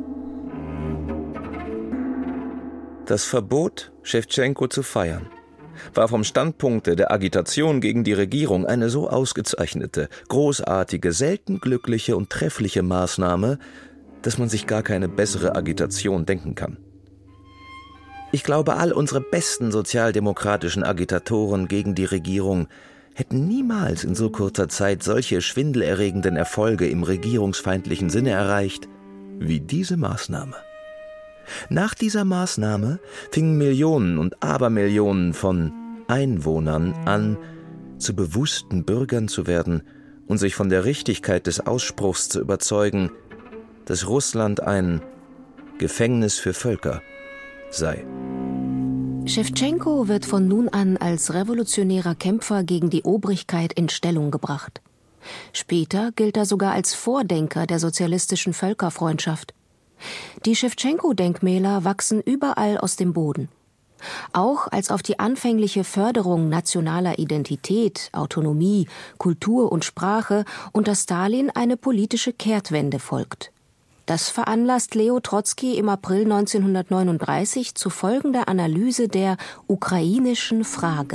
Das Verbot, Schewtschenko zu feiern, war vom Standpunkt der Agitation gegen die Regierung eine so ausgezeichnete, großartige, selten glückliche und treffliche Maßnahme, dass man sich gar keine bessere Agitation denken kann. Ich glaube, all unsere besten sozialdemokratischen Agitatoren gegen die Regierung hätten niemals in so kurzer Zeit solche schwindelerregenden Erfolge im regierungsfeindlichen Sinne erreicht wie diese Maßnahme. Nach dieser Maßnahme fingen Millionen und Abermillionen von Einwohnern an, zu bewussten Bürgern zu werden und sich von der Richtigkeit des Ausspruchs zu überzeugen, dass Russland ein Gefängnis für Völker sei. Schewtschenko wird von nun an als revolutionärer Kämpfer gegen die Obrigkeit in Stellung gebracht. Später gilt er sogar als Vordenker der sozialistischen Völkerfreundschaft. Die Schewtschenko-Denkmäler wachsen überall aus dem Boden. Auch als auf die anfängliche Förderung nationaler Identität, Autonomie, Kultur und Sprache unter Stalin eine politische Kehrtwende folgt. Das veranlasst Leo Trotzki im April neunzehnhundertneununddreißig zu folgender Analyse der ukrainischen Frage.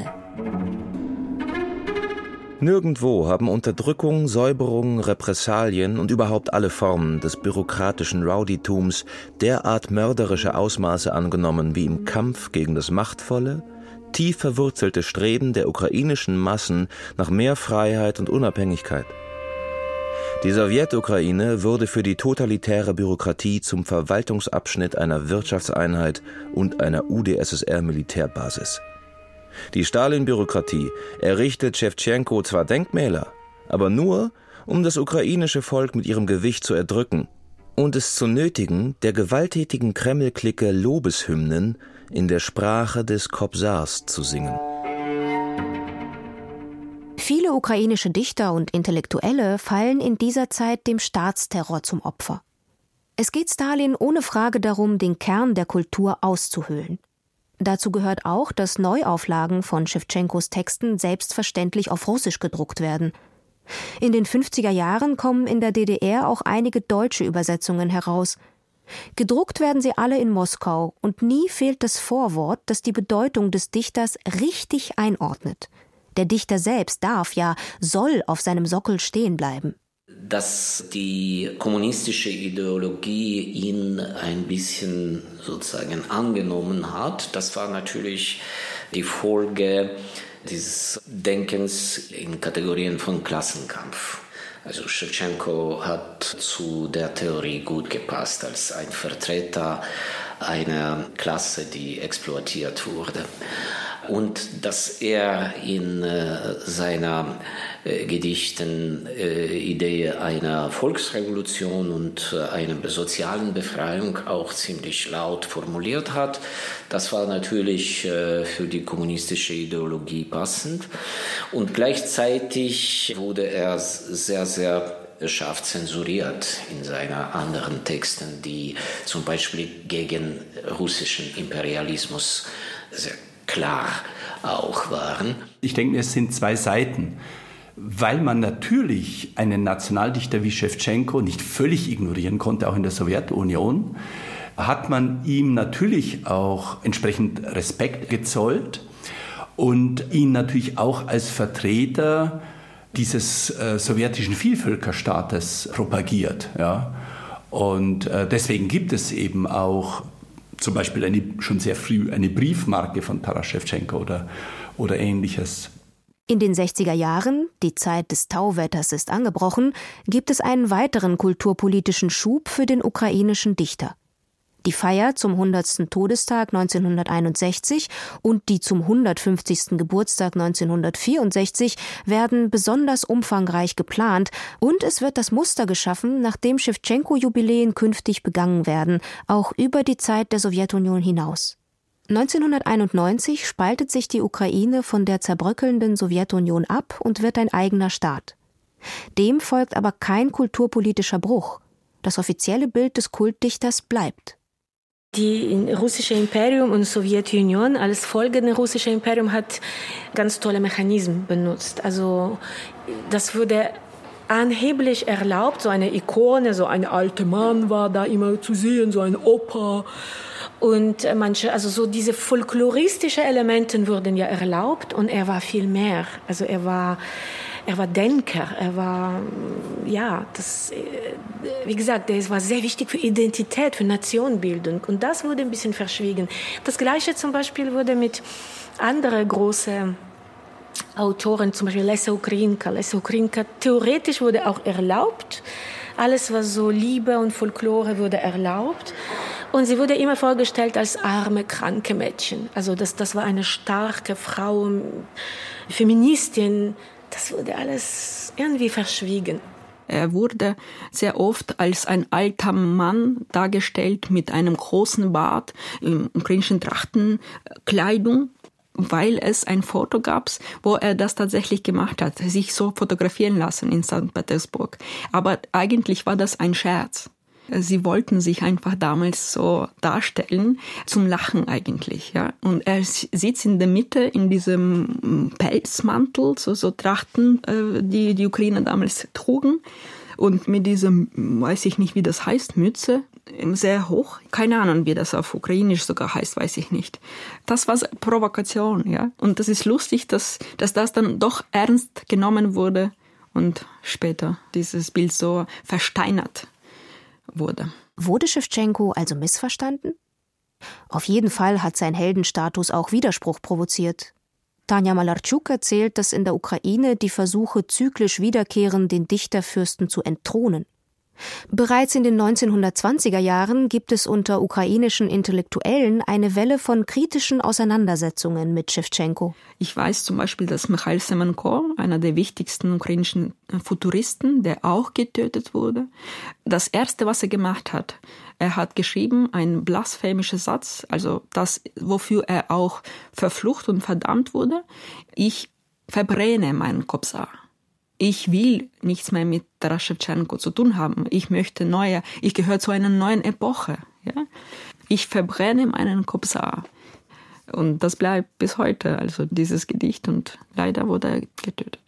Nirgendwo haben Unterdrückung, Säuberung, Repressalien und überhaupt alle Formen des bürokratischen Rowdytums derart mörderische Ausmaße angenommen wie im Kampf gegen das machtvolle, tief verwurzelte Streben der ukrainischen Massen nach mehr Freiheit und Unabhängigkeit. Die Sowjetukraine wurde für die totalitäre Bürokratie zum Verwaltungsabschnitt einer Wirtschaftseinheit und einer U d S S R-Militärbasis. Die Stalin-Bürokratie errichtet Schewtschenko zwar Denkmäler, aber nur, um das ukrainische Volk mit ihrem Gewicht zu erdrücken und es zu nötigen, der gewalttätigen Kreml-Clique Lobeshymnen in der Sprache des Kobsars zu singen. Viele ukrainische Dichter und Intellektuelle fallen in dieser Zeit dem Staatsterror zum Opfer. Es geht Stalin ohne Frage darum, den Kern der Kultur auszuhöhlen. Dazu gehört auch, dass Neuauflagen von Schewtschenkos Texten selbstverständlich auf Russisch gedruckt werden. In den fünfziger Jahren kommen in der D D R auch einige deutsche Übersetzungen heraus. Gedruckt werden sie alle in Moskau und nie fehlt das Vorwort, das die Bedeutung des Dichters richtig einordnet. Der Dichter selbst darf, ja, soll auf seinem Sockel stehen bleiben. Dass die kommunistische Ideologie ihn ein bisschen sozusagen angenommen hat, das war natürlich die Folge dieses Denkens in Kategorien von Klassenkampf. Also Schewtschenko hat zu der Theorie gut gepasst als ein Vertreter einer Klasse, die exploitiert wurde. Und dass er in äh, seiner äh, Gedichten äh, Idee einer Volksrevolution und äh, einer sozialen Befreiung auch ziemlich laut formuliert hat, das war natürlich äh, für die kommunistische Ideologie passend. Und gleichzeitig wurde er sehr, sehr scharf zensuriert in seinen anderen Texten, die zum Beispiel gegen russischen Imperialismus sehr klar auch waren. Ich denke, es sind zwei Seiten, weil man natürlich einen Nationaldichter wie Schewtschenko nicht völlig ignorieren konnte, auch in der Sowjetunion, hat man ihm natürlich auch entsprechend Respekt gezollt und ihn natürlich auch als Vertreter dieses äh, sowjetischen Vielvölkerstaates propagiert. Ja? Und äh, deswegen gibt es eben auch zum Beispiel eine, schon sehr früh eine Briefmarke von Taras Schewtschenko oder, oder Ähnliches. In den sechziger Jahren, die Zeit des Tauwetters ist angebrochen, gibt es einen weiteren kulturpolitischen Schub für den ukrainischen Dichter. Die Feier zum hundertsten Todestag neunzehnhunderteinundsechzig und die zum hundertfünfzigsten Geburtstag neunzehnhundertvierundsechzig werden besonders umfangreich geplant und es wird das Muster geschaffen, nach dem Schewtschenko-Jubiläen künftig begangen werden, auch über die Zeit der Sowjetunion hinaus. neunzehnhunderteinundneunzig spaltet sich die Ukraine von der zerbröckelnden Sowjetunion ab und wird ein eigener Staat. Dem folgt aber kein kulturpolitischer Bruch. Das offizielle Bild des Kultdichters bleibt. Die russische Imperium und Sowjetunion als folgende russische Imperium hat ganz tolle Mechanismen benutzt. Also das wurde angeblich erlaubt, so eine Ikone, so ein alter Mann war da immer zu sehen, so ein Opa. Und manche, also so diese folkloristischen Elemente wurden ja erlaubt und er war viel mehr. Also er war Er war Denker, er war, ja, das, wie gesagt, er war sehr wichtig für Identität, für Nationenbildung. Und das wurde ein bisschen verschwiegen. Das Gleiche zum Beispiel wurde mit anderen großen Autoren, zum Beispiel Lessa Ukrainka. Lessa Ukrainka, theoretisch wurde auch erlaubt. Alles, was so Liebe und Folklore wurde erlaubt. Und sie wurde immer vorgestellt als arme, kranke Mädchen. Also das, das war eine starke Frau, Feministin. Das wurde alles irgendwie verschwiegen. Er wurde sehr oft als ein alter Mann dargestellt mit einem großen Bart, in ukrainischen Trachtenkleidung, weil es ein Foto gab, wo er das tatsächlich gemacht hat, sich so fotografieren lassen in Sankt Petersburg. Aber eigentlich war das ein Scherz. Sie wollten sich einfach damals so darstellen, zum Lachen eigentlich. Ja. Und er sitzt in der Mitte in diesem Pelzmantel, so, so Trachten, die die Ukrainer damals trugen. Und mit diesem, weiß ich nicht, wie das heißt, Mütze, sehr hoch. Keine Ahnung, wie das auf Ukrainisch sogar heißt, weiß ich nicht. Das war Provokation, ja. Und das ist lustig, dass, dass das dann doch ernst genommen wurde und später dieses Bild so versteinert wurde. Wurde Schewtschenko also missverstanden? Auf jeden Fall hat sein Heldenstatus auch Widerspruch provoziert. Tanja Malarczuk erzählt, dass in der Ukraine die Versuche zyklisch wiederkehren, den Dichterfürsten zu entthronen. Bereits in den neunzehnhundertzwanziger Jahren gibt es unter ukrainischen Intellektuellen eine Welle von kritischen Auseinandersetzungen mit Schewtschenko. Ich weiß zum Beispiel, dass Michail Semenko, einer der wichtigsten ukrainischen Futuristen, der auch getötet wurde, das Erste, was er gemacht hat, er hat geschrieben, ein blasphemischer Satz, also das, wofür er auch verflucht und verdammt wurde: Ich verbrenne meinen Kobzar. Ich will nichts mehr mit Taras Schewtschenko zu tun haben. Ich möchte neue, ich gehöre zu einer neuen Epoche. Ja? Ich verbrenne meinen Kobzar. Und das bleibt bis heute, also dieses Gedicht, und leider wurde er getötet.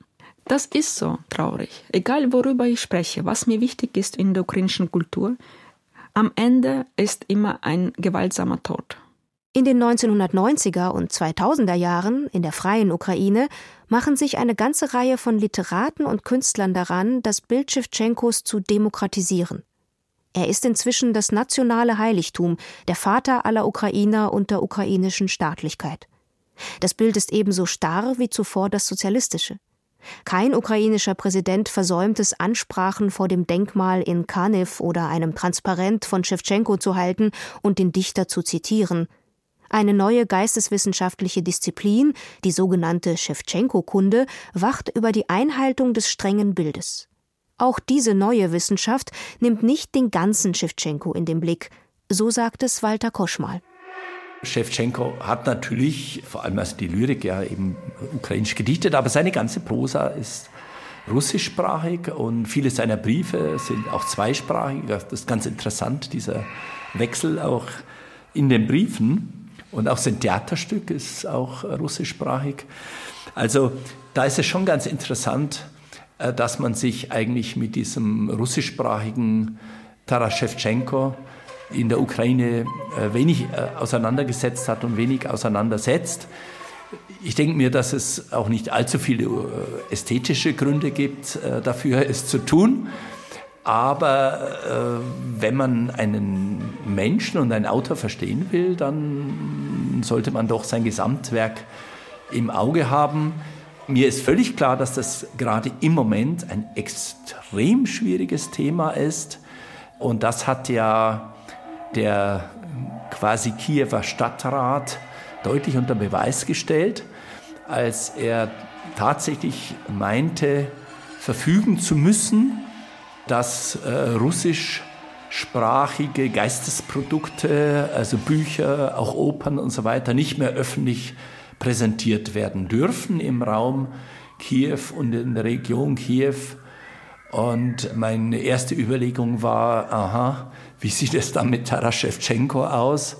Das ist so traurig. Egal worüber ich spreche, was mir wichtig ist in der ukrainischen Kultur, am Ende ist immer ein gewaltsamer Tod. In den neunzehnhundertneunziger und zweitausender Jahren in der freien Ukraine machen sich eine ganze Reihe von Literaten und Künstlern daran, das Bild Schewtschenkos zu demokratisieren. Er ist inzwischen das nationale Heiligtum, der Vater aller Ukrainer und der ukrainischen Staatlichkeit. Das Bild ist ebenso starr wie zuvor das sozialistische. Kein ukrainischer Präsident versäumt es, Ansprachen vor dem Denkmal in Kaniv oder einem Transparent von Schewtschenko zu halten und den Dichter zu zitieren. Eine neue geisteswissenschaftliche Disziplin, die sogenannte Schewtschenko-Kunde, wacht über die Einhaltung des strengen Bildes. Auch diese neue Wissenschaft nimmt nicht den ganzen Schewtschenko in den Blick, so sagt es Walter Koschmal. Schewtschenko hat natürlich, vor allem als die Lyrik, ja eben ukrainisch gedichtet, aber seine ganze Prosa ist russischsprachig und viele seiner Briefe sind auch zweisprachig. Das ist ganz interessant, dieser Wechsel auch in den Briefen. Und auch sein Theaterstück ist auch russischsprachig. Also da ist es schon ganz interessant, dass man sich eigentlich mit diesem russischsprachigen Taras Schewtschenko in der Ukraine wenig auseinandergesetzt hat und wenig auseinandersetzt. Ich denke mir, dass es auch nicht allzu viele ästhetische Gründe gibt dafür, es zu tun. Aber äh, wenn man einen Menschen und einen Autor verstehen will, dann sollte man doch sein Gesamtwerk im Auge haben. Mir ist völlig klar, dass das gerade im Moment ein extrem schwieriges Thema ist. Und das hat ja der quasi Kiewer Stadtrat deutlich unter Beweis gestellt, als er tatsächlich meinte, verfügen zu müssen, dass äh, russischsprachige Geistesprodukte, also Bücher, auch Opern und so weiter, nicht mehr öffentlich präsentiert werden dürfen im Raum Kiew und in der Region Kiew. Und meine erste Überlegung war, aha, wie sieht es dann mit Taras Schewtschenko aus?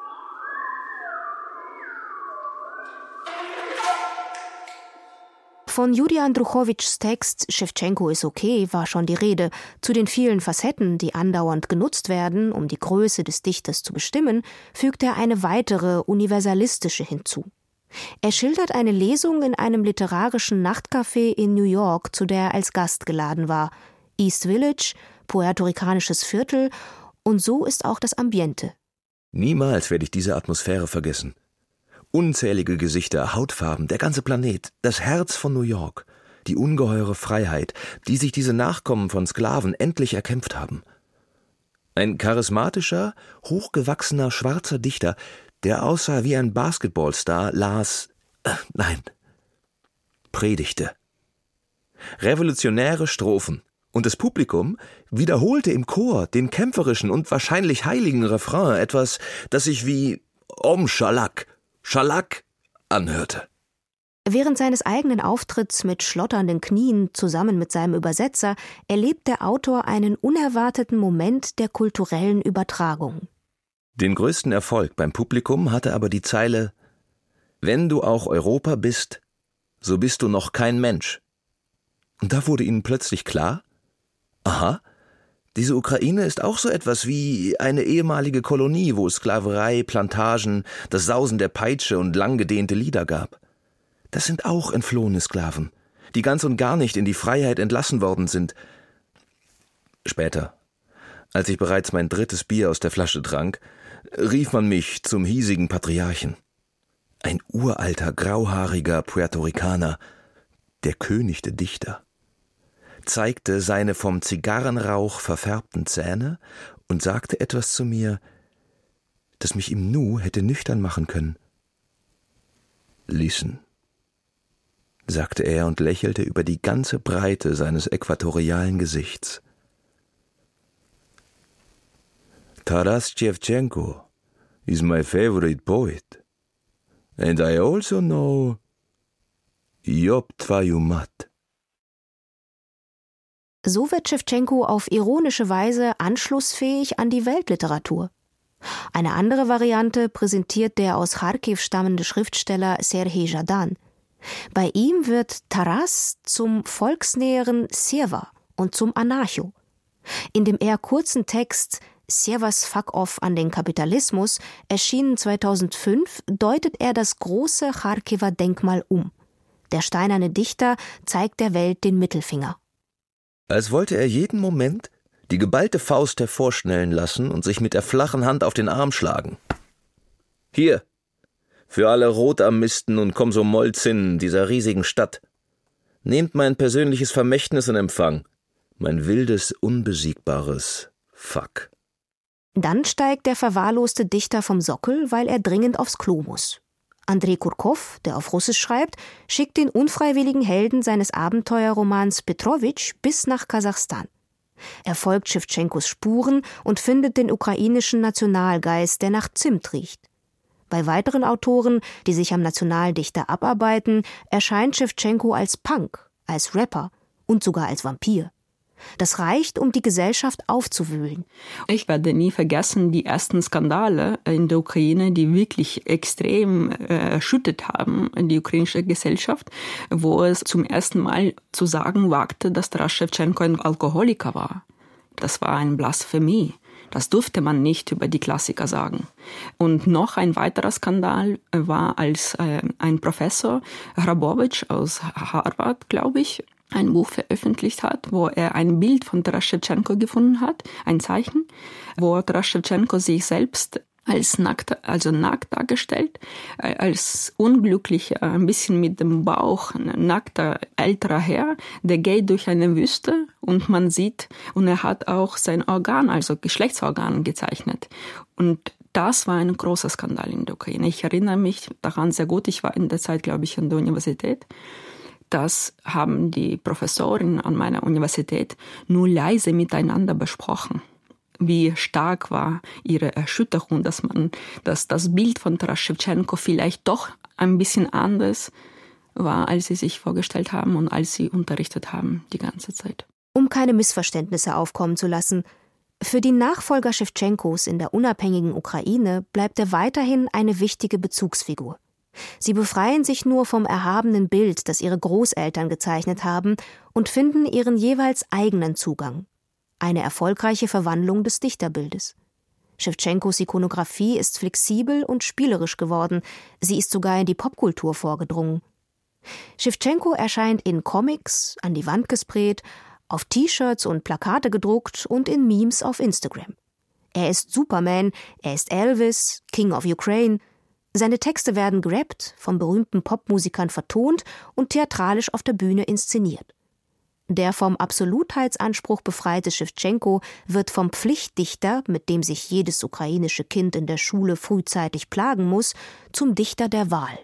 Von Julia Andruchowitschs Text »Schewtschenko ist okay« war schon die Rede. Zu den vielen Facetten, die andauernd genutzt werden, um die Größe des Dichters zu bestimmen, fügt er eine weitere, universalistische hinzu. Er schildert eine Lesung in einem literarischen Nachtcafé in New York, zu der er als Gast geladen war. East Village, puerto-ricanisches Viertel, und so ist auch das Ambiente. Niemals werde ich diese Atmosphäre vergessen. Unzählige Gesichter, Hautfarben, der ganze Planet, das Herz von New York, die ungeheure Freiheit, die sich diese Nachkommen von Sklaven endlich erkämpft haben. Ein charismatischer, hochgewachsener, schwarzer Dichter, der aussah wie ein Basketballstar, las, äh, nein, predigte. Revolutionäre Strophen. Und das Publikum wiederholte im Chor den kämpferischen und wahrscheinlich heiligen Refrain, etwas, das sich wie Om Shalak, Schalak anhörte. Während seines eigenen Auftritts mit schlotternden Knien zusammen mit seinem Übersetzer erlebt der Autor einen unerwarteten Moment der kulturellen Übertragung. Den größten Erfolg beim Publikum hatte aber die Zeile: »Wenn du auch Europa bist, so bist du noch kein Mensch.« Und da wurde ihnen plötzlich klar: Aha, diese Ukraine ist auch so etwas wie eine ehemalige Kolonie, wo es Sklaverei, Plantagen, das Sausen der Peitsche und langgedehnte Lieder gab. Das sind auch entflohene Sklaven, die ganz und gar nicht in die Freiheit entlassen worden sind. Später, als ich bereits mein drittes Bier aus der Flasche trank, rief man mich zum hiesigen Patriarchen. Ein uralter, grauhaariger Puerto Ricaner, der König der Dichter, zeigte seine vom Zigarrenrauch verfärbten Zähne und sagte etwas zu mir, das mich im Nu hätte nüchtern machen können. »Listen«, sagte er und lächelte über die ganze Breite seines äquatorialen Gesichts. Taras Shevchenko is my favorite poet. And I also know Job Твою мать. So wird Schewtschenko auf ironische Weise anschlussfähig an die Weltliteratur. Eine andere Variante präsentiert der aus Charkiw stammende Schriftsteller Serhij Zhadan. Bei ihm wird Taras zum volksnäheren Sjewa und zum Anarcho. In dem eher kurzen Text Sjewas Fuck Off an den Kapitalismus, erschienen zweitausendfünf, deutet er das große Charkiwer Denkmal um. Der steinerne Dichter zeigt der Welt den Mittelfinger. Als wollte er jeden Moment die geballte Faust hervorschnellen lassen und sich mit der flachen Hand auf den Arm schlagen. Hier, für alle Rotarmisten und Komsomolzinnen dieser riesigen Stadt. Nehmt mein persönliches Vermächtnis in Empfang, mein wildes, unbesiegbares Fuck. Dann steigt der verwahrloste Dichter vom Sockel, weil er dringend aufs Klo muss. Andrei Kurkow, der auf Russisch schreibt, schickt den unfreiwilligen Helden seines Abenteuerromans Petrowitsch bis nach Kasachstan. Er folgt Schewtschenkos Spuren und findet den ukrainischen Nationalgeist, der nach Zimt riecht. Bei weiteren Autoren, die sich am Nationaldichter abarbeiten, erscheint Schewtschenko als Punk, als Rapper und sogar als Vampir. Das reicht, um die Gesellschaft aufzuwühlen. Ich werde nie vergessen, die ersten Skandale in der Ukraine, die wirklich extrem äh, erschüttert haben in die ukrainische Gesellschaft, wo es zum ersten Mal zu sagen wagte, dass Taras Schewtschenko ein Alkoholiker war. Das war eine Blasphemie. Das durfte man nicht über die Klassiker sagen. Und noch ein weiterer Skandal war, als äh, ein Professor, Hrabowitsch aus Harvard, glaube ich, ein Buch veröffentlicht hat, wo er ein Bild von Taras Schewtschenko gefunden hat, ein Zeichen, wo Taras Schewtschenko sich selbst als nackt, also nackt dargestellt, als unglücklicher, ein bisschen mit dem Bauch, nackter älterer Herr, der geht durch eine Wüste und man sieht, und er hat auch sein Organ, also Geschlechtsorgan gezeichnet. Und das war ein großer Skandal in der Ukraine. Ich erinnere mich daran sehr gut, ich war in der Zeit, glaube ich, an der Universität. Das haben die Professoren an meiner Universität nur leise miteinander besprochen. Wie stark war ihre Erschütterung, dass man, dass das Bild von Taras Schewtschenko vielleicht doch ein bisschen anders war, als sie sich vorgestellt haben und als sie unterrichtet haben die ganze Zeit. Um keine Missverständnisse aufkommen zu lassen: Für die Nachfolger Schewtschenkos in der unabhängigen Ukraine bleibt er weiterhin eine wichtige Bezugsfigur. Sie befreien sich nur vom erhabenen Bild, das ihre Großeltern gezeichnet haben, und finden ihren jeweils eigenen Zugang. Eine erfolgreiche Verwandlung des Dichterbildes. Schewtschenkos Ikonografie ist flexibel und spielerisch geworden. Sie ist sogar in die Popkultur vorgedrungen. Schewtschenko erscheint in Comics, an die Wand gesprayt, auf T-Shirts und Plakate gedruckt und in Memes auf Instagram. Er ist Superman, er ist Elvis, King of Ukraine. Seine Texte werden gerappt, von berühmten Popmusikern vertont und theatralisch auf der Bühne inszeniert. Der vom Absolutheitsanspruch befreite Schewtschenko wird vom Pflichtdichter, mit dem sich jedes ukrainische Kind in der Schule frühzeitig plagen muss, zum Dichter der Wahl.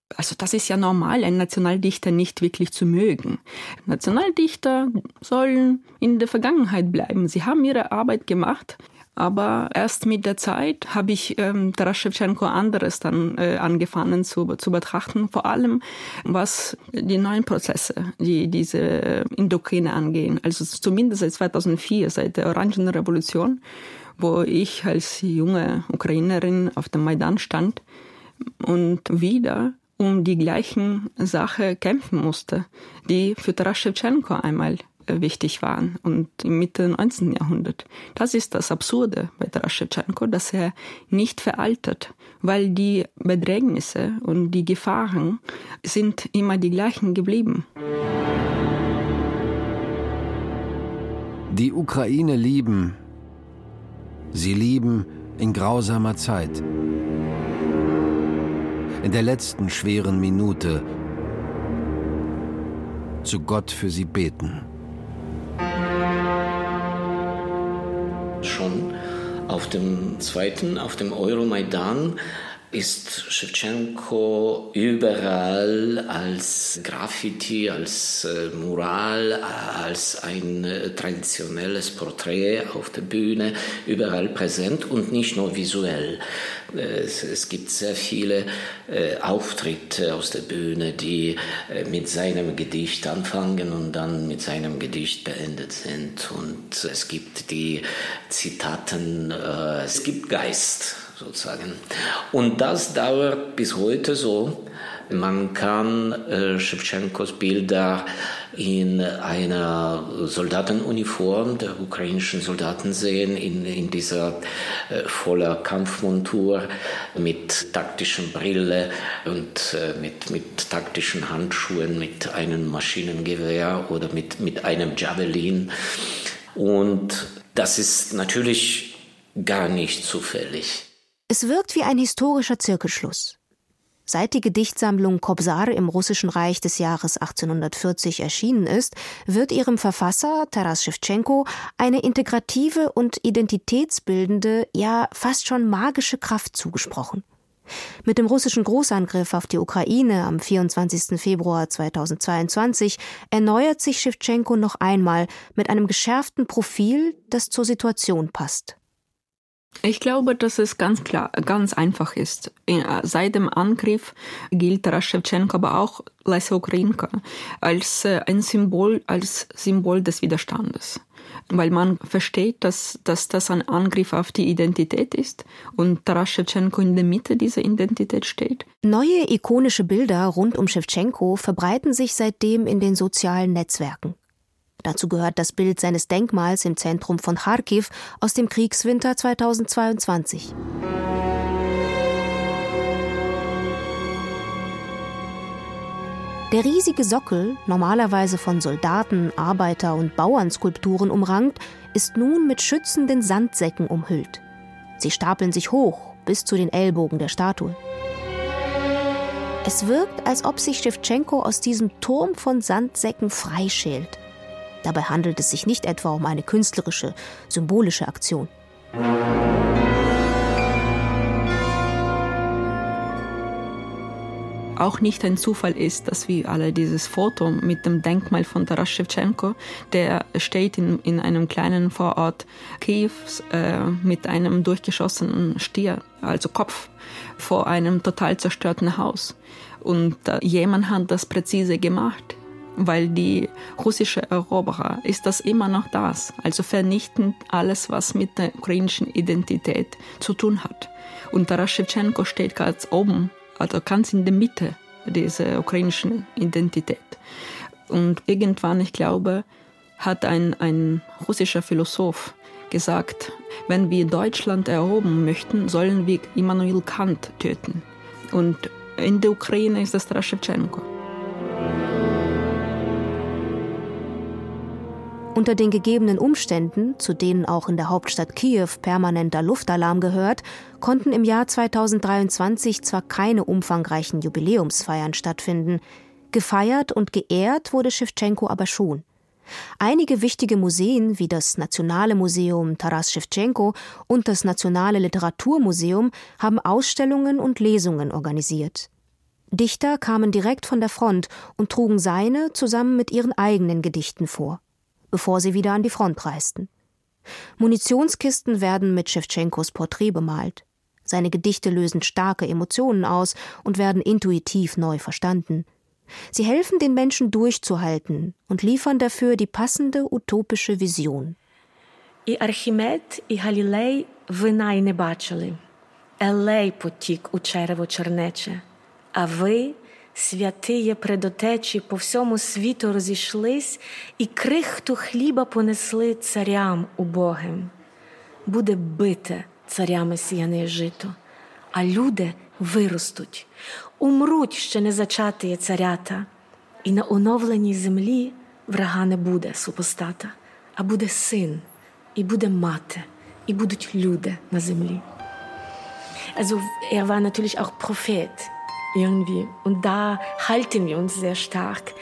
Also das ist ja normal, einen Nationaldichter nicht wirklich zu mögen. Nationaldichter sollen in der Vergangenheit bleiben. Sie haben ihre Arbeit gemacht, aber erst mit der Zeit habe ich ähm, Taras Schewtschenko anderes dann äh, angefangen zu, zu betrachten, vor allem was die neuen Prozesse, die diese in der Ukraine angehen. Also zumindest seit zweitausendvier, seit der Orangenrevolution, wo ich als junge Ukrainerin auf dem Maidan stand und wieder um die gleichen Sache kämpfen musste, die für Taras Schewtschenko einmal wichtig waren und im Mitte des neunzehnten Jahrhunderts. Das ist das Absurde bei Taras Schewtschenko, dass er nicht veraltet, weil die Bedrängnisse und die Gefahren sind immer die gleichen geblieben. Die Ukraine lieben, sie lieben in grausamer Zeit. In der letzten schweren Minute zu Gott für sie beten. Schon auf dem zweiten, auf dem Euromaidan, ist Schewtschenko überall als Graffiti, als äh, Mural, als ein äh, traditionelles Porträt auf der Bühne, überall präsent und nicht nur visuell. Äh, es, es gibt sehr viele äh, Auftritte aus der Bühne, die äh, mit seinem Gedicht anfangen und dann mit seinem Gedicht beendet sind. Und es gibt die Zitaten, äh, es gibt Geist, sozusagen. Und das dauert bis heute so. Man kann äh, Schewtschenkos Bilder in einer Soldatenuniform der ukrainischen Soldaten sehen, in, in dieser äh, voller Kampfmontur mit taktischen Brille und äh, mit, mit taktischen Handschuhen, mit einem Maschinengewehr oder mit, mit einem Javelin. Und das ist natürlich gar nicht zufällig. Es wirkt wie ein historischer Zirkelschluss. Seit die Gedichtsammlung Kobzar im Russischen Reich des Jahres achtzehnhundertvierzig erschienen ist, wird ihrem Verfasser Taras Schewtschenko eine integrative und identitätsbildende, ja fast schon magische Kraft zugesprochen. Mit dem russischen Großangriff auf die Ukraine am vierundzwanzigsten Februar zweitausendzweiundzwanzig erneuert sich Schewtschenko noch einmal mit einem geschärften Profil, das zur Situation passt. Ich glaube, dass es ganz klar, ganz einfach ist. Seit dem Angriff gilt Taras Schewtschenko, aber auch Lesja Ukrainka als ein Symbol, als Symbol des Widerstandes. Weil man versteht, dass, dass das ein Angriff auf die Identität ist und Taras Schewtschenko in der Mitte dieser Identität steht. Neue ikonische Bilder rund um Schewtschenko verbreiten sich seitdem in den sozialen Netzwerken. Dazu gehört das Bild seines Denkmals im Zentrum von Charkiw aus dem Kriegswinter zweitausendzweiundzwanzig. Der riesige Sockel, normalerweise von Soldaten, Arbeiter- und Bauernskulpturen umrankt, ist nun mit schützenden Sandsäcken umhüllt. Sie stapeln sich hoch bis zu den Ellbogen der Statue. Es wirkt, als ob sich Schewtschenko aus diesem Turm von Sandsäcken freischält. Dabei handelt es sich nicht etwa um eine künstlerische, symbolische Aktion. Auch nicht ein Zufall ist, dass wir alle dieses Foto mit dem Denkmal von Taras Schewtschenko, der steht in, in einem kleinen Vorort Kiews äh, mit einem durchgeschossenen Stier, also Kopf, vor einem total zerstörten Haus. Und äh, jemand hat das präzise gemacht. Weil die russische Eroberer ist das immer noch das, also vernichtend alles, was mit der ukrainischen Identität zu tun hat. Und Taras Schewtschenko steht ganz oben, also ganz in der Mitte dieser ukrainischen Identität. Und irgendwann, ich glaube, hat ein, ein russischer Philosoph gesagt, wenn wir Deutschland erobern möchten, sollen wir Immanuel Kant töten. Und in der Ukraine ist das Taras Schewtschenko. Unter den gegebenen Umständen, zu denen auch in der Hauptstadt Kiew permanenter Luftalarm gehört, konnten im Jahr zweitausenddreiundzwanzig zwar keine umfangreichen Jubiläumsfeiern stattfinden, gefeiert und geehrt wurde Schewtschenko aber schon. Einige wichtige Museen wie das Nationale Museum Taras Schewtschenko und das Nationale Literaturmuseum haben Ausstellungen und Lesungen organisiert. Dichter kamen direkt von der Front und trugen seine zusammen mit ihren eigenen Gedichten vor, bevor sie wieder an die Front reisten. Munitionskisten werden mit Schewtschenkos Porträt bemalt. Seine Gedichte lösen starke Emotionen aus und werden intuitiv neu verstanden. Sie helfen den Menschen durchzuhalten und liefern dafür die passende utopische Vision. І Архімед, і Галілей вина й не бачили. Елей потік у черево чернече. А ви, святиє предотечі, по всьому світу розійшлись і крихту хліба понесли царям убогим. Буде бите царями сіяне жито, а люди виростуть, умруть ще не зачатиє царята, і на оновленій землі врага не буде супостата, а буде син, і буде мати, і будуть люди на землі. Also er war natürlich auch Prophet irgendwie und da halten wir uns sehr stark.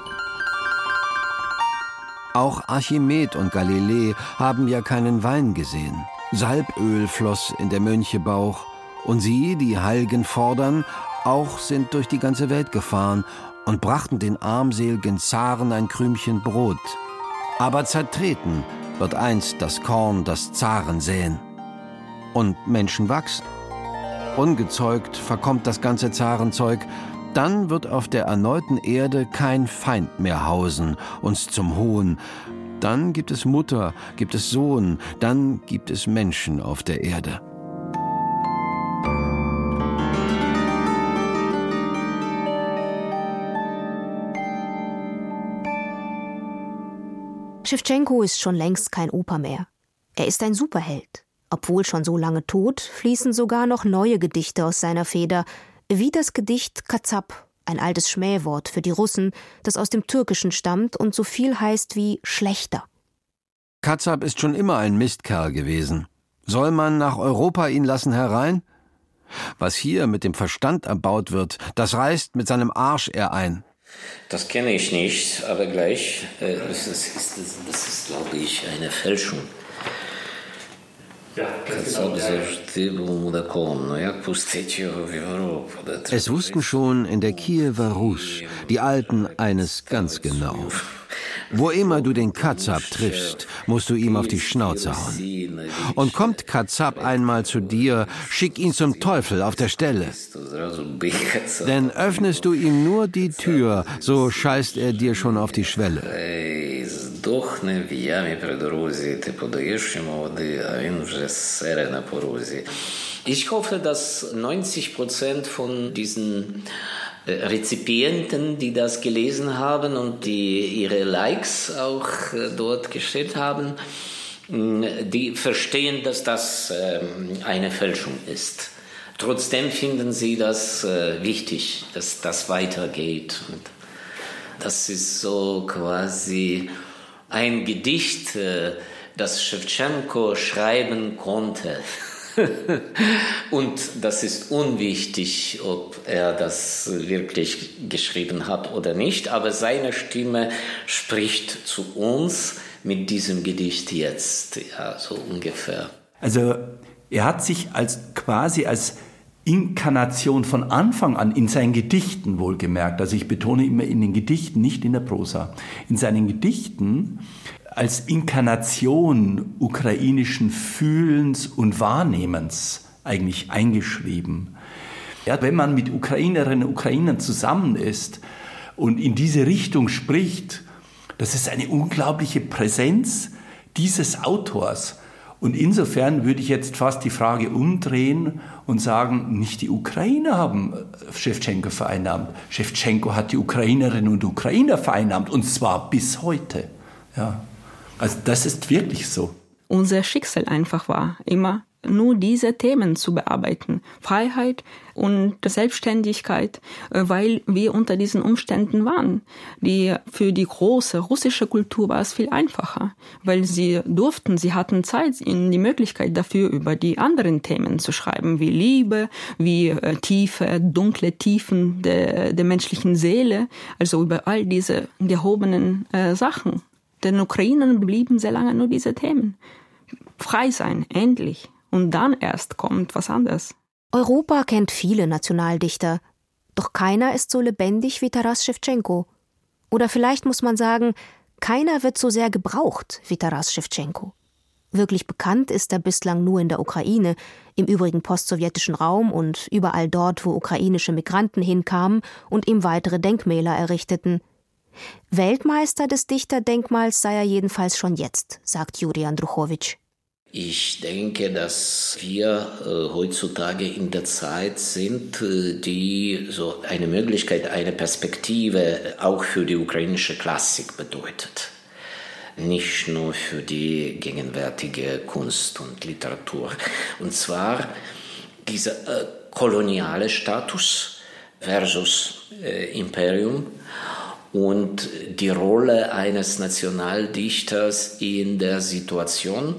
Auch Archimed und Galilei haben ja keinen Wein gesehen. Salböl floss in der Mönche Bauch. Und sie, die Heilgen fordern, auch sind durch die ganze Welt gefahren und brachten den armseligen Zaren ein Krümchen Brot. Aber zertreten wird einst das Korn, das Zaren säen. Und Menschen wachsen. Ungezeugt verkommt das ganze Zarenzeug, dann wird auf der erneuten Erde kein Feind mehr hausen, uns zum Hohn. Dann gibt es Mutter, gibt es Sohn, dann gibt es Menschen auf der Erde. Schewtschenko ist schon längst kein Opa mehr. Er ist ein Superheld. Obwohl schon so lange tot, fließen sogar noch neue Gedichte aus seiner Feder, wie das Gedicht Katzap, ein altes Schmähwort für die Russen, das aus dem Türkischen stammt und so viel heißt wie schlechter. Katzap ist schon immer ein Mistkerl gewesen. Soll man nach Europa ihn lassen herein? Was hier mit dem Verstand erbaut wird, das reißt mit seinem Arsch er ein. Das kenne ich nicht, aber gleich, äh, das ist, das ist, das ist glaube ich, eine Fälschung. Es wussten schon in der Kiewer Rus die Alten eines ganz genau. Wo immer du den Katzap triffst, musst du ihm auf die Schnauze hauen. Und kommt Katzap einmal zu dir, schick ihn zum Teufel auf der Stelle. Denn öffnest du ihm nur die Tür, so scheißt er dir schon auf die Schwelle. Ich hoffe, dass neunzig Prozent von diesen Rezipienten, die das gelesen haben und die ihre Likes auch dort gestellt haben, die verstehen, dass das eine Fälschung ist. Trotzdem finden sie das wichtig, dass das weitergeht. Und das ist so quasi ein Gedicht, das Schewtschenko schreiben konnte. Und das ist unwichtig, ob er das wirklich geschrieben hat oder nicht, aber seine Stimme spricht zu uns mit diesem Gedicht jetzt, ja, so ungefähr. Also er hat sich als quasi als Inkarnation von Anfang an in seinen Gedichten wohlgemerkt, also ich betone immer in den Gedichten, nicht in der Prosa, in seinen Gedichten als Inkarnation ukrainischen Fühlens und Wahrnehmens eigentlich eingeschrieben. Ja, wenn man mit Ukrainerinnen und Ukrainern zusammen ist und in diese Richtung spricht, das ist eine unglaubliche Präsenz dieses Autors. Und insofern würde ich jetzt fast die Frage umdrehen und sagen, nicht die Ukrainer haben Schewtschenko vereinnahmt. Schewtschenko hat die Ukrainerinnen und Ukrainer vereinnahmt, und zwar bis heute. Ja. Also das ist wirklich so. Unser Schicksal einfach war, immer nur diese Themen zu bearbeiten. Freiheit und Selbstständigkeit, weil wir unter diesen Umständen waren. Die, für die große russische Kultur war es viel einfacher, weil sie durften, sie hatten Zeit, die Möglichkeit dafür, über die anderen Themen zu schreiben, wie Liebe, wie äh, tiefe, dunkle Tiefen der, der menschlichen Seele, also über all diese gehobenen äh, Sachen. Den Ukrainern blieben sehr lange nur diese Themen. Frei sein, endlich. Und dann erst kommt was anderes. Europa kennt viele Nationaldichter. Doch keiner ist so lebendig wie Taras Schewtschenko. Oder vielleicht muss man sagen, keiner wird so sehr gebraucht wie Taras Schewtschenko. Wirklich bekannt ist er bislang nur in der Ukraine, im übrigen postsowjetischen Raum und überall dort, wo ukrainische Migranten hinkamen und ihm weitere Denkmäler errichteten. Weltmeister des Dichterdenkmals sei er jedenfalls schon jetzt, sagt Juri Andruchowitsch. Ich denke, dass wir äh, heutzutage in der Zeit sind, äh, die so eine Möglichkeit, eine Perspektive auch für die ukrainische Klassik bedeutet. Nicht nur für die gegenwärtige Kunst und Literatur. Und zwar dieser äh, koloniale Status versus äh, Imperium und die Rolle eines Nationaldichters in der Situation,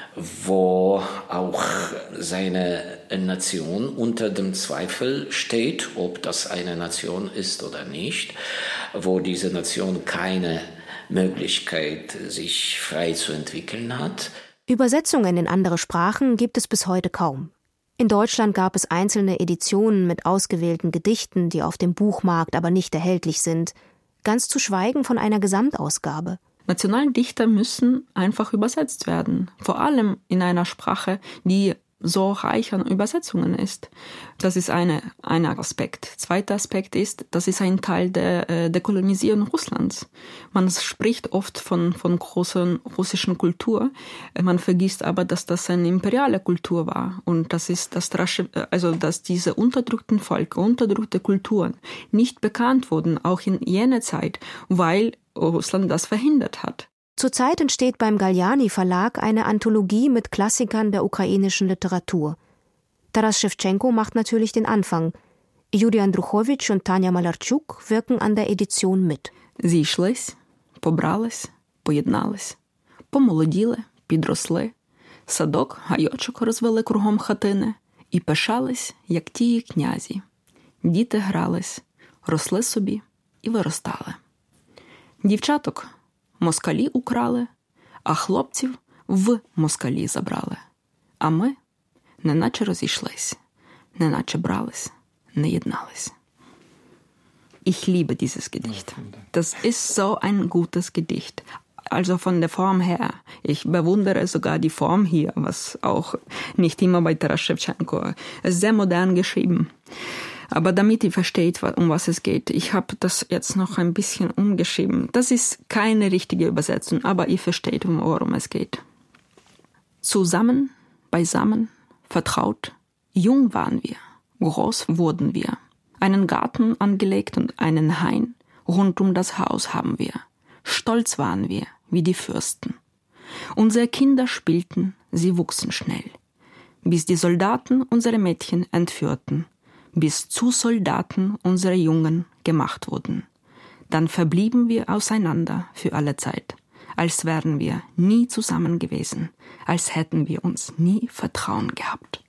wo auch seine Nation unter dem Zweifel steht, ob das eine Nation ist oder nicht, wo diese Nation keine Möglichkeit, sich frei zu entwickeln hat. Übersetzungen in andere Sprachen gibt es bis heute kaum. In Deutschland gab es einzelne Editionen mit ausgewählten Gedichten, die auf dem Buchmarkt aber nicht erhältlich sind, ganz zu schweigen von einer Gesamtausgabe. Nationaldichter müssen einfach übersetzt werden, vor allem in einer Sprache, die so reich an Übersetzungen ist. Das ist eine, ein Aspekt. Zweiter Aspekt ist, das ist ein Teil der, der Kolonisierung Russlands. Man spricht oft von, von großer russischen Kultur. Man vergisst aber, dass das eine imperiale Kultur war. Und das ist, das, also, dass diese unterdrückten Völker, unterdrückte Kulturen nicht bekannt wurden, auch in jener Zeit, weil Russland das verhindert hat. Zurzeit entsteht beim Galliani Verlag eine Anthologie mit Klassikern der ukrainischen Literatur. Taras Schewtschenko macht natürlich den Anfang. Juri Andruchowitsch und Tanja Malarczuk wirken an der Edition mit. Зійшлись, побрались, поєднались, помолоділи, підросли, садок, гайочок розвели кругом хатини і пишались, як тії князі. Діти грались, росли собі і виростали. Дівчаток москалі украли, а хлопців в москалі забрали. А ми неначе розійшлись, неначе брались, не єднались. Ich liebe dieses Gedicht. Das ist so ein gutes Gedicht. Also von der Form her. Ich bewundere sogar die Form hier, was auch nicht immer bei Taras Schewtschenko ist. Sehr modern geschrieben. Aber damit ihr versteht, um was es geht, ich habe das jetzt noch ein bisschen umgeschrieben. Das ist keine richtige Übersetzung, aber ihr versteht, worum es geht. Zusammen, beisammen, vertraut, jung waren wir, groß wurden wir. Einen Garten angelegt und einen Hain, rund um das Haus haben wir. Stolz waren wir, wie die Fürsten. Unsere Kinder spielten, sie wuchsen schnell, bis die Soldaten unsere Mädchen entführten, bis zu Soldaten unsere Jungen gemacht wurden. Dann verblieben wir auseinander für alle Zeit, als wären wir nie zusammen gewesen, als hätten wir uns nie Vertrauen gehabt.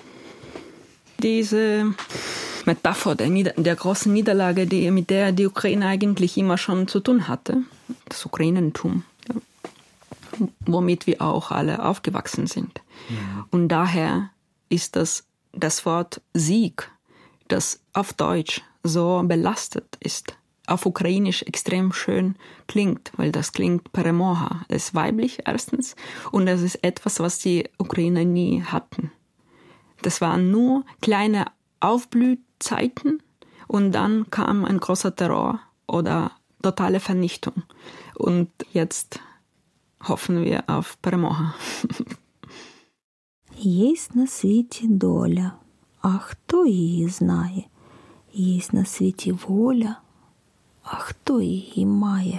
Diese Metapher der, Nieder- der großen Niederlage, die, mit der die Ukraine eigentlich immer schon zu tun hatte, das Ukrainentum, ja, womit wir auch alle aufgewachsen sind. Ja. Und daher ist das, das Wort Sieg, das auf Deutsch so belastet ist, auf Ukrainisch extrem schön klingt, weil das klingt Peremoha. Das ist weiblich erstens und das ist etwas, was die Ukrainer nie hatten. Das waren nur kleine Aufblühzeiten und dann kam ein großer Terror oder totale Vernichtung. Und jetzt hoffen wir auf Перемога. Єсть на світі доля, а хто її знає? Єсть на світі воля, а хто її має?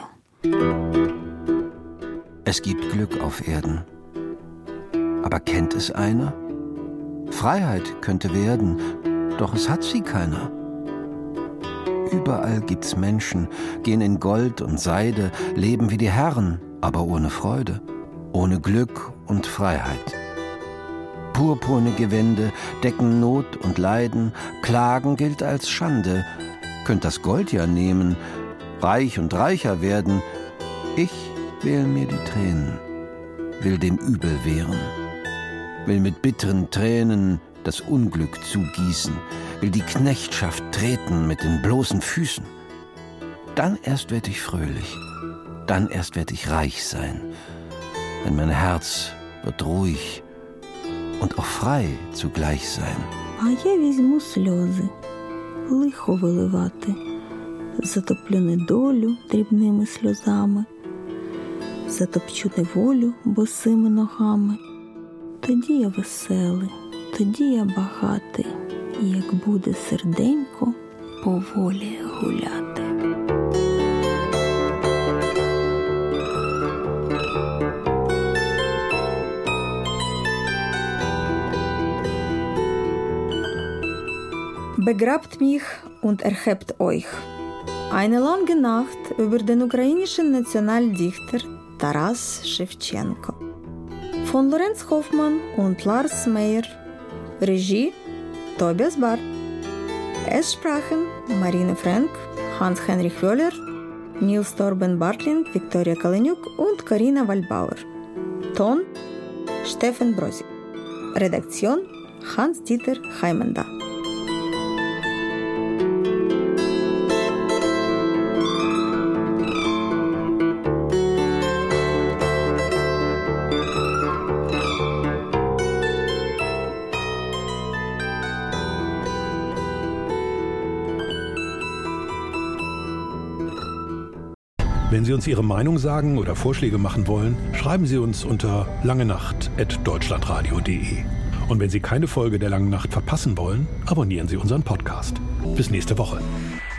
Es gibt Glück auf Erden. Aber kennt es einer? Freiheit könnte werden, doch es hat sie keiner. Überall gibt's Menschen, gehen in Gold und Seide, leben wie die Herren, aber ohne Freude, ohne Glück und Freiheit. Purpurne Gewände decken Not und Leiden, Klagen gilt als Schande. Könnt das Gold ja nehmen, reich und reicher werden. Ich wähl mir die Tränen, will dem Übel wehren, will mit bitteren Tränen das Unglück zugießen, will die Knechtschaft treten mit den bloßen Füßen. Dann erst werd ich fröhlich, dann erst werd ich reich sein, denn mein Herz wird ruhig und auch frei zugleich sein. А я візьму сльози, лихо виливати, затоплю недолю дрібними сльозами, затопчу неволю босими ногами. Тоді я веселий, тоді я багатий, як буде серденько по волі гуляти. Begrabt mich und erhebt euch. Eine lange Nacht über den ukrainischen Nationaldichter Taras Schewtschenko. Von Lorenz Hoffmann und Lars Meyer. Regie Tobias Barth. Es sprachen Marine Frank, Hans-Henrich Wöhler, Nils Torben Bartling, Viktoria Kaleniuk und Karina Waldbauer. Ton Steffen Brosig. Redaktion Hans-Dieter Heimenda. Wenn Sie uns Ihre Meinung sagen oder Vorschläge machen wollen, schreiben Sie uns unter langenacht at deutschlandradio punkt de. Und wenn Sie keine Folge der Langen Nacht verpassen wollen, abonnieren Sie unseren Podcast. Bis nächste Woche.